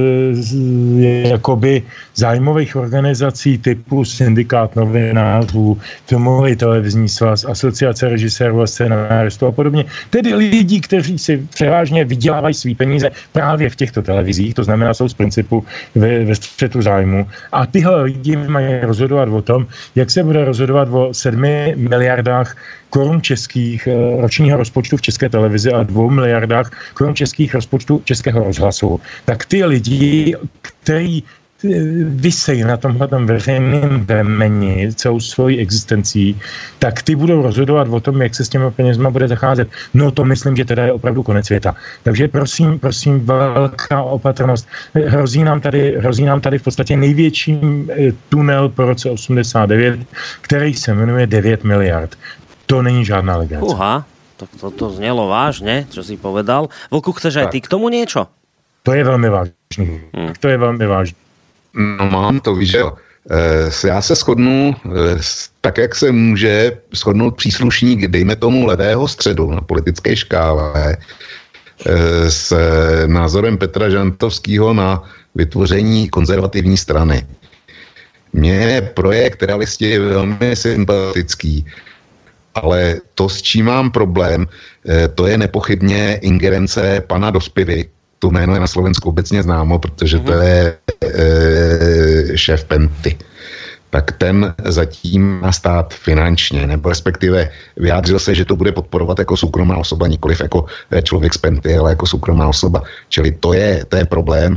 jakoby zájmových organizací typu Syndikát novinářů, Filmový televizní svaz, Asociace režisérů a scénáristů a podobně. Tedy lidí, kteří si převážně vydělávají svý peníze právě v těchto televizích, to znamená, jsou z principu ve, ve střetu zájmu. A tyhle lidi mají rozhodovat o tom, jak se bude rozhodovat o sedmi miliardách korun českých ročního rozpočtu v České televizi a dvou miliardách korun českých rozpočtu Českého rozhlasu. Tak ty lidi, kteří vysejí na tomhletom veřejném vemeni celou svojí existencí, tak ty budou rozhodovat o tom, jak se s těma penězma bude zacházet. No to myslím, že teda je opravdu konec světa. Takže prosím, prosím, velká opatrnost. Hrozí nám tady, hrozí nám tady v podstatě největší tunel po roce osmdesát devět, který se jmenuje devět miliard. To není žádná legrace. Uha, to, to, to znělo vážně, čo si povedal. Vlku, chceš aj ty k tomu niečo? To je velmi vážný. Hmm. To je velmi vážný. No mám to, víš jo. Já se shodnu tak, jak se může shodnout příslušník, dejme tomu levého středu na politické škále s názorem Petra Žantovského na vytvoření konzervativní strany. Mně projekt Realisti je velmi sympatický, ale to, s čím mám problém, to je nepochybně ingerence pana Dospivy. To jméno je na Slovensku obecně známo, protože to je e, šéf Penty. Tak ten zatím má stát finančně, nebo respektive vyjádřil se, že to bude podporovat jako soukromá osoba, nikoliv jako člověk z Penty, ale jako soukromá osoba. Čili to je, to je problém.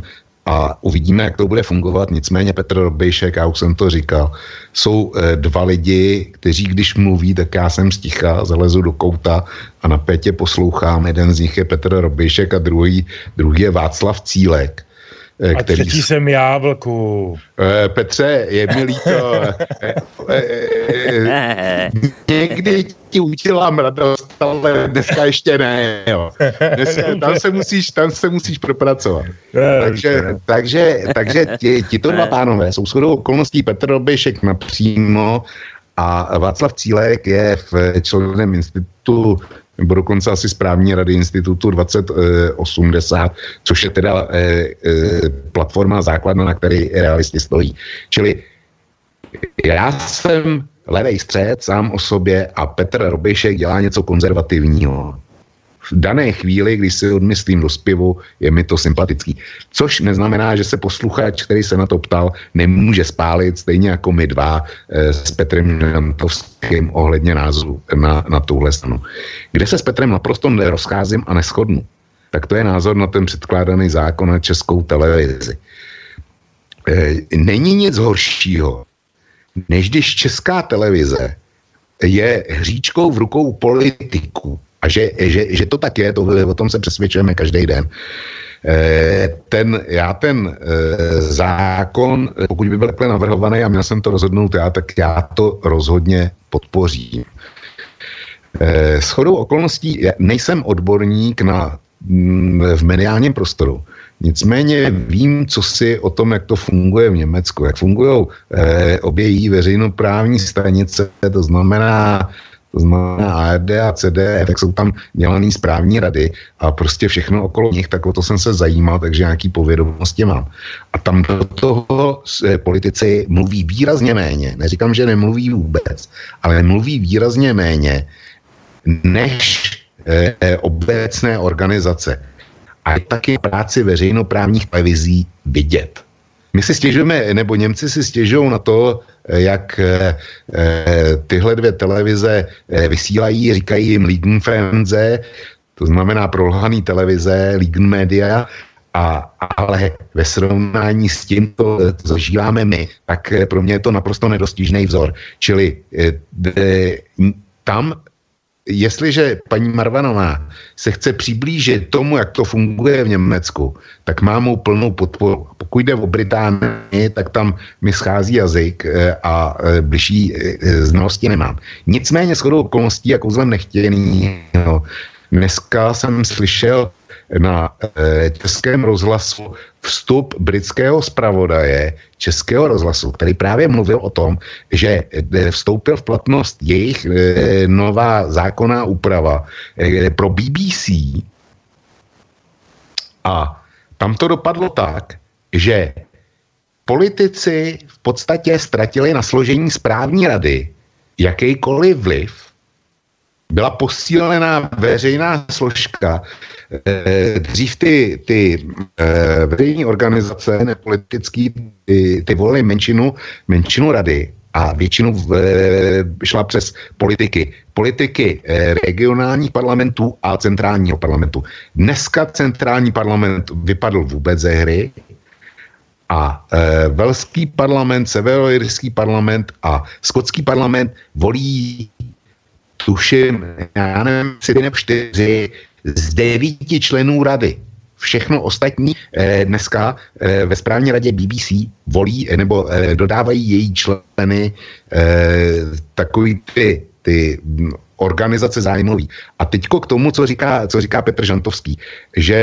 a uvidíme, jak to bude fungovat. Nicméně Petr Robejšek, já už jsem to říkal, jsou e, dva lidi, kteří když mluví, tak já jsem sticha, zalezu do kouta a napětě poslouchám. Jeden z nich je Petr Robejšek a druhý, druhý je Václav Cílek. E, a který... třetí jsem já, Vlku. E, Petře, je mi líto. e, e, e, někdy ti udělám radost, ale dneska ještě ne. Jo. Dneska, tam, se musíš, tam se musíš propracovat. Takže, takže, takže ti, ti to dva pánové jsou shodou okolností Petr Robejšek napřímo a Václav Cílek je v členem institutu nebo dokonce asi správní rady institutu dvacet osmdesát, což je teda e, e, platforma základna, na které realisti stojí. Čili já jsem levej střed sám o sobě a Petr Robejšek dělá něco konzervativního. V dané chvíli, když si odmyslím do zpěvu, je mi to sympatický. Což neznamená, že se posluchač, který se na to ptal, nemůže spálit, stejně jako my dva e, s Petrem Žantovským ohledně názoru na, na tuhle stranu. Kde se s Petrem naprosto nerozcházím a neshodnu, tak to je názor na ten předkládaný zákon na Českou televizi. E, není nic horšího, než když Česká televize je hříčkou v rukou politiků. A že, že, že to tak je, to, o tom se přesvědčujeme každý den. E, ten, já ten e, zákon, pokud by byl takhle navrhovaný a měl jsem to rozhodnout já, tak já to rozhodně podpořím. E, shodou okolností nejsem odborník na, v mediálním prostoru. Nicméně vím, co si o tom, jak to funguje v Německu, jak fungují e, obě její veřejnoprávní stanice, to znamená To znamená A R D a C D F, tak jsou tam dělaný správní rady a prostě všechno okolo nich, tak o to jsem se zajímal, takže nějaký povědomosti mám. A tam do toho politici mluví výrazně méně, neříkám, že nemluví vůbec, ale mluví výrazně méně než eh, obecné organizace. A je taky práci veřejnoprávních televizí vidět. My si stěžujeme, nebo Němci si stěžují na to, jak e, tyhle dvě televize e, vysílají, říkají jim Liegenfernseh, to znamená prolhaný televize, Liegenmedia, a, ale ve srovnání s tím, to, to zažíváme my, tak pro mě je to naprosto nedostižný vzor. Čili e, e, tam jestliže paní Marvanová se chce přiblížit tomu, jak to funguje v Německu, tak má mou plnou podporu. Pokud jde o Británii, tak tam mi schází jazyk a bližší znalosti nemám. Nicméně shodou okolností, jako zlem nechtěný, no, dneska jsem slyšel na e, Českém rozhlasu vstup britského zpravodaje Českého rozhlasu, který právě mluvil o tom, že e, vstoupil v platnost jejich e, nová zákonná úprava e, pro B B C a tam to dopadlo tak, že politici v podstatě ztratili na složení správní rady jakýkoliv vliv. Byla posílená veřejná složka. Dřív ty, ty veřejné organizace nepolitický, ty, ty volily menšinu, menšinu rady a většinu v, šla přes politiky. Politiky regionálních parlamentů a centrálního parlamentu. Dneska centrální parlament vypadl vůbec ze hry a e, velský parlament, severoirský parlament a skotský parlament volí tuším, já nevím, tři nebo čtyři z devíti členů rady. Všechno ostatní eh, dneska eh, ve správní radě B B C volí eh, nebo eh, dodávají její členy eh, takový ty, ty organizace zájmový. A teďko k tomu, co říká, co říká Petr Žantovský, že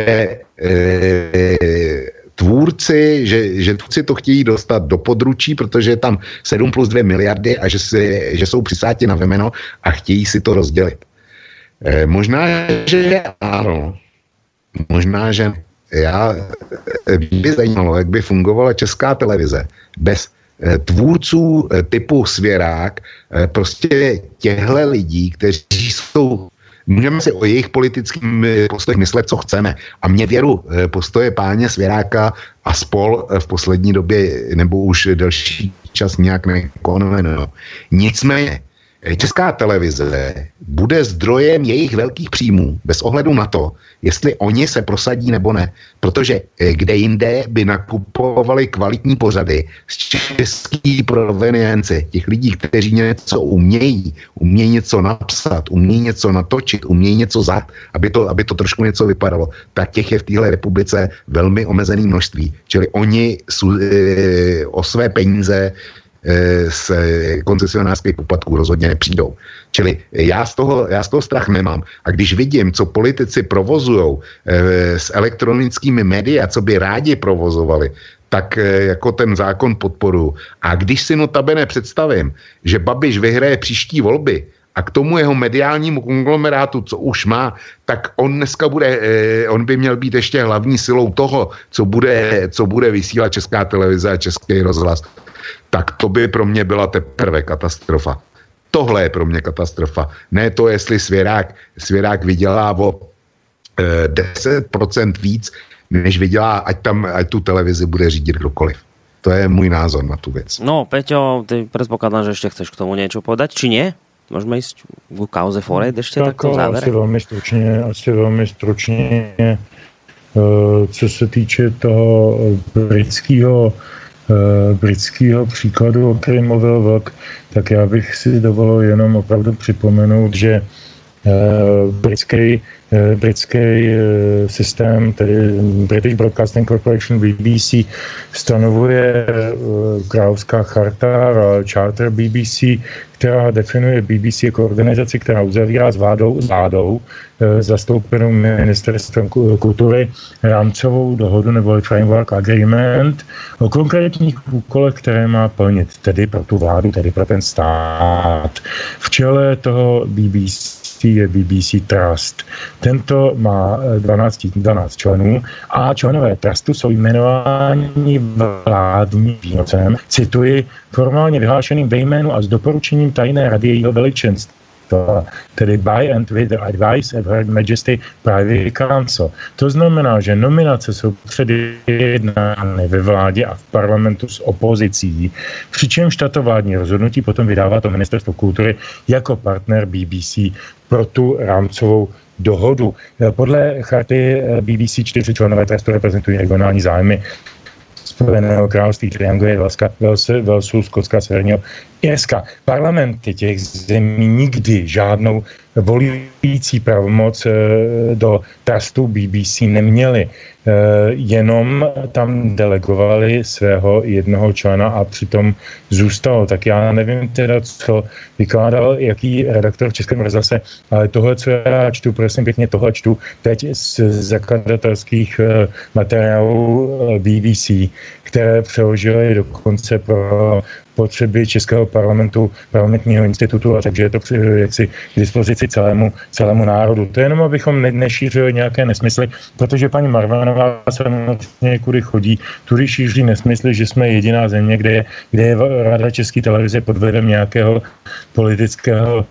eh, tvůrci, že, že tvůrci to chtějí dostat do područí, protože je tam sedm plus dvě miliardy a že, si, že jsou přisáti na vemeno a chtějí si to rozdělit. E, možná, že ano. Možná, že já by zajímalo, jak by fungovala Česká televize bez e, tvůrců e, typu Svěrák, e, prostě těhle lidí, kteří jsou. Můžeme si o jejich politickým postojích myslet, co chceme. A mě věru postoje páně Svěráka a spol v poslední době, nebo už delší čas nějak nekonujeme. Nicméně, Česká televize bude zdrojem jejich velkých příjmů bez ohledu na to, jestli oni se prosadí nebo ne. Protože kde jinde by nakupovali kvalitní pořady z český provenience, těch lidí, kteří něco umějí, umějí něco napsat, umějí něco natočit, umějí něco zat, aby to, aby to trošku něco vypadalo, tak těch je v téhle republice velmi omezené množství. Čili oni jsou, e, o své peníze z koncesionářských poplatků rozhodně nepřijdou. Čili já z toho, já z toho strach nemám. A když vidím, co politici provozujou e, s elektronickými médii a co by rádi provozovali, tak e, jako ten zákon podporu. A když si notabene představím, že Babiš vyhraje příští volby a k tomu jeho mediálnímu konglomerátu, co už má, tak on dneska bude, e, on by měl být ještě hlavní silou toho, co bude, co bude vysílat Česká televize a Český rozhlas. Tak to by pro mě byla teprve katastrofa. Tohle je pro mě katastrofa. Ne to, jestli Svěrák, Svěrák vydělá o e, deset procent víc, než vydělá, ať tam, ať tu televizi bude řídit kdokoliv. To je můj názor na tu věc. No, Peťo, ty predpokladám, že ešte chceš k tomu niečo povedať, či nie? Môžeme ísť v kauze Forejt ešte tak, takto v závere? Asi veľmi stručne, asi veľmi stručne. E, co se týče toho britského britského příkladu, o kterém mluvil Vlk, tak já bych si dovolil jenom opravdu připomenout, že britský, britský systém, tedy British Broadcasting Corporation B B C, stanovuje královská charta a charter B B C, která definuje B B C jako organizaci, která uzavírá s vládou, s vládou zastoupenou ministerstvem kultury rámcovou dohodu nebo framework agreement o konkrétních úkolech, které má plnit, tedy pro tu vládu, tedy pro ten stát. V čele toho B B C je B B C Trust. Tento má dvanáct, dvanáct členů a členové Trustu jsou jmenováni vládním výnocem, cituji, formálně vyhlášeným ve jménu a s doporučením tajné rady jejího veličenství, tedy by and with the advice of Her Majesty Privy Council. To znamená, že nominace jsou předjednány ve vládě a v parlamentu s opozicí, přičemž tato vládní rozhodnutí potom vydává to Ministerstvo kultury jako partner B B C pro tu rámcovou dohodu. Podle charty B B C čtyři členové Trustu reprezentují regionální zájmy Spojeného království, tedy Anglie, Velska, Velsu, Velsu, Skotska, Severního Irska. Parlamenty těch zemí nikdy žádnou volující pravomoc do Trustu B B C neměli. Jenom tam delegovali svého jednoho člena a přitom zůstalo. Tak já nevím teda, co vykládal jaký redaktor v Českém rozhlase, ale tohle, co já čtu, prosím pěkně, tohle čtu teď z zakladatelských materiálů B B C, které přeložili dokonce pro potřeby Českého parlamentu, parlamentního institutu, a takže je to jaksi k dispozici celému, celému národu. To je jenom, abychom ne, nešířili nějaké nesmysly, protože paní Marvanová samozřejmě kudy chodí, tudy šíří nesmysly, že jsme jediná země, kde je, kde je Rada České televize pod vlivem nějakého politického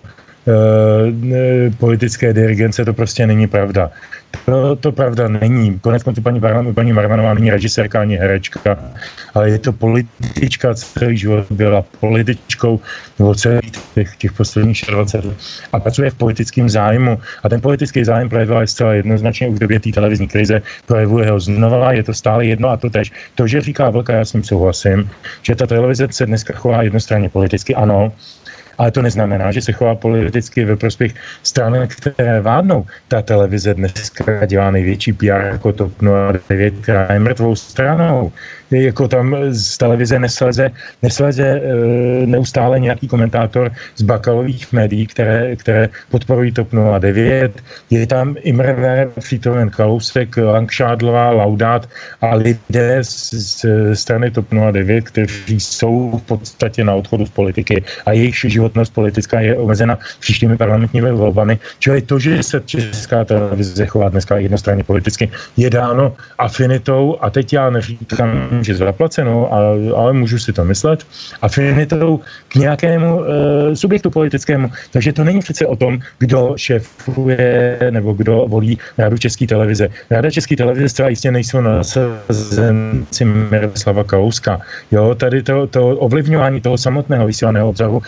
e, politické dirigence, to prostě není pravda. To, to pravda není. Konec konců paní, paní Marvanová není režisérka ani herečka, ale je to politička, celý život byla političkou nebo celých těch, těch posledních dvacet let a pracuje v politickém zájmu. A ten politický zájem projevila zcela jednoznačně už v době té televizní krize, projevuje ho znova, je to stále jedno a to tež. To, že říká Vlka, já s ním souhlasím, že ta televize se dneska chová jednostranně politicky, ano, ale to neznamená, že se chová politicky ve prospěch stran, které vládnou. Ta televize dneska dělá největší P R jako TOP nula devět, která je mrtvou stranou. Jako tam z televize nesleze, nesleze neustále nějaký komentátor z bakalových médií, které, které podporují TOP nula devět. Je tam Imre, přítomen Kalousek, Langšádlová, Laudát a lidé z, z strany TOP nula devět, kteří jsou v podstatě na odchodu z politiky a jejich životnost politická je omezena příštími parlamentními volbami. Čili to, že se Česká televize chová dneska jednostranně politicky, je dáno afinitou, a teď já neříkám, že zaplacenou, ale, ale můžu si to myslet, afinitou k nějakému e, subjektu politickému. Takže to není přece o tom, kdo šéfuje nebo kdo volí Radu České televize. Rada České televize zcela jistě nejsou nasazenci Miroslava Kalouska. Jo, tady to, to ovlivňování toho samotného vysílaného obsahu probíhá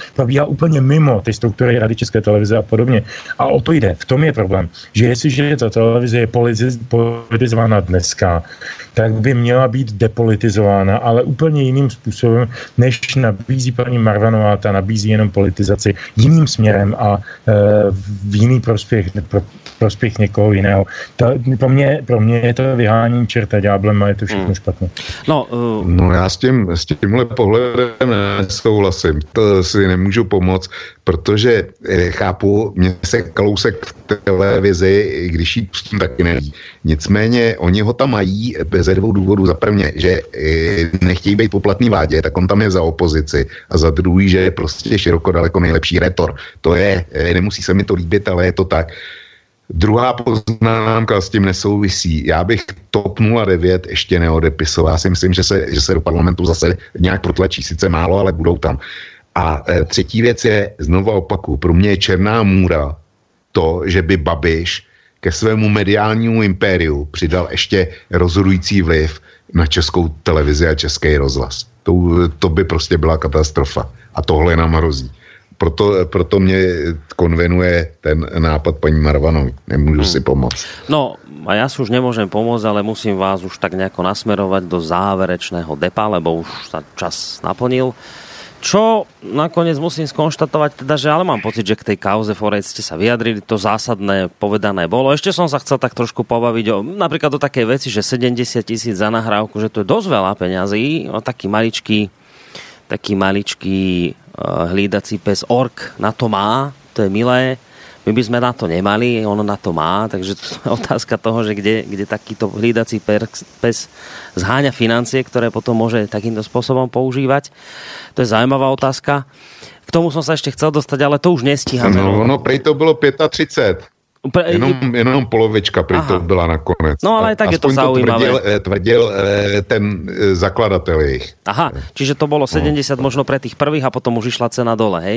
úplně mimo ty struktury Rady České televize a podobně. A o to jde. V tom je problém, že jestliže ta televize je politizována dneska, tak by měla být depolitizována, ale úplně jiným způsobem, než nabízí paní Marvanová, ta nabízí jenom politizaci jiným směrem a e, v jiný prospěch, pro, prospěch někoho jiného. Ta, pro, mě, pro mě je to vyhání čerta ďáblem a je to všechno hmm. špatné. No, uh... no já s, tím, s tímhle pohledem nesouhlasím. To si nemůžu pomoct, protože eh, chápu, mě se Kalousek v televizi, když jí pustím, taky neví. Nicméně oni ho tam mají ze dvou důvodů. Za prvně, že eh, nechtějí být poplatný vládě, tak on tam je za opozici. A za druhý, že je prostě široko daleko nejlepší rétor. To je, eh, nemusí se mi to líbit, ale je to tak. Druhá poznámka s tím nesouvisí. Já bych TOP nula devět ještě neodepisoval. Já si myslím, že se, že se do parlamentu zase nějak protlačí. Sice málo, ale budou tam. A e, třetí věc je, znovu opakuju, pro mě je černá můra to, že by Babiš ke svému mediálnímu impériu přidal ještě rozhodující vliv na Českou televizi a Český rozhlas. To, to by prostě byla katastrofa. A tohle nám hrozí. Proto, proto mě konvenuje ten nápad paní Marvanový. Nemůžu hmm. si pomoct. No, a ja si už nemôžem pomôcť, ale musím vás už tak nejako nasmerovať do záverečného depa, lebo už sa čas naplnil. Čo nakoniec musím skonštatovať, teda, že ale mám pocit, že k tej kauze Forec ste sa vyjadrili, to zásadné povedané bolo. Ešte som sa chcel tak trošku pobaviť o, napríklad o takej veci, že sedemdesiat tisíc za nahrávku, že to je dosť veľa peňazí, o taký maličký taký maličký uh, hlídací pes ork na to má, to je milé. My by sme na to nemali, ono na to má, takže to je otázka toho, že kde, kde takýto hlídací pes zháňa financie, ktoré potom môže takýmto spôsobom používať. To je zaujímavá otázka. K tomu som sa ešte chcel dostať, ale to už nestíhame. No, no prej to bylo třicet pět. Pre... Jenom, jenom polovička prej to byla nakonec. No ale tak je to zaujímavé. Tvrdil, tvrdil ten zakladateľ ich. Aha, čiže to bolo sedemdesiat no. možno pre tých prvých a potom už išla cena dole, hej?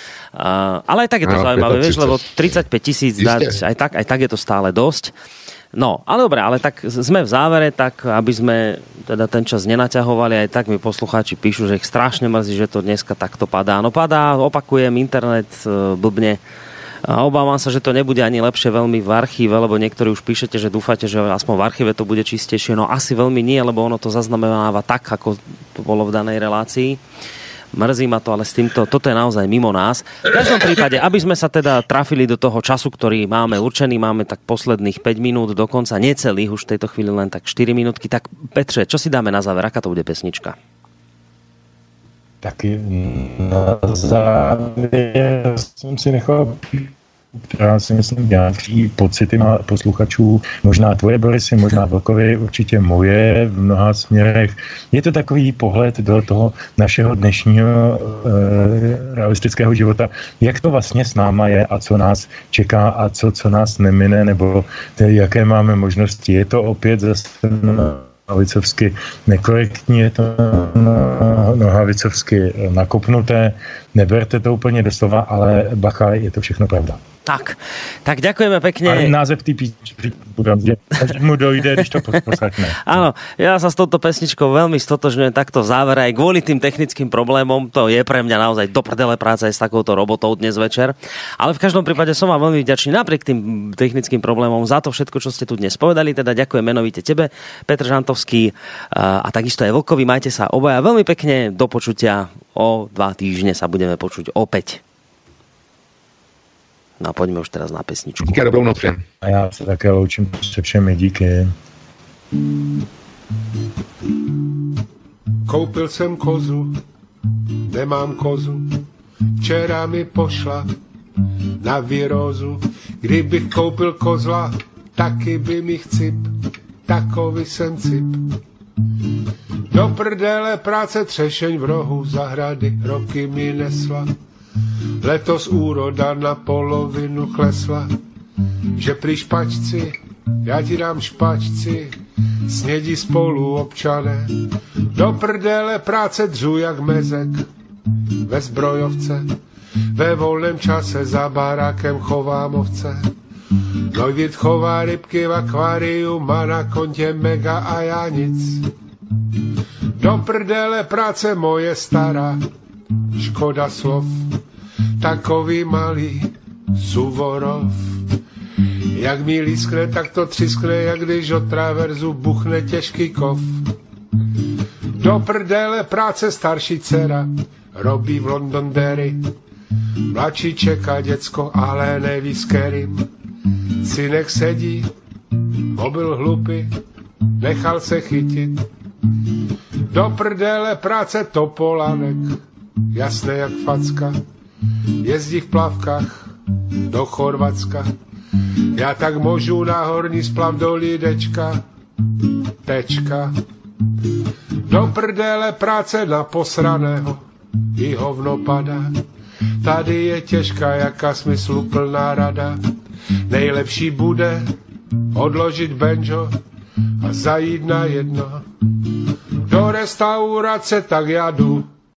Uh, ale aj tak je to no, zaujímavé, vieš, lebo tridsaťpäť tisíc dať, aj tak, aj tak je to stále dosť. No, ale dobre, ale tak sme v závere, tak aby sme teda ten čas nenaťahovali, aj tak mi poslucháči píšu, že ich strašne mrzí, že to dneska takto padá. No padá, opakujem, internet uh, blbne. A obávam sa, že to nebude ani lepšie veľmi v archíve, lebo niektorí už píšete, že dúfate, že aspoň v archíve to bude čistejšie. No asi veľmi nie, lebo ono to zaznamenáva tak, ako to bolo v danej relácii. Mrzí ma to, ale s týmto, toto je naozaj mimo nás. V každom prípade, aby sme sa teda trafili do toho času, ktorý máme určený, máme tak posledných päť minút, dokonca necelých, už v tejto chvíli len tak štyri minútky. Tak Petře, čo si dáme na záver? Aká to bude pesnička? Taky na závěr jsem si nechal, já si myslím, nějaký pocity na posluchačů, možná tvoje, Borisy, možná Vlkovi, určitě moje v mnoha směrech. Je to takový pohled do toho našeho dnešního e, realistického života, jak to vlastně s náma je a co nás čeká a co, co nás nemine, nebo tedy, jaké máme možnosti. Je to opět zase nohavicovsky nekorektní, je to nohavicovsky nakopnuté, neberte to úplně doslova, ale bacha, je to všechno pravda. Tak, tak ďakujeme pekne. Ale název tý písničky mu dojde, když to poslechne. Áno, ja sa s touto pesničkou veľmi stotožňujem takto v závere, aj kvôli tým technickým problémom, to je pre mňa naozaj do prdele práca aj s takouto robotou dnes večer, ale v každom prípade som vám veľmi vďačný napriek tým technickým problémom za to všetko, čo ste tu dnes povedali, teda ďakujem menovite tebe, Petr Žantovský a takisto aj Vlkovi, majte sa obaja veľmi pekne, do počutia, o dva týždne sa budeme počuť opäť. No a poďme už teraz na pesničku. Díky, dobrou noc všem. A já se také loučím se všemi, díky. Koupil jsem kozu, nemám kozu, včera mi pošla na virózu. Kdybych koupil kozla, taky by mi chcip, takový jsem cip. Do prdele práce třešeň v rohu zahrady, roky mi nesla. Letos úroda na polovinu klesla, že prý špačci, já ti dám špačci, snědí spolu občané. Do prdele práce dřu jak mezek ve zbrojovce, ve volném čase za barákem chovám ovce. Neuvit chová rybky v akváriu, má na kontě mega a já nic. Do prdele práce moje stará, škoda slov. takový malý Suvorov. Jak mi lískne, tak to třiskne, jak když od traverzu buchne těžký kov. Do prdele práce starší dcera, robí v Londonderry. Mladší čeká děcko, ale neví s kterým. Synek sedí, mobil hlupy, nechal se chytit. Do prdele práce Topolánek, jasné jak facka. Jezdí v plavkách do Chorvatska. Já tak můžu na horní splav do Lídečka. Tečka. Do prdele práce na posraného, i hovno padá. Tady je těžká, jaká smysluplná rada. Nejlepší bude odložit banjo a zajít na jedno. Do restaurace tak já jdu,